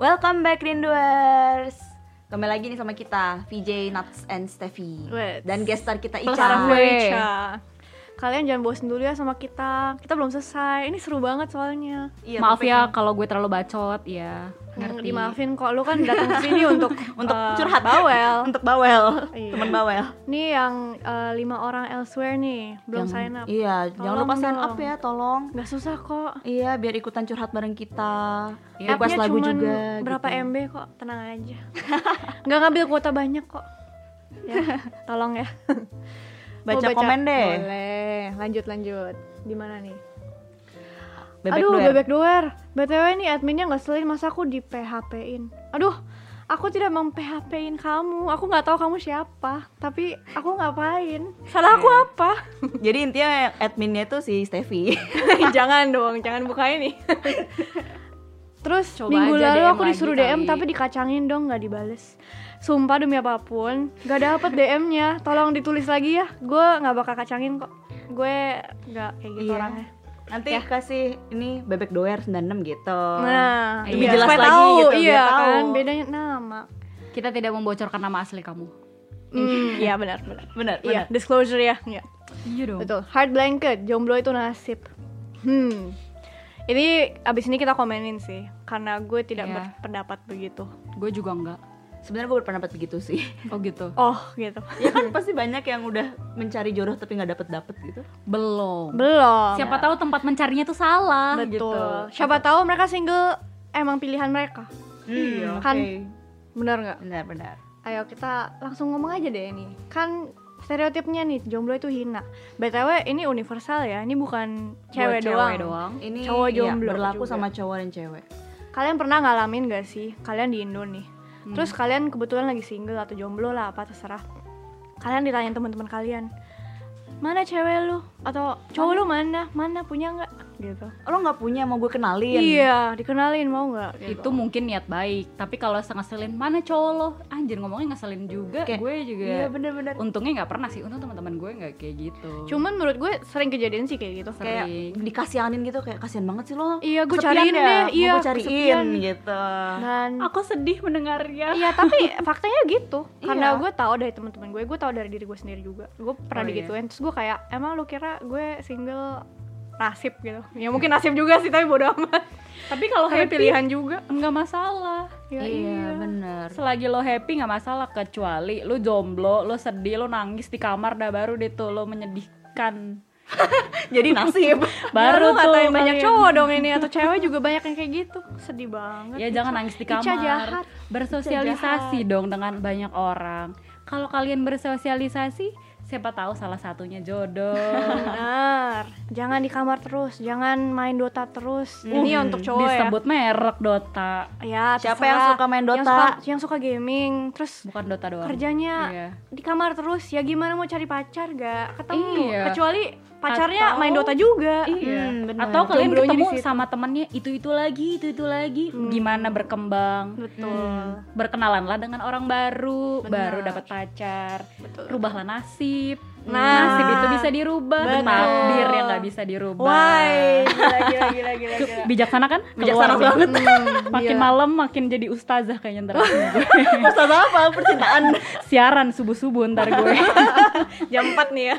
S2: Welcome back Rinduers. Kembali lagi nih sama kita VJ, Nuts, and Steffi.
S3: Wait.
S2: Dan guest star kita
S3: Plus
S2: Ica.
S3: gue Ica. Kalian jangan bosan dulu ya sama kita. Kita belum selesai. Ini seru banget soalnya.
S2: Iya,
S9: Maaf ya
S2: topiknya.
S9: kalau gue terlalu bacot ya. Ngerti.
S3: Dimaafin kok. Lu kan datang ke sini untuk
S2: curhat
S3: bawel.
S2: Untuk bawel.
S3: Iya.
S2: Temen bawel.
S3: Nih yang 5 orang elsewhere nih belum sign up.
S2: Iya, jangan lupa sign up ya, tolong.
S3: Gak susah kok.
S2: Iya, biar ikutan curhat bareng kita.
S9: Iya,
S2: Request
S3: App-nya
S2: lagu
S3: cuman
S2: juga.
S3: berapa
S2: gitu.
S3: MB kok, tenang aja. Nggak ngambil kuota banyak kok. Ya, tolong ya.
S2: Baca
S3: Mau
S2: komen deh.
S3: Boleh. Lanjut. Di mana nih?
S2: Bebek
S3: Aduh,
S2: Doer.
S3: bebek doer. BTW nih adminnya ngeselin, masa aku di PHP-in. Aduh, aku tidak mem-PHP-in kamu. Aku nggak tahu kamu siapa, tapi aku ngapain? Salah aku apa?
S2: Jadi intinya adminnya tuh si Steffi.
S3: Jangan dong, jangan buka ini. Terus
S9: Coba
S3: minggu
S9: aja
S3: lalu
S9: DM
S3: aku disuruh
S9: lagi
S3: DM
S9: kali.
S3: tapi dikacangin dong, nggak dibales. Sumpah demi apapun, nggak dapet DM-nya. Tolong ditulis lagi ya. Gue nggak bakal kacangin kok. Gue nggak kayak gitu
S2: Iya.
S3: orangnya.
S2: Nanti kasih ini bebek doer 96 gitu.
S3: Nah,
S2: lebih
S3: iya.
S2: jelas
S3: Supaya
S2: lagi
S3: tahu,
S2: gitu, biar
S3: iya
S2: tahu.
S3: kan, bedanya nama.
S9: Kita tidak membocorkan nama asli kamu.
S3: Iya benar.
S2: Benar,
S3: Iya, disclosure ya. Iya.
S9: Iya dong.
S3: Betul. Heart blanket, jomblo itu nasib. Ini abis ini kita komenin sih, karena gue tidak
S9: Iya.
S3: berpendapat begitu.
S9: Gue juga enggak.
S2: Sebenarnya gue berpendapat begitu sih.
S9: Oh gitu.
S3: Oh gitu.
S2: Ya kan pasti banyak yang udah mencari jodoh tapi nggak dapet gitu.
S9: Belum.
S3: Belum.
S9: Siapa tahu tempat mencarinya tuh salah
S3: Betul.
S9: gitu.
S3: Siapa tahu mereka single emang pilihan mereka.
S2: Iya,
S3: Kan
S2: oke.
S3: benar nggak?
S2: Benar.
S3: Ayo kita langsung ngomong aja deh nih. Kan stereotipnya nih jomblo itu hina. BTW ini universal ya. Ini bukan cewek doang.
S2: Ini
S3: Cowok
S2: iya,
S3: jomblo
S2: berlaku
S3: juga.
S2: sama cowok dan cewek.
S3: Kalian pernah ngalamin gak sih? Kalian di Indo nih. Terus kalian kebetulan lagi single atau jomblo lah, apa terserah. Kalian ditanyain teman-teman kalian, mana cewek lu? Atau cowok lu mana? Mana punya nggak? Gitu.
S2: Lo nggak punya, mau gue kenalin?
S3: Iya, dikenalin mau nggak? Gitu.
S9: Itu mungkin niat baik, tapi kalau ngeselin, mana cowok lo? Anjir, ngomongnya ngeselin juga.
S2: Kayak,
S9: Gue juga.
S2: Iya benar-benar.
S9: Untungnya nggak pernah sih. Untung teman-teman gue nggak kayak gitu.
S3: Cuman menurut gue sering kejadian sih kayak gitu.
S2: Kayak
S9: Sering.
S2: dikasihanin gitu, kayak kasihan banget sih lo.
S3: Iya, gue
S2: Kesepian
S3: cariin
S2: ya?
S3: deh.
S2: Mau
S3: Iya,
S2: gue cariin
S3: kesepian.
S2: gitu.
S3: Dan
S9: Aku sedih mendengarnya.
S3: iya, tapi faktanya gitu. Karena
S2: Iya.
S3: gue tahu dari teman-teman gue tahu dari diri gue sendiri juga. Gue pernah
S9: Oh, iya.
S3: digituin. Terus gue kayak, emang lu kira gue single nasib gitu? Ya mungkin nasib juga sih, tapi bodo amat.
S9: Tapi kalau
S3: Tapi
S9: happy
S3: pilihan juga.
S9: nggak masalah.
S3: Ya,
S2: Iya benar.
S9: Selagi lo happy nggak masalah, kecuali lo jomblo, lo sedih, lo nangis di kamar, dah baru deh tuh lo menyedihkan.
S2: Jadi nasib.
S3: Baru
S9: Baru tuh
S3: ngatain banyak
S9: kalian.
S3: cowok dong ini, atau cewek juga banyak yang kayak gitu. Sedih banget.
S9: Ya jangan nangis di
S3: Ica
S9: kamar.
S3: jahat.
S9: Bersosialisasi dong dengan banyak orang. Kalau kalian bersosialisasi, siapa tahu salah satunya jodoh.
S3: Benar. Jangan di kamar terus, jangan main Dota terus. Ini untuk cowok
S9: Disebut merek Dota,
S3: ya. Ya,
S2: Siapa
S3: terserah.
S2: yang suka main Dota?
S3: Yang suka gaming, terus
S9: bukan Dota doang.
S3: kerjanya
S9: Iya.
S3: di kamar terus. Ya gimana mau cari pacar gak ketemu?
S9: Iya.
S3: Kecuali pacarnya
S9: Atau-
S3: main Dota juga.
S9: Iya.
S2: benar.
S9: Atau kalian
S3: Jomblonya
S9: ketemu
S3: di situ.
S9: sama temennya itu lagi. Gimana berkembang?
S3: Betul.
S9: Berkenalanlah dengan orang baru,
S3: Benar.
S9: baru dapat pacar.
S3: Betul.
S9: Rubahlah nasib.
S3: Nah.
S9: Nasib itu bisa dirubah,
S3: Betul.
S9: takdir yang nggak bisa dirubah.
S3: Why? Gila.
S9: Bijaksana kan?
S2: Bijaksana
S9: Keluar deh.
S2: banget.
S9: Makin malam makin jadi ustazah kayaknya ntar gue.
S2: Ustaz apa? Percintaan.
S9: Siaran subuh-subuh ntar gue.
S3: Jam 4 nih ya.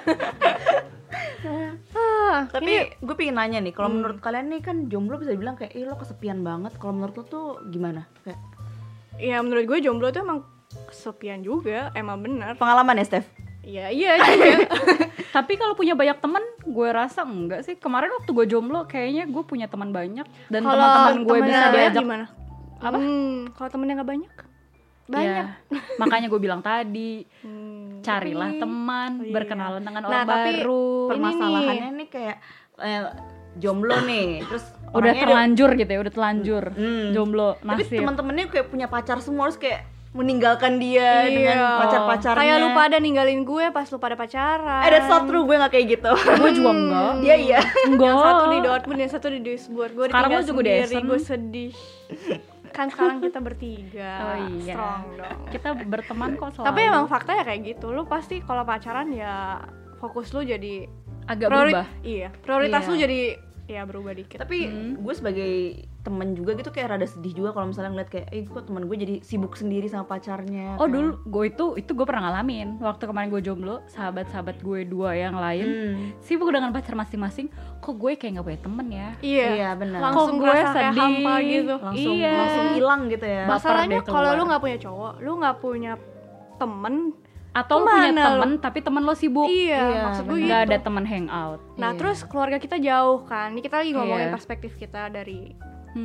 S2: Tapi gue pengen nanya nih, kalau menurut kalian nih kan jomblo bisa dibilang kayak, lo kesepian banget. Kalau menurut lo tuh gimana? Kayak
S3: Ya menurut gue jomblo tuh emang kesepian juga, emang benar.
S2: pengalaman ya, Steph?
S3: Iya juga.
S9: Tapi kalau punya banyak teman, gue rasa enggak sih. Kemarin waktu gue jomblo, kayaknya gue punya teman banyak dan
S3: Kalau
S9: teman-teman gue
S3: temennya
S9: bisa
S3: banyak
S9: diajak.
S3: gimana?
S9: Apa?
S3: Kalau temennya nggak banyak? Banyak.
S9: Ya, makanya gue bilang tadi, carilah
S3: tapi-
S9: teman,
S3: Oh, iya.
S9: berkenalan dengan
S3: Nah,
S9: orang
S3: tapi
S9: baru.
S2: Permasalahannya nih kayak jomblo nih, terus
S9: Udah
S2: orangnya
S9: terlanjur gitu ya, udah telanjur.
S2: Hmm.
S9: Jomblo,
S2: tapi
S9: nasib.
S2: teman-temannya kayak punya pacar semua, terus kayak meninggalkan dia dengan pacar-pacarnya.
S3: Kayak lu pada ninggalin gue pas lu pada pacaran.
S2: That's not true, gue gak kayak gitu.
S9: Gue juga enggak.
S2: Dia iya.
S9: Enggak.
S3: Yang satu di Dortmund, yang satu di Duisburg. Gue
S9: Sekarang
S3: ditinggal
S9: lu juga di
S3: sendiri,
S9: Essen.
S3: gue sedih. Kan sekarang kita bertiga.
S9: Oh iya.
S3: Strong dong.
S9: Kita berteman kok selalu.
S3: Tapi emang faktanya kayak gitu. Lu pasti kalau pacaran ya fokus lu jadi
S9: agak berubah.
S3: Iya, prioritas
S9: Iya.
S3: lu jadi ya berubah dikit.
S2: Tapi gue sebagai temen juga gitu kayak rada sedih juga kalau misalnya ngeliat kayak kok teman gue jadi sibuk sendiri sama pacarnya.
S9: Oh dulu gue itu gue pernah ngalamin waktu kemarin gue jomblo, sahabat-sahabat gue 2 yang lain sibuk dengan pacar masing-masing, kok gue kayak nggak punya temen ya.
S2: Iya benar.
S3: Langsung
S9: Kok gue
S3: ngerasa kayak
S9: sedih.
S3: hampa gitu.
S2: Langsung hilang gitu ya.
S3: Masalahnya
S9: deh
S3: kalau
S9: keluar.
S3: lu nggak punya cowok, lu nggak punya temen,
S9: Atau lu punya
S3: kemana
S9: temen tapi temen lo sibuk.
S3: iya maksud gue
S9: Nggak
S3: gitu.
S9: ada temen hangout.
S3: Nah terus keluarga kita jauh kan, ini kita lagi ngomongin
S9: Iya.
S3: perspektif kita dari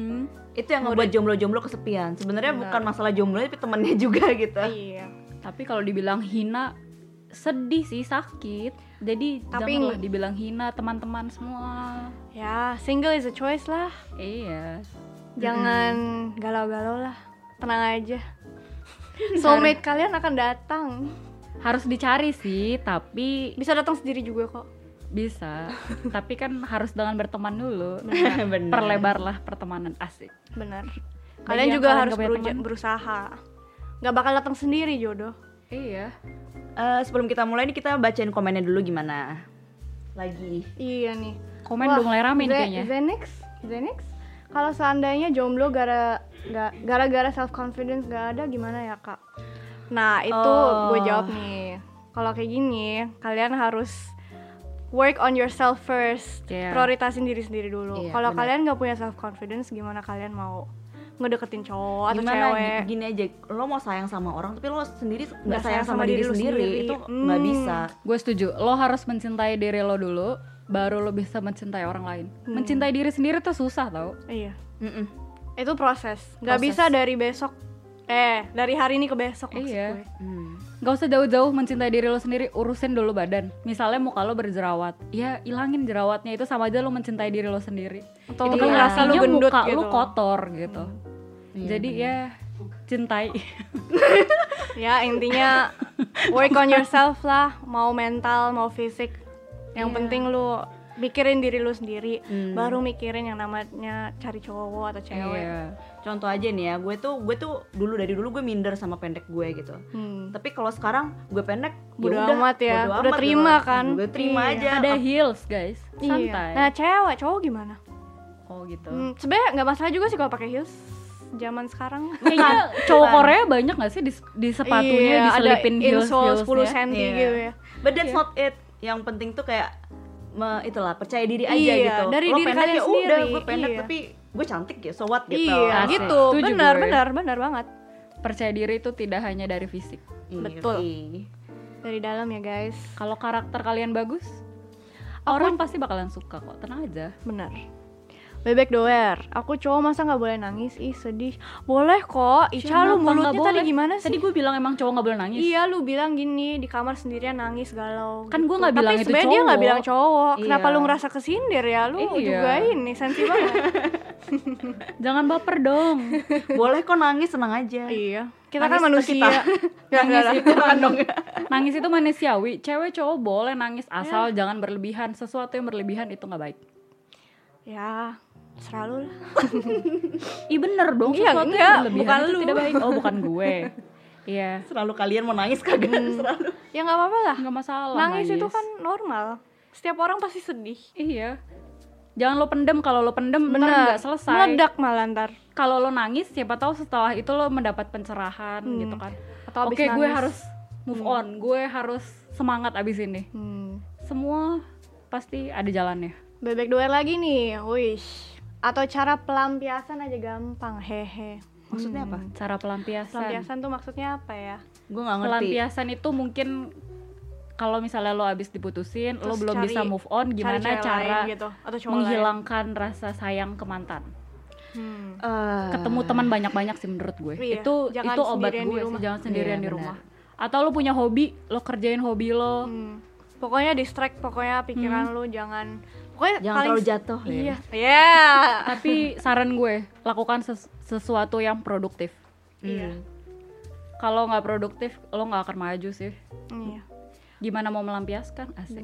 S2: Itu yang ngebuat jomblo-jomblo kesepian. Sebenarnya bukan masalah jomblo tapi temennya juga gitu.
S3: iya.
S9: Tapi kalau dibilang hina, sedih sih, sakit. Jadi
S3: Tapi
S9: janganlah dibilang hina teman-teman semua.
S3: Ya single is a choice lah,
S9: Iya.
S3: jangan galau-galau lah, tenang aja. Soulmate kalian akan datang,
S9: Harus dicari sih, tapi
S3: bisa datang sendiri juga kok.
S9: bisa. Tapi kan harus dengan berteman dulu.
S2: Bener.
S9: Perlebarlah pertemanan, asik.
S3: Benar.
S9: Bagi
S3: Kalian
S9: yang
S3: juga
S9: kalian
S3: harus
S9: gak punya teman.
S3: berusaha. Gak bakal datang sendiri jodoh.
S9: Iya.
S2: Sebelum kita mulai nih kita bacain komennya dulu gimana. Lagi.
S3: Iya nih.
S9: Komen udah mulai rame nih kayaknya.
S3: Zenix, kalau seandainya jomblo gara-gara self confidence gak ada gimana ya kak? Nah itu gue jawab nih. Kalau kayak gini, kalian harus work on yourself first.
S9: Iya.
S3: Prioritasin diri sendiri dulu.
S2: Iya,
S3: Kalau
S2: benar.
S3: kalian gak punya self confidence, gimana kalian mau ngedeketin cowok atau
S2: Gimana
S3: cewek?
S2: gini aja, lo mau sayang sama orang tapi lo sendiri nggak
S3: Nggak
S2: sayang sama diri
S3: lu
S2: sendiri itu nggak bisa.
S9: Gue setuju. Lo harus mencintai diri lo dulu, baru lo bisa mencintai orang lain. Mencintai diri sendiri tuh susah tau.
S3: Iya.
S2: Mm-mm.
S3: Itu proses. Gak
S2: Proses.
S3: bisa dari besok. Dari hari ini ke besok maksud
S9: Iya.
S3: gue.
S9: Gak usah jauh-jauh mencintai diri lo sendiri, urusin dulu badan. Misalnya muka lo berjerawat, ya ilangin jerawatnya, itu sama aja lo mencintai diri lo sendiri.
S3: Atau
S9: Itu
S3: lu
S9: kan
S3: ngerasa lu
S9: artinya
S3: gendut
S9: muka
S3: gitu.
S9: lo kotor gitu. Jadi ya cintai.
S3: Ya intinya work on yourself lah. Mau mental, mau fisik. Yang penting lu mikirin diri lu sendiri. Baru mikirin yang namanya cari cowok atau cewek.
S9: Iya.
S2: Contoh aja nih ya, gue tuh dari dulu gue minder sama pendek gue gitu. Tapi kalau sekarang gue pendek,
S3: Bodo
S2: udah,
S3: amat ya.
S2: bodo
S3: Udah
S2: amat
S3: terima
S2: gitu.
S3: kan.
S2: Gue terima
S3: Iya.
S2: aja.
S9: Ada heels guys, santai.
S3: Nah cewek, cowok gimana?
S9: Oh gitu.
S3: Sebenarnya nggak masalah juga sih kalau pakai heels zaman sekarang.
S9: Kayaknya cowok Korea banyak gak sih di sepatunya
S3: Iya,
S9: diselipin
S3: ada insole 10
S9: heels-heelsnya?
S3: cm
S2: Iya.
S3: gitu ya.
S2: But that's not it. Yang penting tuh kayak itulah percaya diri aja
S3: Iya,
S2: gitu.
S3: dari
S2: Lo
S3: diri
S2: pendek
S3: kalian
S2: ya udah,
S3: sendiri,
S2: gue pendek
S3: iya.
S2: tapi gue cantik ya, so what gitu.
S3: Iya
S9: Asik.
S3: gitu.
S9: Setuju
S3: Benar
S9: gue.
S3: banget.
S9: Percaya diri itu tidak hanya dari fisik.
S3: Betul.
S2: Iya.
S3: Dari dalam ya guys.
S9: Kalau karakter kalian bagus, orang pasti bakalan suka kok. Tenang aja.
S3: Benar. Bebek doer, aku cowok masa nggak boleh nangis? Ih sedih. Boleh kok. Ica lu
S9: Kenapa
S3: mulutnya
S9: nggak
S3: tadi
S9: boleh?
S3: gimana sih?
S9: Tadi gue bilang emang cowok nggak boleh nangis.
S3: Iya lu bilang gini di kamar sendirian nangis galau.
S9: Kan
S3: gitu.
S9: gua nggak bilang
S3: Tapi
S9: itu
S3: sebenarnya dia nggak
S9: cowok.
S3: bilang cowok. Kenapa
S2: Iya.
S3: lu ngerasa kesindir ya? Lu
S9: Iya.
S3: juga ini sensi banget.
S9: Jangan baper dong.
S2: Boleh kok nangis, senang aja.
S3: Iya. Kita
S2: Nangis
S3: kan
S2: ke
S3: manusia.
S2: kita.
S9: Nangis itu manusiawi. Cewek cowok boleh nangis asal jangan berlebihan. Sesuatu yang berlebihan itu nggak baik.
S3: Ya, serah lu lah.
S9: Ih bener dong.
S3: Iya,
S9: Sesuatu
S3: enggak,
S9: yang berlebihan
S3: bukan
S9: itu
S3: lu.
S9: tidak baik. Oh bukan gue. Iya.
S2: Selalu kalian mau nangis kagak? Selalu.
S3: Ya nggak apa-apa lah.
S9: Nggak masalah.
S3: Nangis itu kan normal. Setiap orang pasti sedih.
S9: Iya. Jangan lo pendem. Kalau lo pendem ntar
S3: Benar.
S9: nggak selesai.
S3: Meledak malah ntar.
S9: Kalau lo nangis, siapa tahu setelah itu lo mendapat pencerahan gitu kan.
S3: Atau abis
S9: Oke, gue
S3: nangis.
S9: harus move on. Gue harus semangat abis ini. Semua pasti ada jalannya.
S3: Bebek doer lagi nih. Wish. Atau cara pelampiasan aja gampang. Hehe.
S2: Maksudnya apa?
S9: Cara pelampiasan.
S3: Pelampiasan tuh maksudnya apa ya?
S2: Gue nggak ngerti.
S9: Pelampiasan itu mungkin kalau misalnya lo abis diputusin, lo
S3: Terus
S9: belum
S3: cari-
S9: bisa move on,
S3: cari
S9: gimana
S3: cewek
S9: cara
S3: lain gitu, atau cowok
S9: menghilangkan rasa sayang ke mantan. Ketemu teman banyak-banyak sih menurut gue.
S3: Iya,
S9: Itu
S3: jangan
S9: obat
S3: sendirian di
S9: gue sih,
S3: rumah.
S9: jangan sendirian
S2: Iya,
S9: di
S2: benar.
S9: rumah. Atau lo punya hobi, lo kerjain hobi lo.
S3: Pokoknya distract, pokoknya pikiran lu jangan. Pokoknya
S2: Jangan
S3: paling
S2: terlalu jatuh ya.
S3: Iya. Iya.
S9: Tapi saran gue, lakukan sesuatu yang produktif.
S3: Iya.
S9: Kalau nggak produktif, lo nggak akan maju sih.
S3: Iya.
S9: Gimana mau melampiaskan? Asik.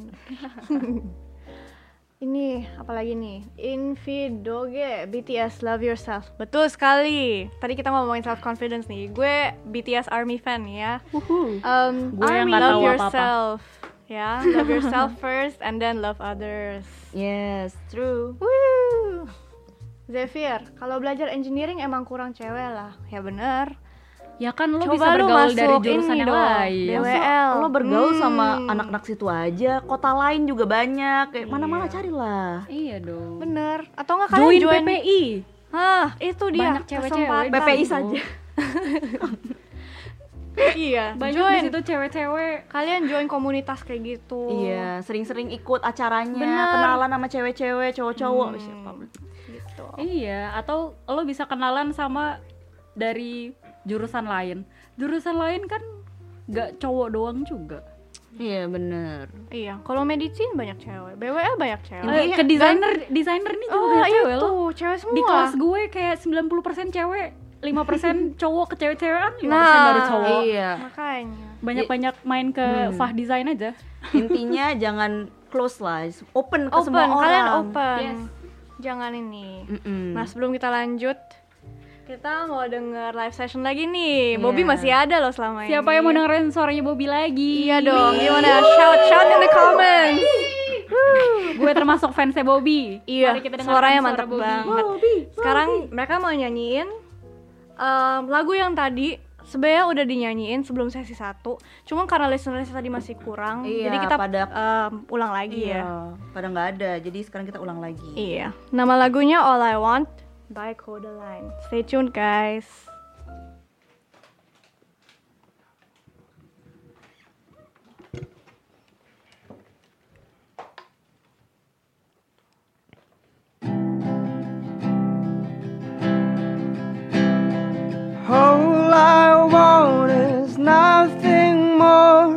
S3: Ini apalagi nih? Invidoge BTS Love Yourself. Betul sekali. Tadi kita ngomongin self confidence nih. Gue BTS Army fan ya.
S9: Gue yang
S3: Army
S9: nggak
S3: love
S9: tahu apa-apa.
S3: yourself. Ya, love yourself first and then love others.
S2: Yes, true.
S3: Woo. Zephyr, kalau belajar engineering emang kurang cewek lah. Ya bener.
S9: Ya kan lo
S3: Coba
S9: bisa
S3: lu
S9: bergaul dari
S3: masuk
S9: jurusan
S3: ini
S9: yang
S3: dong,
S9: lain.
S3: BWL.
S2: Lo bergaul sama anak-anak situ aja, kota lain juga banyak. Kayak mana-mana carilah.
S9: Iya dong.
S3: Bener. Atau nggak kalian
S9: Join PPI.
S3: Hah, itu dia
S9: Banyak cewek-cewek
S3: kesempatan.
S9: di
S2: PPI
S9: situ.
S2: saja.
S3: Iya,
S9: Banyak
S3: join.
S9: di situ cewek-cewek.
S3: Kalian join komunitas kayak gitu.
S2: Iya, sering-sering ikut acaranya,
S3: Bener.
S2: kenalan sama cewek-cewek, cowok-cowok, siapa
S3: Gitu.
S9: Iya, atau lo bisa kenalan sama dari jurusan lain. Jurusan lain kan gak cowok doang juga.
S2: Iya, bener.
S3: Iya, kalau medicine banyak cewek, BWL banyak cewek.
S2: Intinya-
S9: Ke desainer ini juga
S3: Oh,
S9: banyak cewek
S3: itu,
S9: lo.
S3: cewek semua.
S9: Di kelas gue kayak 90% cewek, 5% cowok. Ke cewek-cewekan 5%
S3: Nah,
S9: baru cowok.
S2: Iya.
S3: Makanya.
S9: Banyak-banyak main ke Fah Design aja.
S2: Intinya jangan close lah, open ke
S3: Open,
S2: semua orang.
S3: kalian open.
S9: Yes.
S3: Jangan ini.
S2: Mm-mm.
S3: Nah, sebelum kita lanjut, kita mau denger live session lagi nih. Bobby
S2: Iya.
S3: masih ada loh selama ini.
S9: Siapa yang mau dengerin suaranya Bobby lagi?
S3: Iya dong, gimana? Shout in the comments.
S9: Gue termasuk fansnya Bobby.
S3: Iya,
S9: Mari kita dengarkan
S3: suaranya
S9: suara
S3: mantap
S9: Bobby.
S3: banget. Sekarang mereka mau nyanyiin lagu yang tadi sebenarnya udah dinyanyiin sebelum sesi 1. Cuma karena listeners tadi masih kurang,
S2: Iya,
S3: jadi kita
S2: pada-
S3: ulang lagi ya.
S2: Iya, pada nggak ada, jadi sekarang kita ulang lagi.
S3: Iya. Nama lagunya All I Want by Codaline. Stay tuned guys.
S10: All I want is nothing more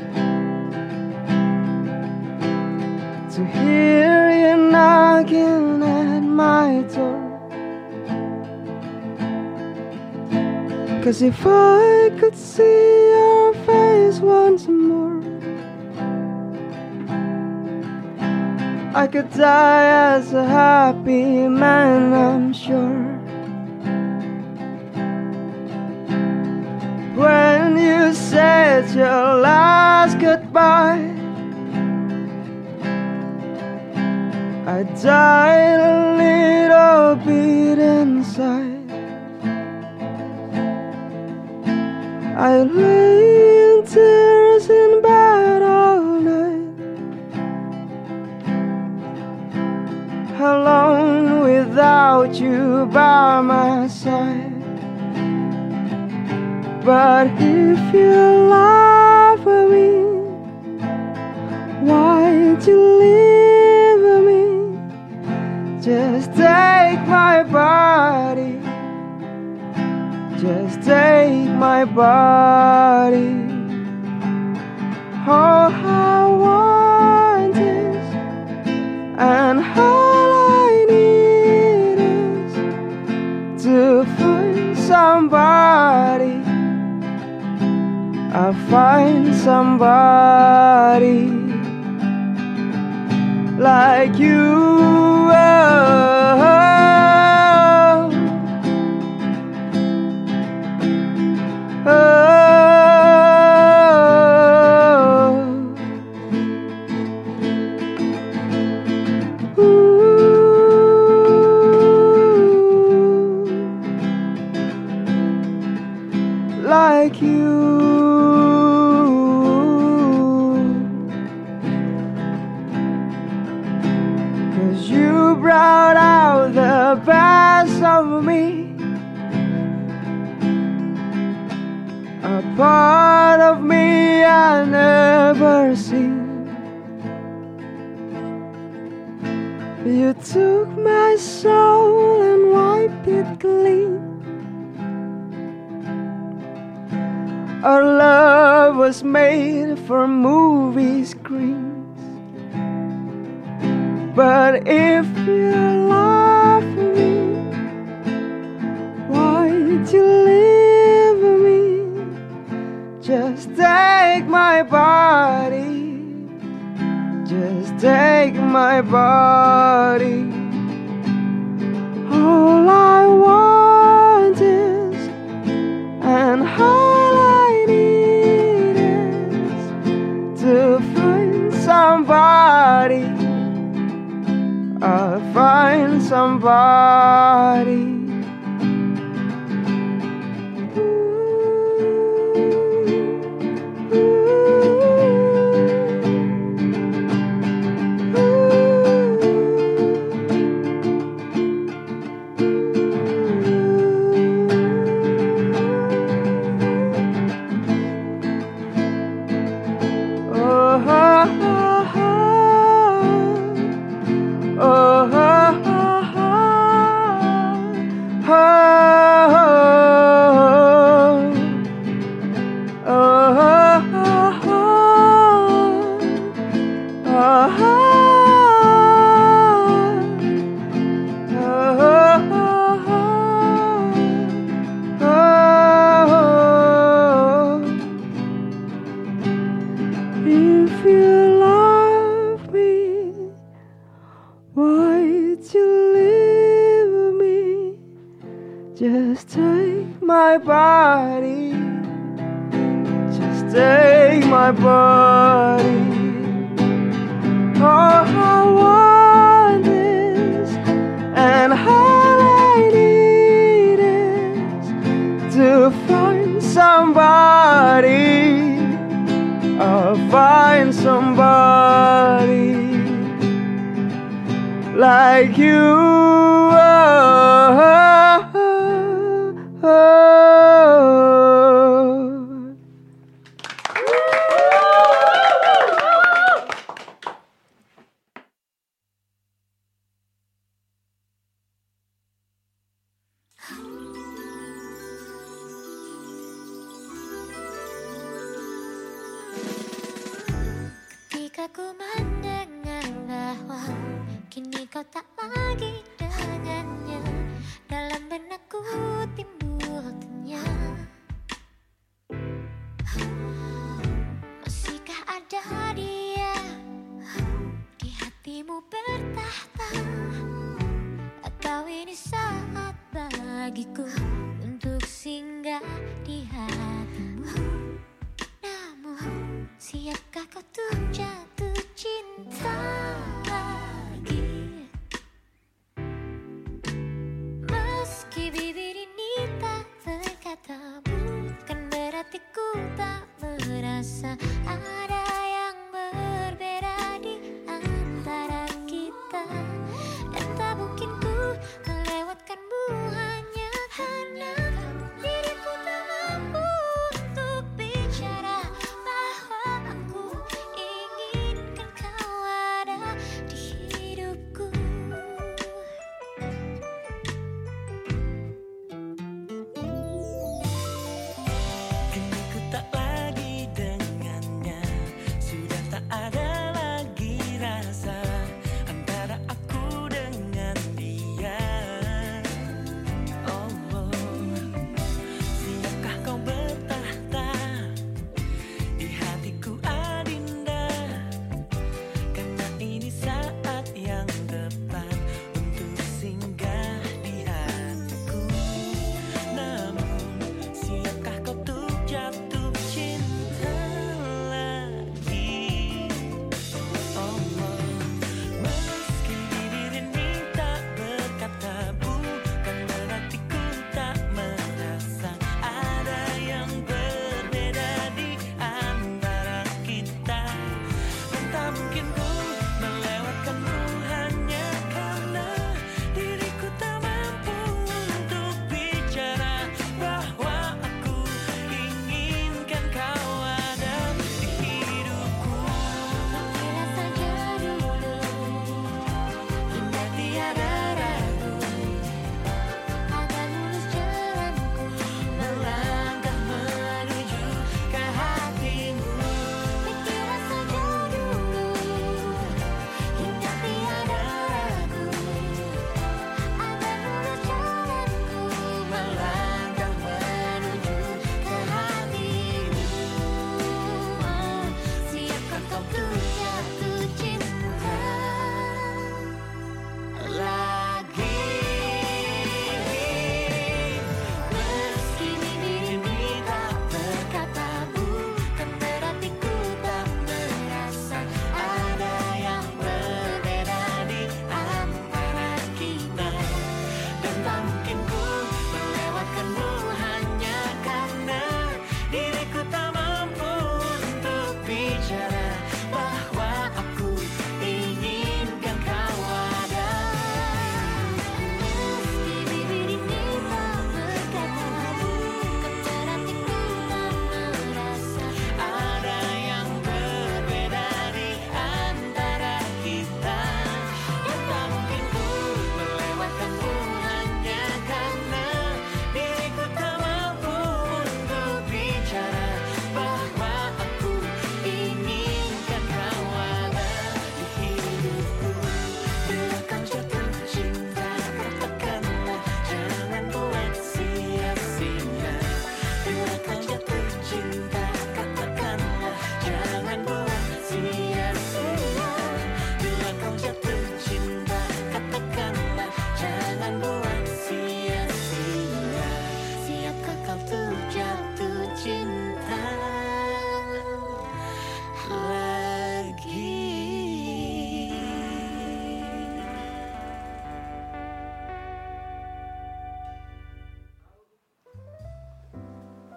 S10: to hear you knocking at my door. 'Cause if I could see your face once more, I could die as a happy man, I'm sure. When you said your last goodbye, I died a little bit inside. I lay in tears in bed all night, alone without you by my side. But if you love me, why'd you leave me? Just take my body, just take my body. All I want is, and all I need is to find somebody. I'll find somebody like you. Like you. 'Cause you brought out the best of me, a part of me I never seen. You took my soul and wiped it clean. Our love was made for movie screens. But if you love me, why'd you leave me? Just take my body, just take my body. All I want is, and all I need is to find somebody. I'll find somebody my body, just take my body. Oh, I want this, and all I need is to find somebody. I'll find somebody like you.
S6: Ketika ku mendengar bahwa kini kau tak lagi dengannya, dalam benakku timbul tanya, masihkah ada dia di hatimu bertahta, atau ini saat bagiku untuk singgah di hatimu. Namun siapkah kau tuh jatuh cinta lagi? Meski bibir ini tak berkata, bukan berarti ku tak merasa ada yang berbeda di antara kita. Dan tak mungkin ku melewatkanmu hanya karena diriku tak mampu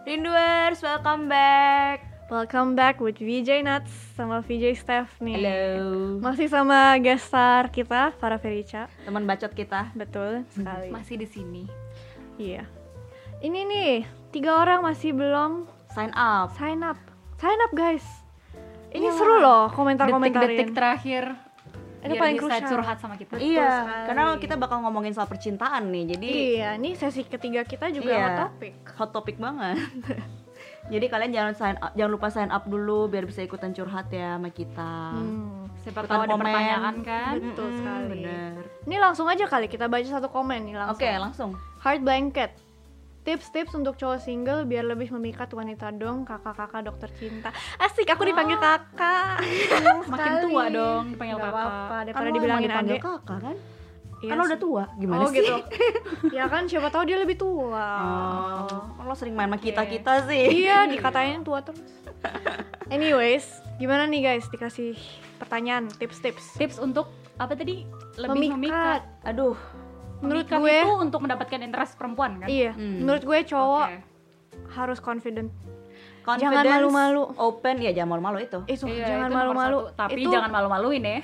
S2: Rinduers, welcome back.
S3: Welcome back with VJ Nuts sama VJ Steph nih.
S2: Halo.
S3: Masih sama guest star kita, Farah Ferica.
S2: Teman bacot kita.
S3: Betul sekali.
S9: Masih di sini.
S3: Iya. Ini nih, 3 orang masih belum
S2: Sign up.
S3: sign up. Sign up guys. Ini seru loh komentar-komentarin.
S9: Detik-detik terakhir
S3: Itu
S9: biar
S3: paling
S9: bisa
S3: krusial.
S9: curhat sama kita.
S2: Iya,
S3: sekali.
S2: karena kita bakal ngomongin soal percintaan nih. Jadi
S3: Iya, ini sesi ketiga kita juga
S2: Iya.
S3: hot topic.
S2: hot topic banget. Jadi kalian jangan lupa sign up dulu biar bisa ikutan curhat ya sama kita.
S9: Siapa
S2: Ikutan
S9: tahu ada
S2: komen.
S9: pertanyaan kan?
S3: Betul sekali.
S2: Bener.
S3: Ini langsung aja kali kita baca satu komen nih langsung.
S2: Oke, langsung.
S3: Heart blanket. Tips-tips untuk cowok single biar lebih memikat wanita dong, kakak-kakak dokter cinta. Asik, aku dipanggil kakak.
S9: Makin tua dong dipanggil
S3: Gak
S9: kakak.
S3: apa-apa,
S2: Kan
S3: daripada
S2: lo
S3: dibilangin
S2: emang dipanggil
S3: adek.
S2: kakak kan?
S3: Iya
S2: Kan lo
S3: sih.
S2: udah tua, gimana
S3: Oh
S2: sih?
S3: gitu. Ya kan siapa tahu dia lebih tua.
S2: Oh, lo sering main sama kita sih.
S3: Iya, dikatain tua terus. Anyways, gimana nih guys dikasih pertanyaan, tips-tips.
S9: Tips untuk apa tadi? Lebih memikat.
S2: Aduh,
S3: Menurut
S9: Memikat
S3: gue,
S9: itu untuk mendapatkan interest perempuan kan?
S3: iya. Menurut gue cowok
S9: Oke.
S3: harus confident.
S2: confidence,
S3: Jangan malu-malu.
S2: open, ya jangan malu-malu itu.
S3: Itu
S9: Iya,
S3: jangan
S9: itu nomor
S3: malu-malu.
S9: satu. Tapi
S3: Itu-
S9: jangan malu-maluin ya.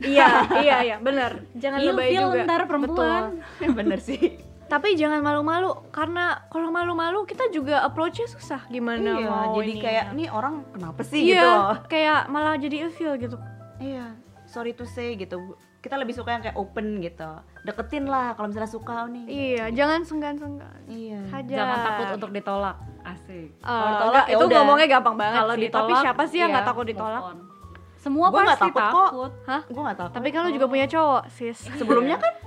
S3: Iya, benar. Jangan
S9: Ilfil
S3: lebay juga.
S9: ntar perempuan.
S3: Betul.
S2: Bener sih.
S3: Tapi jangan malu-malu karena kalau malu-malu kita juga approach-nya susah gimana
S2: Iya,
S3: mau
S2: jadi
S3: ini
S2: kayak
S3: ya.
S2: nih orang kenapa sih
S3: Iya,
S2: gitu loh.
S3: kayak malah jadi ilfil gitu.
S2: Iya, sorry to say gitu. Kita lebih suka yang kayak open gitu. Deketin lah kalau misalnya suka nih.
S3: Iya, jangan senggan-senggan.
S2: Iya.
S3: Hajar.
S9: Jangan takut untuk ditolak. Asik.
S2: Kalau ditolak,
S3: enggak,
S2: ya
S3: itu
S2: udah.
S3: ngomongnya gampang banget
S9: Kalau
S3: sih.
S9: ditolak,
S3: Tapi siapa sih yang
S9: iya,
S3: nggak takut
S9: move
S3: ditolak?
S9: on. Semua
S2: Gua nggak
S9: pasti
S2: takut kok.
S9: takut.
S3: Hah?
S2: Gue gak takut.
S3: Tapi kan lu juga punya cowok, sis.
S2: sebelumnya kan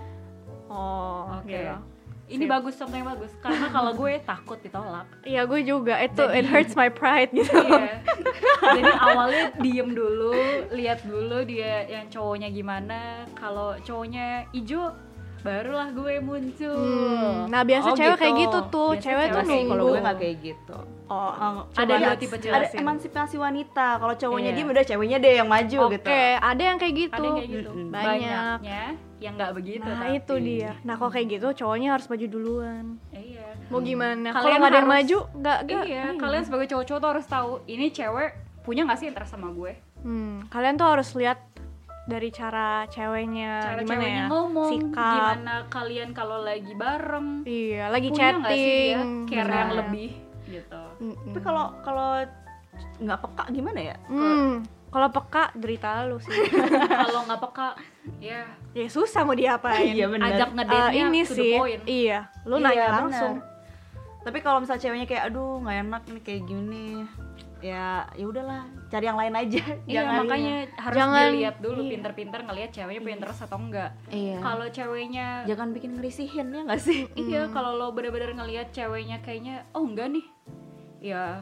S3: Oh,
S9: Oke.
S3: gitu.
S9: Ini bagus, contoh yang bagus. Karena kalau gue takut ditolak.
S3: Iya, gue juga. It hurts my pride gitu.
S9: Iya. Jadi awalnya diem dulu, lihat dulu dia yang cowoknya gimana. Kalau cowoknya ijo, barulah gue muncul.
S3: Nah, biasa
S2: Oh,
S3: cewek
S2: gitu.
S3: kayak gitu tuh.
S9: Biasa
S3: Cewek tuh
S9: cewek kayak
S3: nunggu.
S2: kalau gue gak kayak gitu.
S3: Oh,
S9: Ada dua tipe cewek.
S2: Ada emansipasi wanita. Kalau cowoknya
S9: Iya.
S2: dia udah ceweknya deh yang maju
S3: Oke,
S2: gitu.
S3: ada yang kayak gitu.
S9: Ada yang kayak gitu.
S3: Banyak.
S9: Banyaknya yang nggak begitu.
S3: Nah,
S9: tapi.
S3: itu dia. Nah, kalau kayak gitu cowoknya harus maju duluan.
S9: Iya.
S3: Mau gimana? Kalau
S9: Kalian
S3: nggak ada yang
S9: harus-
S3: maju, nggak.
S9: Iya, kalian sebagai cowok-cowok tuh harus tahu ini cewek punya nggak sih interest sama gue?
S3: Kalian tuh harus lihat dari cara ceweknya
S9: Cara
S3: gimana
S9: ceweknya
S3: ya,
S9: ngomong,
S3: sikap.
S9: gimana kalian kalau lagi bareng,
S3: Iya, lagi
S9: punya nggak sih dia
S3: chatting,
S9: care
S3: benar.
S9: yang lebih gitu.
S2: Tapi kalau nggak peka gimana ya?
S3: Kalau peka derita lu sih.
S9: Kalau nggak peka, ya
S3: Ya susah mau diapain.
S2: Iya benar.
S9: ajak ngedate-nya
S3: Ini
S9: to the
S3: sih,
S9: point.
S3: iya. Lu
S2: Iya,
S3: nanya
S2: benar.
S3: langsung.
S2: Tapi kalau misalnya ceweknya kayak aduh nggak enak ini kayak gini, ya udahlah cari yang lain aja.
S9: Iya, makanya harus
S3: jangan-
S9: dilihat dulu
S3: iya.
S9: pinter-pinter ngelihat ceweknya punya interest atau enggak.
S2: Iya.
S9: Kalau ceweknya
S2: Jangan bikin ngerisihin ya nggak sih?
S9: iya, kalau lo bener-bener ngelihat ceweknya kayaknya oh enggak nih, ya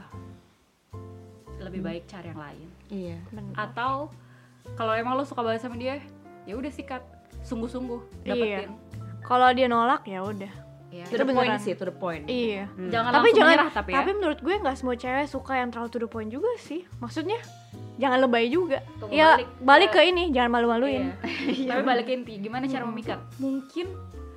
S9: lebih baik cari yang lain.
S2: Iya.
S9: Atau kalau emang lo suka banget sama dia, ya udah sikat, sungguh-sungguh dapetin.
S3: Kalau dia nolak ya udah.
S9: Iya.
S2: To the point
S3: beneran.
S2: sih, to the point.
S3: Iya.
S9: Jangan
S3: Tapi
S9: langsung
S3: jangan.
S9: menyerah tapi ya.
S3: Tapi menurut gue nggak semua cewek suka yang terlalu to the point juga sih. Maksudnya jangan lebay juga.
S9: Tunggu
S3: Ya balik
S9: ke-
S3: ke ini, jangan malu-maluin.
S9: Iya. Tapi balik ke inti, gimana cara memikat? Mungkin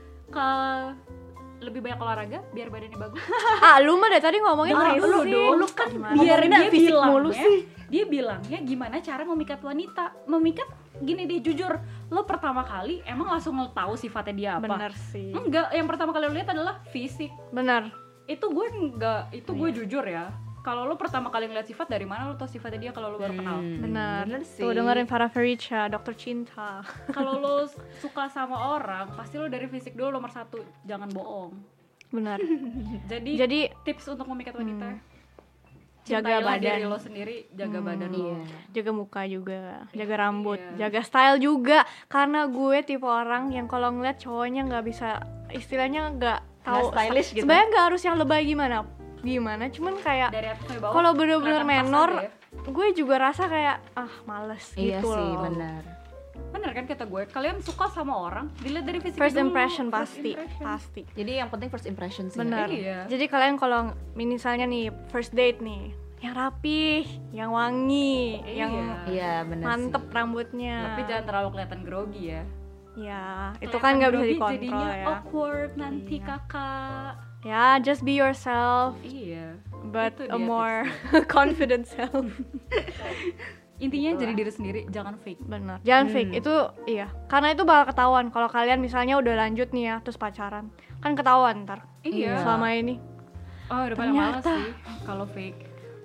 S9: lebih banyak olahraga biar badannya bagus.
S3: Lu mah dari tadi ngomongin
S9: Nah,
S3: fisik.
S9: lu dong, lu kan
S3: Gimana?
S9: biar
S2: Ngomonginnya
S9: dia
S2: fisik
S9: bilangnya,
S2: mulu sih.
S9: dia bilangnya gimana cara memikat wanita. Memikat gini deh jujur, lo pertama kali emang langsung tahu sifatnya dia apa?
S3: Bener sih.
S9: Enggak, yang pertama kali lo lihat adalah fisik.
S3: Bener.
S9: Itu gue enggak, itu gue jujur ya. Kalau lo pertama kali ngeliat sifat, dari mana lo tau sifatnya dia kalau lo baru kenal?
S3: Bener.
S2: bener sih.
S3: Tuh dengerin Farah Ferica, dokter cinta.
S9: Kalau lo suka sama orang, pasti lo dari fisik dulu nomor satu, jangan bohong.
S3: Bener.
S9: Jadi tips untuk memikat wanita,
S3: jaga
S9: cintailah
S3: badan.
S9: diri lo sendiri, jaga badan lo.
S3: Jaga muka juga, jaga rambut, jaga style juga. Karena gue tipe orang yang kalau ngeliat cowoknya nggak bisa, istilahnya nggak tahu.
S2: Nggak stylish gitu.
S3: Sebenarnya nggak harus yang lebay gimana, cuman kayak
S9: Dari atas sampai bawah.
S3: kalau bener-bener
S9: kelihatan pas
S3: menor,
S9: aja ya.
S3: gue juga rasa kayak males
S2: Iya
S3: gitu
S2: sih,
S3: loh.
S2: benar.
S9: Bener kan kata gue, kalian suka sama orang dilihat dari fisik
S3: First
S9: dulu.
S3: impression
S9: First
S3: pasti,
S9: impression.
S3: pasti.
S2: Jadi yang penting first impression sih.
S3: Benar.
S9: Iya.
S3: Jadi kalian kalau misalnya nih first date nih, yang rapih, yang wangi, yang
S2: Iya, benar
S3: mantep rambutnya.
S9: Tapi jangan terlalu kelihatan grogi ya.
S3: Ya, itu kan nggak bisa
S9: Grogi
S3: dikontrol
S9: jadinya
S3: ya.
S9: awkward nanti kakak.
S3: Ya, just be yourself.
S9: Iya.
S3: but
S9: Itu
S3: a
S9: dia
S3: more confident self.
S9: Intinya jadi diri sendiri, jangan fake.
S3: Benar. Jangan fake. Itu iya. Karena itu bakal ketahuan kalau kalian misalnya udah lanjut nih ya terus pacaran. Kan ketahuan ntar.
S9: Iya.
S3: Selama ini.
S9: Oh, udah pada malas sih kalau fake.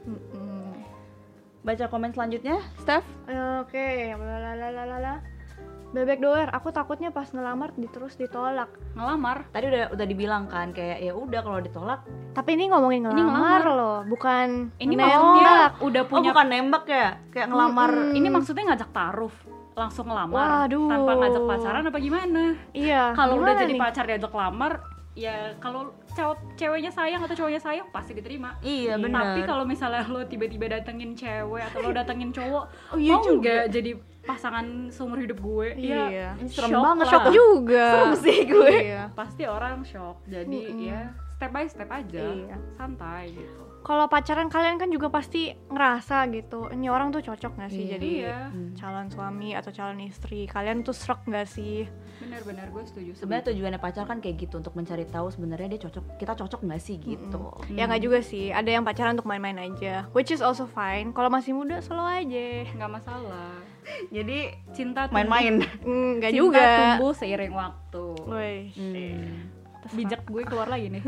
S2: Baca komen selanjutnya, Steph.
S3: Oke, lalalala. Bebek doer, aku takutnya pas ngelamar terus ditolak.
S9: Ngelamar.
S2: Tadi udah dibilang kan kayak ya udah kalau ditolak.
S3: Tapi ini ngomongin
S9: Ini
S3: ngelamar
S9: ngelamar.
S3: loh, bukan
S9: Ini
S3: nembak.
S9: maksudnya udah
S2: Oh,
S9: punya
S2: bukan nembak ya? Kayak ngelamar.
S9: ini maksudnya ngajak taruh, langsung ngelamar.
S3: Waduh.
S9: Tanpa ngajak pacaran apa gimana?
S3: Iya.
S9: Kalau udah
S3: gimana
S9: jadi
S3: nih?
S9: pacar diajak lamar, ya kalau ceweknya sayang atau cowoknya sayang pasti diterima.
S2: Iya, benar.
S9: Tapi kalau misalnya lo tiba-tiba datengin cewek atau lo datengin cowok,
S2: Oh, iya
S9: mau
S2: juga.
S9: nggak jadi pasangan seumur hidup gue?
S3: Iya.
S9: Ya,
S2: Ini serem
S9: shock
S2: banget,
S9: lah.
S3: Shock juga.
S2: Serem sih gue.
S3: Iya.
S9: Pasti orang shock. Jadi ya step by step aja,
S3: Iya.
S9: santai gitu.
S3: Kalau pacaran kalian kan juga pasti ngerasa gitu, ini orang tuh cocok gak sih
S2: Iya.
S3: jadi
S9: Iya.
S3: calon suami atau calon istri. Kalian tuh srek gak sih?
S9: Benar-benar gue setuju.
S2: Sebenarnya tujuannya pacar kan kayak gitu untuk mencari tahu sebenarnya dia kita cocok nggak sih gitu.
S3: Ya nggak juga sih, ada yang pacaran untuk main-main aja, which is also fine. Kalau masih muda slow aja.
S9: nggak masalah.
S2: Jadi
S9: Cinta
S2: main-main.
S3: Nggak
S9: Cinta
S3: juga.
S9: tumbuh seiring waktu.
S3: Woi.
S9: Bijak gue keluar lagi nih.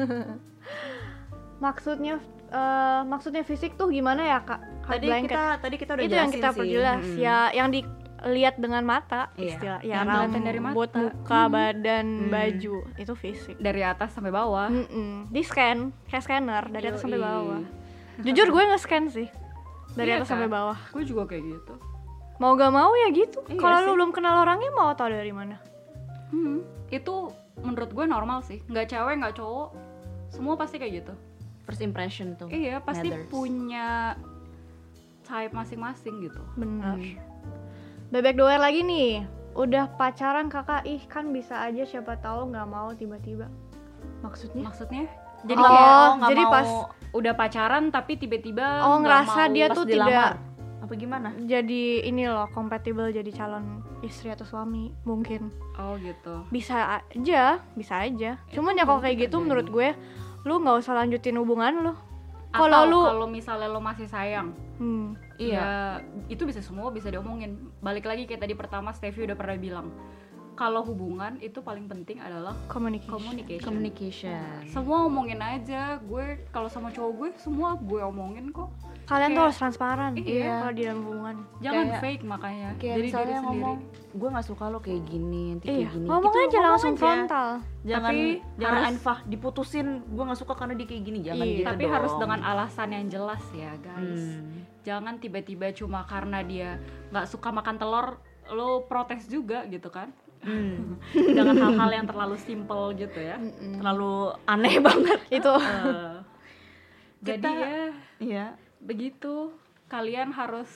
S3: Maksudnya fisik tuh gimana ya kak? Hard blanket.
S2: Tadi kita udah
S3: Itu
S2: jelasin
S3: yang kita
S2: sih.
S3: perjelas ya, yang dilihat dengan mata,
S2: Iya.
S3: istilah ya,
S9: Yang kelihatan dari
S3: rambut,
S9: mata.
S3: muka, badan, baju, itu fisik.
S9: Dari atas sampai bawah.
S3: Di scan kayak scanner dari atas sampai
S9: Yoi.
S3: bawah. Jujur gue nge-scan sih dari
S9: Iya
S3: atas sampai
S9: kan?
S3: bawah.
S9: Gue juga kayak gitu.
S3: Mau gak mau ya gitu.
S2: Iya
S3: Kalau lu
S2: sih.
S3: belum kenal orangnya mau tau dari mana?
S9: Itu menurut gue normal sih. Nggak cewek, nggak cowok, semua pasti kayak gitu.
S2: First impression tuh.
S9: Iya, pasti
S2: matters.
S9: punya type masing-masing gitu.
S3: Benar. Bebek doer lagi nih. Udah pacaran kakak, ih kan bisa aja siapa tahu nggak mau tiba-tiba. Maksudnya?
S9: Maksudnya? Jadi
S3: Oh,
S9: kayak
S2: nggak
S3: jadi
S2: mau
S3: pas
S9: udah pacaran tapi tiba-tiba
S3: Oh,
S9: nggak
S3: ngerasa
S9: mau.
S3: dia
S2: pas
S3: tuh
S2: dilamar.
S3: tidak
S2: Apa gimana?
S3: jadi ini loh kompatibel jadi calon istri atau suami mungkin.
S9: Oh gitu.
S3: Bisa aja. Cuman ya kalau kayak gitu menurut gue lu nggak usah lanjutin hubungan lu. Kalau lu
S9: kalau misalnya lo masih sayang,
S2: Iya.
S9: ya itu bisa semua bisa diomongin. Balik lagi kayak tadi pertama Stevie udah pernah bilang, kalau hubungan itu paling penting adalah communication.
S2: Communication.
S9: Semua omongin aja. Gue kalau sama cowok gue semua gue omongin kok.
S3: kalian tuh
S9: Kayak-
S3: harus transparan
S9: Iya.
S3: kalau di dalam hubungan.
S9: Jangan
S2: Kayak-
S9: fake makanya.
S2: Kayak
S9: Jadi diri
S2: misalnya
S9: sendiri.
S2: ngomong, gue nggak suka lo kayak gini, nanti kayak
S3: Iya,
S2: gini.
S3: ngomong
S2: Itu
S3: aja langsung
S2: aja.
S3: frontal.
S2: Jangan
S9: Tapi
S2: jangan
S9: harus-
S2: anfah diputusin. Gue nggak suka karena dia kayak gini. Jangan
S3: Iya.
S2: gitu
S9: Tapi
S2: dong.
S9: harus dengan alasan yang jelas ya guys. Jangan tiba-tiba cuma karena dia nggak suka makan telur lo protes juga gitu kan. Jangan hal-hal yang terlalu simple gitu ya.
S2: Terlalu aneh banget.
S3: Itu
S9: Jadi
S2: Kita-
S9: ya
S2: Iya.
S9: begitu, kalian harus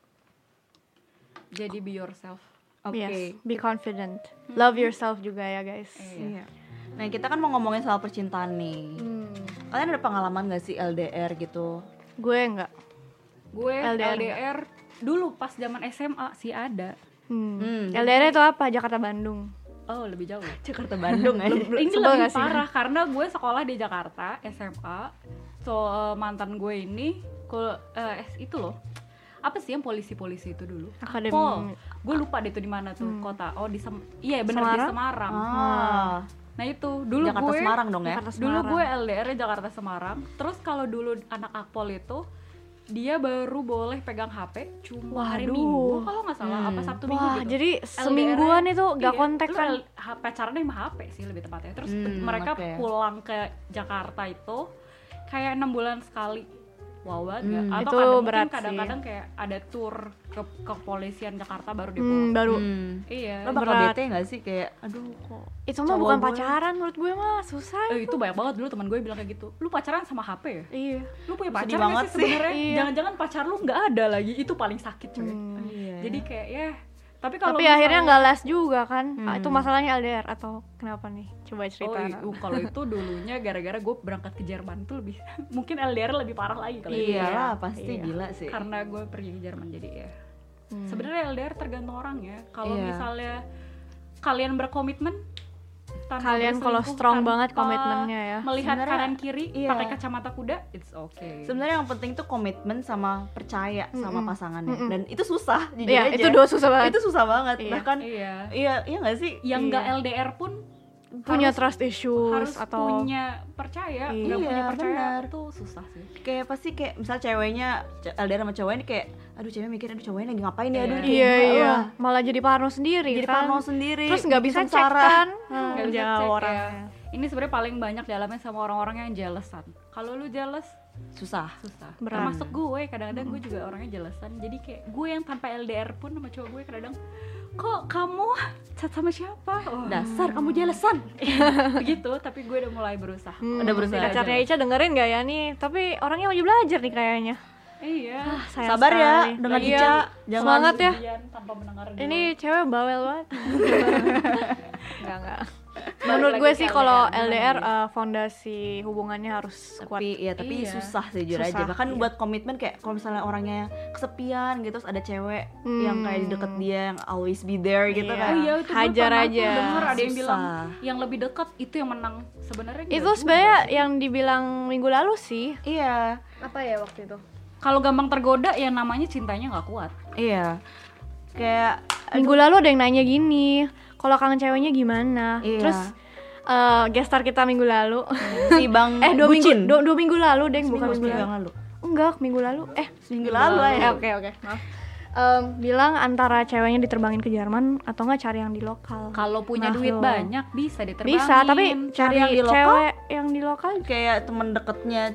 S9: jadi be yourself.
S2: Oke.
S3: yes, be confident. Love yourself juga ya guys.
S2: Iya. Nah, kita kan mau ngomongin soal percintaan nih. Kalian ada pengalaman gak sih LDR gitu?
S3: Gue enggak.
S9: Gue
S3: LDR
S9: LDR dulu pas zaman SMA sih ada.
S3: LDR itu apa? Jakarta Bandung.
S9: Oh, lebih jauh.
S2: Jakarta Bandung ya.
S9: Ini
S3: Sebel
S9: lebih
S3: gak sih?
S9: parah karena gue sekolah di Jakarta SMA. So mantan gue ini itu loh. Apa sih yang polisi-polisi itu dulu?
S3: Akademi.
S9: Pol. Gue lupa deh itu di mana tuh kota. Oh di iya bener di
S3: Semarang?
S9: Semarang.
S2: Ah,
S9: Nah itu dulu
S2: Jakarta
S9: gue
S2: Semarang dong ya.
S3: Jakarta
S9: dulu
S3: Semarang.
S9: gue LDR -nya Jakarta Semarang. Terus kalau dulu anak Akpol itu dia baru boleh pegang HP cuma hari
S3: Waduh.
S9: Minggu kalau nggak salah apa Sabtu Minggu
S3: Wah,
S9: gitu.
S3: jadi semingguan itu gak
S9: Iya,
S3: kontak
S9: lu
S3: kan?
S9: pacarannya sama HP sih lebih tepatnya. Terus mereka
S2: oke.
S9: pulang ke Jakarta itu kayak 6 bulan sekali. Wow banget nggak? Atau
S3: itu
S9: kadang
S3: berat
S9: mungkin kadang-kadang kayak ada tour ke kepolisian Jakarta baru dia pulang.
S3: Baru.
S9: Iya.
S2: Lo bakal
S3: Berat.
S2: bete gak sih kayak aduh kok
S3: Itu mah
S2: Cowok
S3: bukan
S2: gue.
S3: pacaran menurut gue mah susah.
S9: Itu banyak banget dulu teman gue bilang kayak gitu. Lu pacaran sama HP ya?
S3: Iya.
S9: Lu punya
S2: Sedih
S9: pacar nggak
S2: banget
S9: sih
S2: sih.
S9: sebenarnya?
S3: Iya.
S9: Jangan-jangan pacar lu nggak ada lagi. Itu paling sakit coy.
S2: Iya.
S9: Jadi kayak ya. Tapi kalau
S3: Tapi akhirnya
S9: misalnya-
S3: nggak les juga kan? Itu masalahnya LDR atau kenapa nih? Coba cerita.
S9: kalau itu dulunya gara-gara gue berangkat ke Jerman tuh lebih mungkin LDR lebih parah lagi kalau itu.
S2: Iyalah pasti
S3: Iya.
S2: gila sih.
S9: Karena gue pergi ke Jerman jadi ya. Sebenarnya LDR tergantung orang ya. Kalau
S2: Iya.
S9: misalnya kalian berkomitmen tanpa
S3: Kalian kalau
S9: berselingkuh,
S3: strong
S9: tanpa
S3: banget komitmennya ya.
S9: melihat
S2: Sebenarnya,
S9: kanan kiri
S2: iya.
S9: pakai kacamata kuda, it's okay.
S2: Sebenarnya yang penting tuh komitmen sama percaya sama pasangannya. Dan itu susah jujur
S3: Iya,
S2: aja.
S3: itu dua susah banget.
S2: Itu susah banget.
S3: Iya.
S2: Bahkan
S9: Iya.
S2: iya nggak sih?
S9: Yang nggak LDR pun
S3: Punya
S9: harus-
S3: trust issues
S9: harus
S3: atau
S9: punya percaya, nggak
S2: Iya,
S9: punya percaya
S2: benar.
S9: tuh susah sih.
S2: Kayak pasti kayak misal ceweknya LDR sama cowoknya ini kayak aduh cewek mikir aduh cowoknya lagi ngapain ya, aduh kayak
S3: iya
S2: gimana
S3: iya,
S2: lah.
S3: malah jadi parno sendiri
S2: Jadi
S3: kan.
S2: parno sendiri.
S3: Terus nggak bisa
S2: bikin
S3: cek
S2: sengsara.
S3: kan.
S9: Nggak bisa
S3: Jauh
S9: cek ya.
S3: orangnya.
S9: Ini sebenarnya paling banyak dialami sama orang-orang yang jealousan. Kalau lu jealous
S2: Susah.
S9: susah.
S3: Berat.
S9: Termasuk gue, kadang-kadang gue juga orangnya jealousan. Jadi kayak gue yang tanpa LDR pun sama cowok gue kadang kok kamu chat sama siapa? Oh.
S2: Dasar kamu jelesan.
S9: Begitu, tapi gue udah mulai berusaha.
S2: Udah berusaha.
S3: Pacarnya Ica dengerin gak ya nih? Tapi orangnya lagi belajar nih kayaknya.
S9: Iya.
S3: Sayang
S2: Sabar ya
S3: sekali.
S2: dengan
S3: Iya.
S2: Ica. Jangan
S3: Semangat ya.
S9: Ujian tanpa mendengar dulu.
S3: Ini cewek bawel banget. Enggak. Menurut gue sih kalau LDR fondasi hubungannya harus kuat.
S2: Tapi
S9: Iya.
S2: susah sih jujur
S3: Susah,
S2: aja. Bahkan buat komitmen kayak kalau misalnya orangnya kesepian gitu terus ada cewek yang kayak di deket dia yang always be there gitu
S3: Iya.
S2: kan.
S9: Oh iya, itu gue
S3: Hajar
S9: pernah
S3: aja.
S9: tuh denger ada yang
S2: Susah.
S9: bilang yang lebih dekat itu yang menang. Sebenarnya enggak
S3: Itu
S9: juga.
S3: sebenarnya yang dibilang minggu lalu sih.
S2: Iya.
S3: Apa ya waktu itu?
S9: Kalau gampang tergoda ya namanya cintanya nggak kuat.
S2: Iya. Kayak
S3: Minggu lalu ada yang nanya gini, kalau kangen ceweknya gimana?
S2: Iya.
S3: Terus guest star kita minggu lalu.
S2: si Bang
S3: 2
S2: Bucin.
S3: minggu 2 minggu lalu deh, bukan minggu
S2: Seminggu
S3: lalu.
S2: yang lalu.
S3: Enggak, minggu lalu.
S2: Seminggu lalu ya.
S3: Oke. Maaf. Bilang antara ceweknya diterbangin ke Jerman atau enggak cari yang di lokal.
S9: Kalau punya
S3: Nah,
S9: duit
S3: lo.
S9: banyak bisa diterbangin.
S3: Bisa, tapi cari
S2: yang di lokal?
S3: cewek yang di lokal
S2: Kayak temen deketnya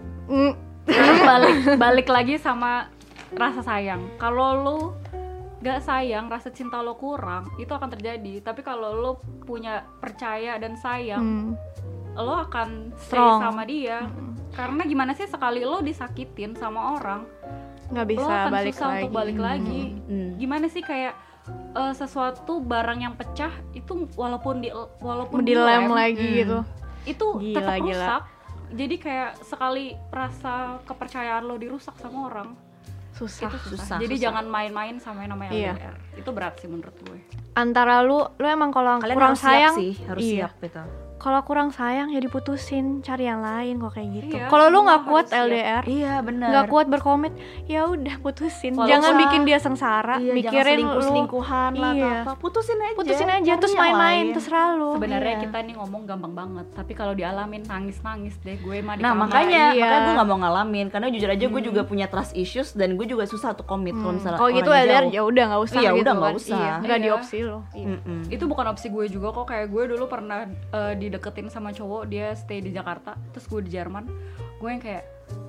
S9: balik lagi sama rasa sayang. Kalau lu gak sayang, rasa cinta lo kurang, itu akan terjadi. Tapi kalau lo punya percaya dan sayang, lo akan stay
S3: Strong.
S9: sama dia. Karena gimana sih sekali lo disakitin sama orang,
S3: nggak
S9: lo
S3: bisa
S9: akan
S3: balik
S9: susah
S3: lagi.
S9: untuk balik lagi. Gimana sih kayak sesuatu barang yang pecah itu walaupun
S3: Dilem
S9: dilem,
S3: lagi gitu.
S9: itu
S3: Gila,
S9: tetap
S3: gila.
S9: rusak. Jadi kayak sekali rasa kepercayaan lo dirusak sama orang,
S3: Susah.
S9: itu susah. Jadi jangan main-main sama yang namanya
S3: Iya.
S9: LDR. Itu berat sih menurut gue.
S3: Antara lu emang kalau
S2: kalian
S3: kurang
S2: harus
S3: sayang
S2: siap sih, harus
S3: iya.
S2: siap gitu.
S3: Kalau kurang sayang ya diputusin, cari yang lain kok kayak gitu.
S9: Iya,
S3: Kalau lu
S9: semua
S3: nggak kuat
S9: harus siap.
S3: LDR,
S2: Iya benar.
S3: nggak kuat berkomit, ya udah putusin.
S2: Kalau
S3: Jangan
S2: usah-
S3: bikin dia sengsara,
S2: Iya,
S3: mikirin
S2: jangan
S3: lu
S2: selingkuhan lah
S3: Iya.
S2: atau apa. Putusin aja.
S3: putusin aja
S2: Cari
S3: terus
S2: yang
S3: main-main
S2: lain.
S3: terserah lu.
S9: Sebenarnya
S2: Iya.
S9: kita nih ngomong gampang banget, tapi kalau dialamin nangis-nangis deh gue mah di
S2: Nah
S9: kamar.
S2: makanya
S3: iya.
S2: gue nggak mau ngalamin karena jujur aja gue juga punya trust issues dan gue juga susah untuk komit kalau misalnya
S3: Kalau gitu
S2: orangnya
S3: LDR
S2: jauh.
S3: ya udah nggak usah
S2: Iya,
S3: gitu
S2: udah nggak
S3: kan.
S2: usah.
S3: Iya, nggak di
S9: Iya.
S3: opsi lo.
S2: Mm-mm.
S9: Itu bukan opsi gue juga kok. Kayak gue dulu pernah dideketin sama cowok, dia stay di Jakarta, terus gue di Jerman. Gue yang kayak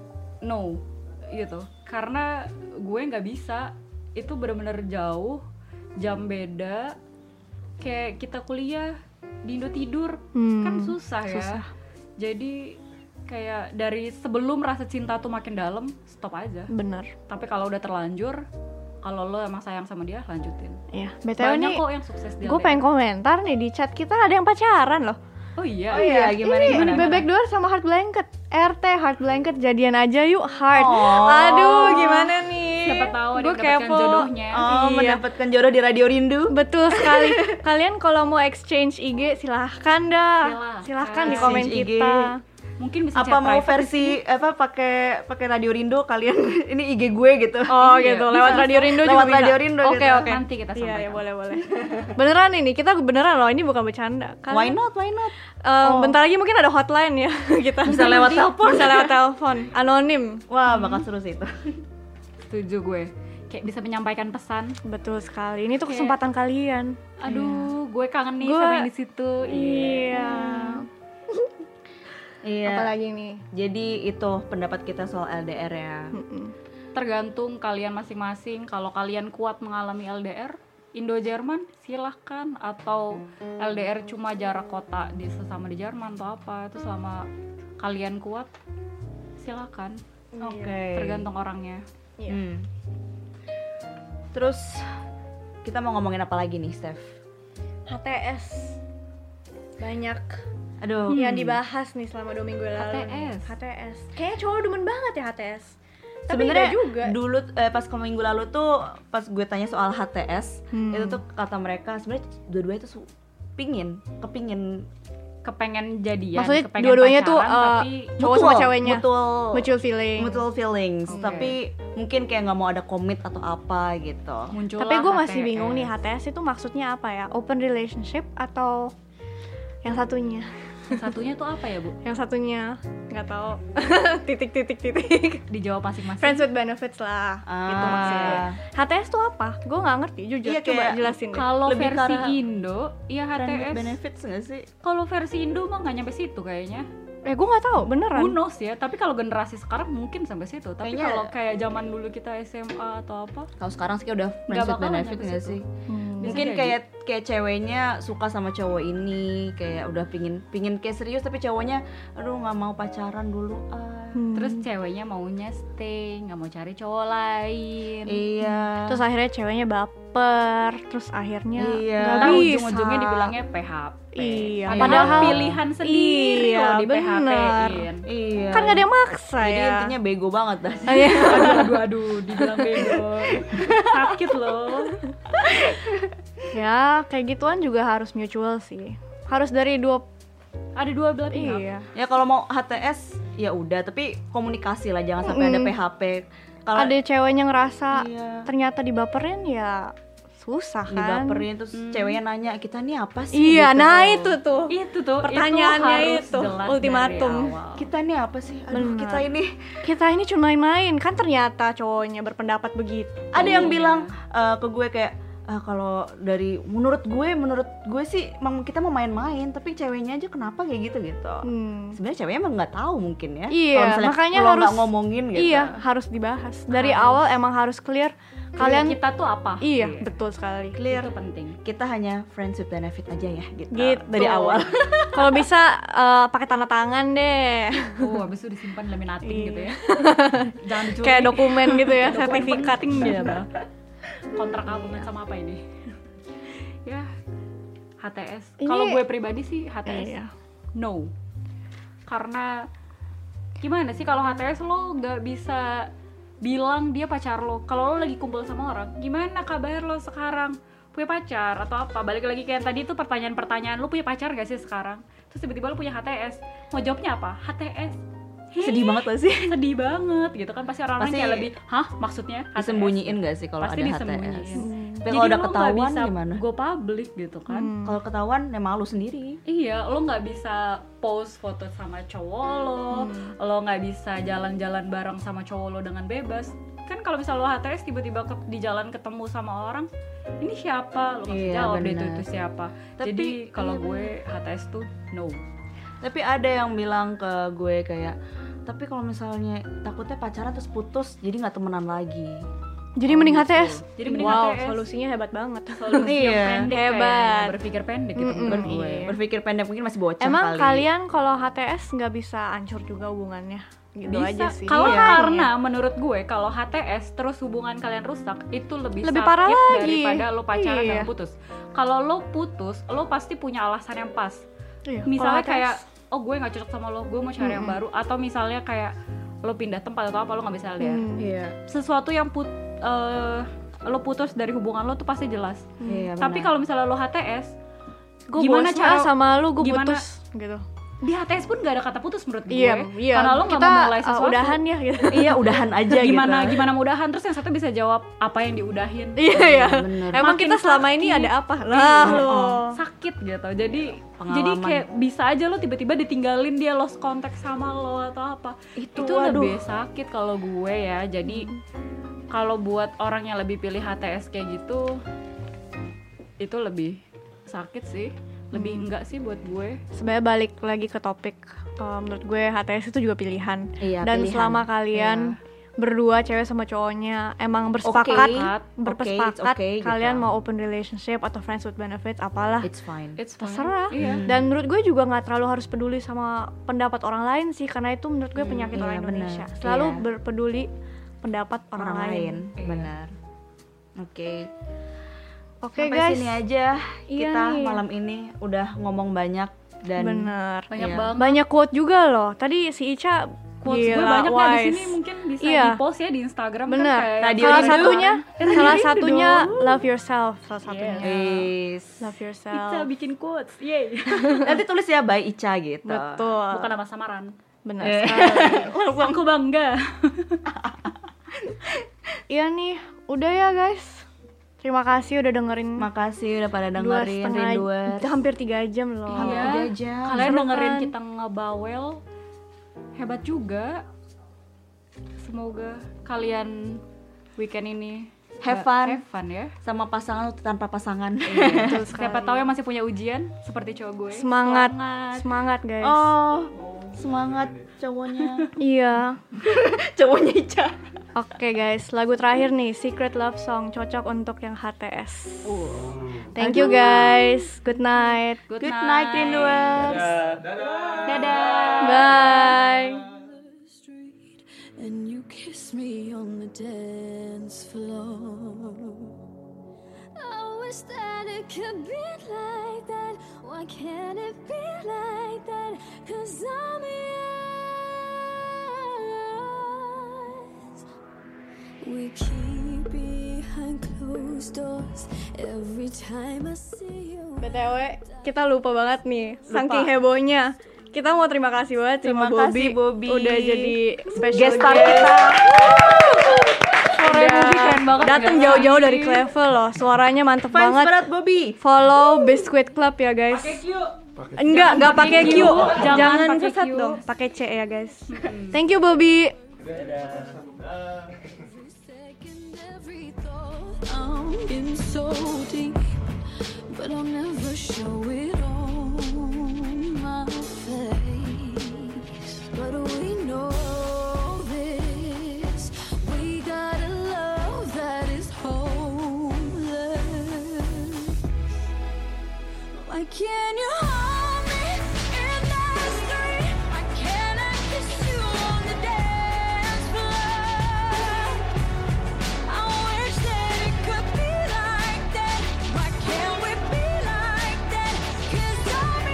S9: no gitu, karena gue nggak bisa. Itu bener-bener jauh, jam beda. Kayak kita kuliah di Indo tidur kan susah ya.
S3: susah.
S9: Jadi kayak dari sebelum rasa cinta tuh makin dalam, stop aja.
S3: Bener.
S9: Tapi kalau udah terlanjur, kalau lo emang sayang sama dia, lanjutin.
S3: Iya. BTW
S9: Banyak
S3: nih,
S9: kok yang sukses di
S3: gue
S9: LDR.
S3: pengen komentar nih di chat kita ada yang pacaran loh.
S9: Oh iya.
S2: Oh iya, gimana
S3: Ini
S2: gimana?
S3: Bebek Duar sama Heart Blanket. RT Heart Blanket jadian aja yuk Heart.
S2: Oh.
S3: Aduh, gimana nih?
S9: Siapa tahu ada
S3: Gua
S9: yang mendapatkan
S3: kepo.
S9: jodohnya.
S2: Oh,
S3: Iya.
S2: mendapatkan jodoh di Radio Rindu.
S3: Betul sekali. Kalian kalau mau exchange IG silahkan dah. Silahkan di komen
S2: Exchange IG.
S3: kita.
S9: Mungkin bisa
S2: Apa
S9: chat
S2: mau
S9: private.
S2: versi apa pakai Radio Rindu kalian ini IG gue gitu.
S3: Oh
S9: Iya,
S3: gitu,
S9: bisa.
S3: lewat Radio Rindu juga
S2: Lewat
S3: bisa.
S2: Radio Rindu
S3: Oke
S2: gitu.
S3: oke.
S9: Nanti kita
S3: Iya,
S9: sampaikan.
S3: ya boleh boleh. Beneran ini, kita beneran loh, ini bukan bercanda.
S2: Why not? Why not?
S3: Bentar lagi mungkin ada hotline ya kita.
S2: Bisa lewat telepon.
S3: Bisa lewat telepon, anonim.
S2: Wah, bakal seru sih itu.
S9: Setuju gue. Kayak bisa menyampaikan pesan.
S3: Betul sekali. Ini tuh
S9: Kayak-
S3: kesempatan kalian.
S9: Aduh, gue kangen nih
S3: Gue-
S9: sama yang di situ.
S3: Iya.
S2: Iya.
S3: Apalagi nih?
S2: Jadi itu pendapat kita soal LDR ya.
S9: Tergantung kalian masing-masing. Kalau kalian kuat mengalami LDR, Indo-Jerman silahkan. Atau LDR cuma jarak kota di sesama di Jerman atau apa. Itu selama kalian kuat, silahkan.
S2: Oke.
S9: Tergantung orangnya.
S2: Hmm. Terus kita mau ngomongin apa lagi nih, Steph?
S3: HTS. Banyak
S2: Aduh.
S3: yang dibahas nih selama 2 minggu lalu.
S9: HTS.
S3: HTS. Kayaknya cowok demen banget ya HTS. Tapi
S2: Sebenarnya
S3: enggak juga.
S2: dulu pas ke minggu lalu tuh pas gue tanya soal HTS itu tuh kata mereka sebenarnya dua-duanya tuh kepingin
S9: kepengen jadian,
S3: Maksudnya
S9: kepengen
S3: dua-duanya tuh
S9: pacaran, tapi
S3: cowok sama ceweknya
S2: mutual feelings,
S9: Oke.
S2: tapi mungkin kayak nggak mau ada komit atau apa gitu.
S9: muncul.
S3: Tapi gue masih bingung nih, HTS itu maksudnya apa ya? Open relationship atau yang satunya?
S9: Satunya tuh apa ya, Bu?
S3: Yang satunya nggak tahu. titik.
S9: Dijawab masing-masing.
S3: Friends with benefits lah. Itu maksudnya. HTS tuh apa? Gue nggak ngerti jujur.
S2: Iya,
S3: Coba
S2: kayak
S3: jelasin deh.
S9: Kalau
S2: Lebih
S9: versi
S2: ke arah
S9: Indo, ya
S2: Friends with
S9: HTS.
S2: benefits nggak sih?
S9: Kalau versi Indo mah nggak nyampe situ kayaknya.
S3: Gue nggak tahu beneran.
S9: Who knows ya, tapi kalau generasi sekarang mungkin sampai situ. Tapi
S2: Kayaknya-
S9: kalau kayak zaman dulu kita SMA atau apa,
S2: Kalau sekarang sih kayak udah
S9: Nggak
S2: friends with
S9: bakalan
S2: benefit
S9: nyampe
S2: nggak
S9: situ.
S2: sih?
S9: Bisa
S2: Mungkin
S9: jadi.
S2: kayak ceweknya suka sama cowok ini, kayak udah pingin kayak serius, tapi cowoknya aduh nggak mau pacaran dulu
S9: terus ceweknya maunya stay, nggak mau cari cowok lain.
S2: Iya.
S3: Terus akhirnya ceweknya baper. Terus akhirnya
S2: Iya.
S3: nggak
S9: Ntar
S3: bisa.
S9: ujung-ujungnya dibilangnya PHP.
S3: Iya.
S9: Padahal pilihan sendiri
S3: Iya,
S9: loh di
S3: bener.
S9: PHP-in.
S2: Iya.
S3: Kan nggak ada yang maksa
S2: Jadi
S3: ya.
S2: intinya bego banget dah.
S9: Aduh, dibilang bego. Sakit loh.
S3: Ya kayak gituan juga harus mutual sih. Harus dari dua.
S9: Ada dua belah pihak.
S3: Iya.
S2: Ya kalau mau HTS ya udah, tapi komunikasi lah, jangan sampai ada PHP. Kalau
S3: Ada ceweknya ngerasa
S2: Iya.
S3: ternyata dibaperin ya susah kan.
S2: dibaperin terus ceweknya nanya kita nih apa sih?
S3: Iya,
S2: gitu.
S3: nah itu tuh.
S9: Itu tuh
S3: Pertanyaannya
S9: harus
S3: itu,
S9: jelas
S3: ultimatum.
S9: dari awal.
S2: Kita nih apa sih? Aduh,
S3: Benar.
S2: kita ini
S3: Cuma main-main kan ternyata cowoknya berpendapat begitu.
S2: ada yang
S9: Iya.
S2: bilang ke gue kayak kalau dari menurut gue sih emang kita mau main-main, tapi ceweknya aja kenapa kayak gitu. Sebenarnya ceweknya emang nggak tahu mungkin ya.
S3: Iya,
S2: Kalau misalnya
S3: makanya
S2: lo
S3: harus
S2: nggak ngomongin gitu.
S3: Iya, harus dibahas. Dari awal emang harus clear kalian.
S9: kita tuh apa?
S3: Iya, betul sekali.
S2: Clear.
S9: Itu penting.
S2: Kita hanya friends with benefit aja ya gitu.
S3: Gitu.
S2: Dari awal.
S3: Kalau bisa pakai tanda tangan deh.
S9: Habis itu disimpan laminating gitu ya. Jangan dicuri.
S3: Kayak dokumen gitu ya,
S9: Dokumen
S3: sertifikat
S9: penting
S3: gitu.
S9: gitu. Kontrak hubungan sama apa ini? Ya, HTS.
S3: Ini-
S9: Kalau gue pribadi sih HTS.
S3: Iya.
S9: No. Karena gimana sih kalau HTS lo nggak bisa bilang dia pacar lo. Kalau lo lagi kumpul sama orang, gimana kabar lo sekarang? Punya pacar atau apa? Balik lagi kayak tadi tuh pertanyaan-pertanyaan, lo punya pacar gak sih sekarang? Terus tiba-tiba lo punya HTS. Mau jawabnya apa? HTS.
S2: Sedih banget gak sih?
S9: Sedih banget gitu kan, pasti orang-orang
S2: Pasti
S9: kayak lebih, hah maksudnya HTS?
S2: Disembunyiin gak sih kalau ada
S9: Pasti
S2: HTS?
S9: disembunyiin.
S2: Tapi
S9: Jadi
S2: kalau udah
S9: lo nggak
S2: ketahuan
S9: bisa
S2: gimana?
S9: go public gitu kan.
S2: Kalau ketahuan ya malu sendiri.
S9: Iya, lo nggak bisa post foto sama cowok lo nggak bisa jalan-jalan bareng sama cowok lo dengan bebas. Kan kalau misal lo HTS tiba-tiba di jalan ketemu sama orang, ini siapa? Lo nggak bisa
S2: Iya,
S9: jawab deh
S2: benar.
S9: itu siapa.
S2: Tapi-
S9: Jadi kalau
S2: iya,
S9: gue HTS tuh no.
S2: Tapi ada yang bilang ke gue kayak, tapi kalau misalnya takutnya pacaran terus putus, jadi nggak temenan lagi.
S3: Jadi mending HTS.
S9: Jadi mending
S3: wow,
S9: HTS.
S3: solusinya hebat banget.
S9: Solusi yang
S2: Iya,
S9: pendek
S3: hebat.
S9: kayaknya, berpikir pendek gitu menurut gue.
S3: iya.
S2: Berpikir pendek mungkin masih bocah
S3: Emang
S2: kali.
S3: kalian kalau HTS nggak bisa hancur juga hubungannya? Gitu
S9: Bisa.
S3: aja sih.
S9: Kalau
S3: Iya.
S9: karena menurut gue kalau HTS terus hubungan kalian rusak itu lebih
S3: Lebih
S9: sakit
S3: parah lagi.
S9: daripada lo pacaran
S3: Iya.
S9: dan putus. Kalau lo putus, lo pasti punya alasan yang pas.
S3: Iya,
S9: Misalnya
S3: kalau
S9: kayak
S3: HTS,
S9: oh gue nggak cocok sama lo, gue mau cari yang baru, atau misalnya kayak lo pindah tempat atau apa, lo nggak bisa lihat.
S2: Iya.
S9: Sesuatu yang lo putus dari hubungan lo tuh pasti jelas.
S2: Iya,
S9: Tapi
S2: benar.
S9: kalau misalnya lo HTS,
S3: gue
S9: gimana
S3: bosan
S9: cara-
S3: sama lu, gue
S9: gimana-
S3: putus gitu.
S9: di HTS pun gak ada kata putus menurut gue.
S3: Iya,
S9: Karena lo nggak
S3: kita
S9: memulai sesuatu.
S3: udahan ya gitu.
S2: Iya, udahan aja
S9: gimana
S2: gitu.
S9: gimana mudahan, terus yang satu bisa jawab apa yang diudahin.
S3: Iya ya.
S2: bener.
S3: Emang
S9: Makin
S3: kita selama ini
S9: sakit.
S3: ada apa? Lah
S9: Iya,
S3: lo.
S9: sakit gitu. Jadi
S2: Pengalaman.
S9: kayak bisa aja lo tiba-tiba ditinggalin, dia lost contact sama lo atau apa. Itu
S2: waduh.
S9: lebih sakit kalau gue ya. Jadi kalau buat orang yang lebih pilih HTS kayak gitu, itu lebih sakit sih. Lebih enggak sih buat gue.
S3: Sebenarnya balik lagi ke topik, menurut gue HTS itu juga pilihan.
S2: Iya,
S3: Dan
S2: pilihan.
S3: selama kalian berdua cewek sama cowoknya emang bersepakat,
S2: it's okay, gitu.
S3: kalian mau open relationship atau friends with benefits apalah,
S2: It's fine.
S9: It's fine.
S3: terserah.
S9: Iya.
S3: Dan menurut gue juga nggak terlalu harus peduli sama pendapat orang lain sih, karena itu menurut gue penyakit
S2: iya,
S3: orang Indonesia.
S2: benar.
S3: Selalu
S2: Iya.
S3: berpeduli pendapat orang lain.
S9: Iya.
S2: Benar. Oke.
S3: Oke
S2: Sampai
S3: guys,
S2: sini aja
S3: Iya
S2: kita
S3: nih.
S2: malam ini udah ngomong banyak dan
S3: bener.
S9: Banyak
S2: Iya.
S9: banget.
S3: Banyak quote juga loh. Tadi si Ica
S9: quotes gue
S3: Gila,
S9: banyak ya di
S3: wise.
S9: sini, mungkin bisa
S3: Iya.
S9: di post ya di Instagram.
S3: Bener.
S9: kan kayak
S2: Radio
S3: salah
S2: Rindu.
S3: satunya
S9: Rindu
S3: love yourself salah satunya.
S2: Wis.
S3: Love
S9: Ica
S3: yourself.
S9: bikin quotes, yeay.
S2: Nanti tulis ya by Ica gitu.
S3: Betul.
S9: Bukan nama samaran.
S3: Benar sekali.
S9: Langsung aku bangga.
S3: Iya nih, udah ya guys. Terima kasih udah dengerin.
S2: Makasih udah pada
S3: 2,5
S2: dengerin Rinduers.
S3: hampir 3 jam loh.
S9: Iya.
S2: jam.
S9: Kalian
S3: Seru
S9: dengerin
S3: kan?
S9: kita ngebawel, hebat juga. Semoga kalian weekend ini
S2: Have
S9: Have
S2: fun.
S9: fun ya.
S2: Sama pasangan atau tanpa pasangan.
S3: Betul sekali.
S9: Siapa tahu yang masih punya ujian seperti cowok gue.
S3: Semangat guys.
S2: Oh, semangat cowoknya.
S3: Iya.
S2: Cowoknya Ica.
S3: Oke guys, lagu terakhir nih, Secret Love Song, cocok untuk yang HTS. Thank you guys. Good night.
S2: Good night Rinduers.
S9: Dadah.
S3: Bye.
S5: And you kiss me on the dance floor. I wish that it could be like that. Why can't it be like that? 'Cause I'm yours. We keep behind closed doors every time I see you.
S3: BTW, kita lupa banget nih, saking hebohnya. Kita mau terima kasih banget
S2: Terima
S3: sama
S2: kasih, Bobby.
S3: udah jadi special
S2: Guest star
S3: guest.
S2: kita.
S9: Suara Bobby keren banget.
S3: Datang jauh-jauh dari Clevel loh, suaranya mantep
S2: Fans
S3: banget.
S2: berat Bobby.
S3: Follow Biscuit Club ya guys. Enggak pakai Q. Jangan
S9: pakai
S3: sesat
S9: Q.
S3: dong, pakai C ya guys. Thank you Bobby.
S5: Second every thought I'm in so deep, but I'll never show it on my face. But we know this, we got a love that is homeless. Why can't you hold me in the street? Why can't I kiss you on the dance floor? I wish that it could be like that. Why can't we be like that? 'Cause I'm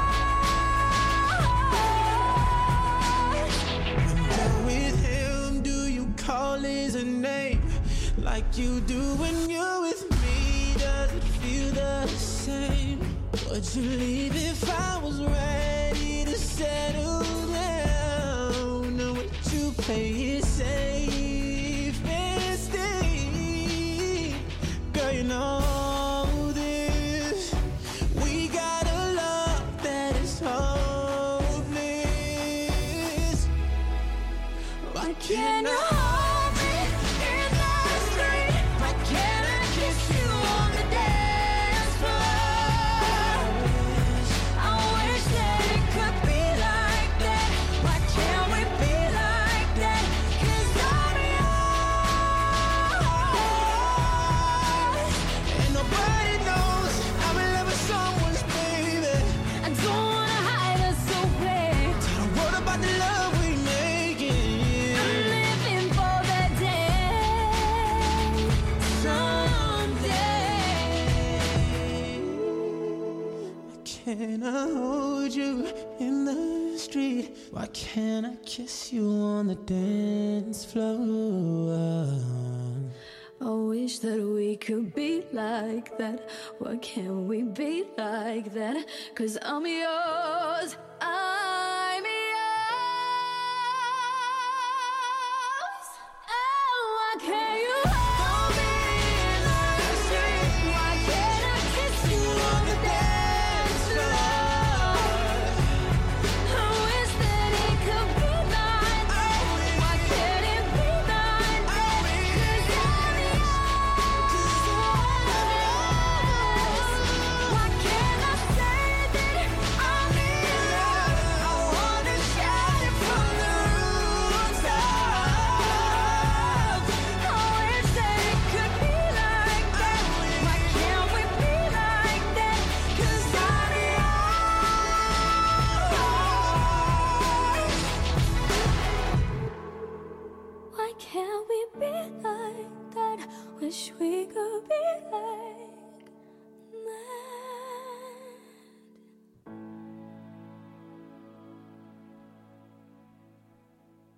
S5: yours.
S11: With him, do you call his name like you do when you're with me? Does it feel the same? Would you leave if I was ready to settle down? Or would you play it safe and stay? Girl, you know this. We got a love that is hopeless. Why can't I hold me in the street? Why can't I kiss you on the dance floor? I wish that it could be like that. Why can't we be like that? 'Cause I'm yours. And nobody knows I'm in love with someone's baby.
S5: I don't wanna hide us so bad.
S11: Tell the world about the love we making.
S5: I'm living for that day someday.
S11: Can I hold you in the street? Why can't I kiss you on the dance floor?
S5: I wish that we could be like that. Why can't we be like that? 'Cause I'm yours. I'm yours. Oh, why can't you hold me in the street? Why can't I kiss you on the dance floor? I wish that it could be like that. Why can't it be like that? 'Cause I'm yours. Why can't I say that I'm in love? I wanna shout it from the rooftops. I wish that it could be like that. Why can't we be like that? 'Cause I'm yours. Why can't we be like that? Wish we could be like that.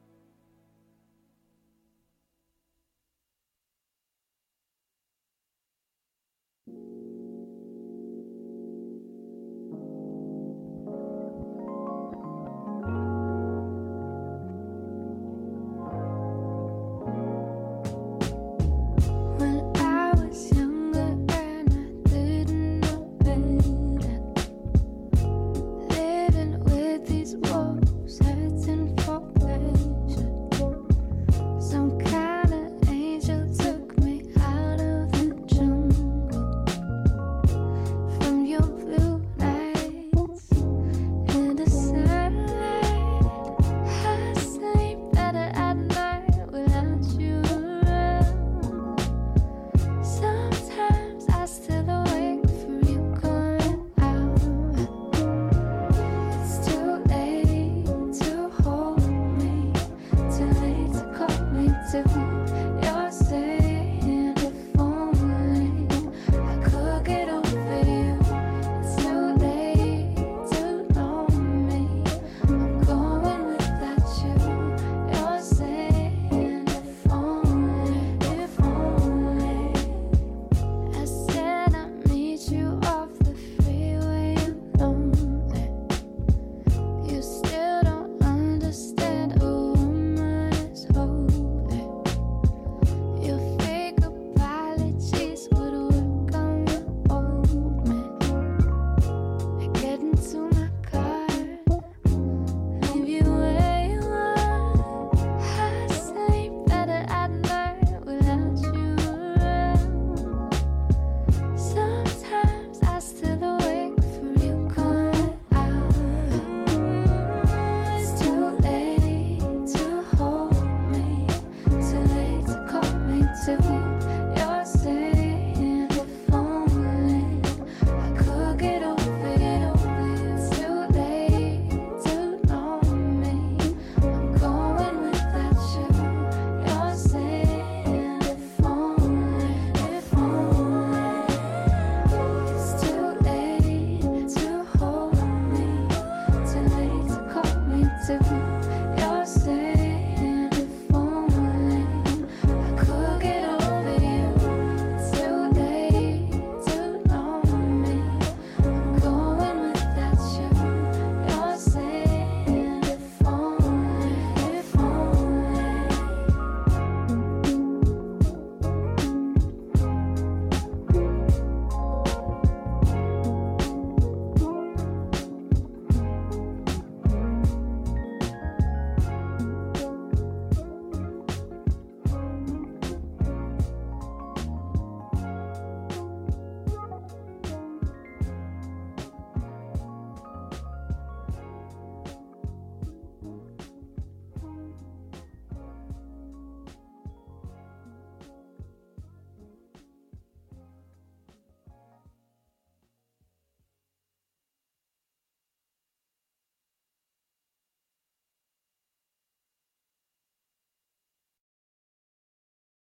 S6: you. You're saying if only I could get over you. It's too late to know me. I'm going without you. You're saying if only, if only. I said I'd meet you off the freeway alone. You still don't understand a woman is holy. Your fake apologies would work on the old man. I get into my car, leave you where you are. I sleep better at night without you around. Sometimes I still awake for you coming out. It's too late to hold me, too late to call me too.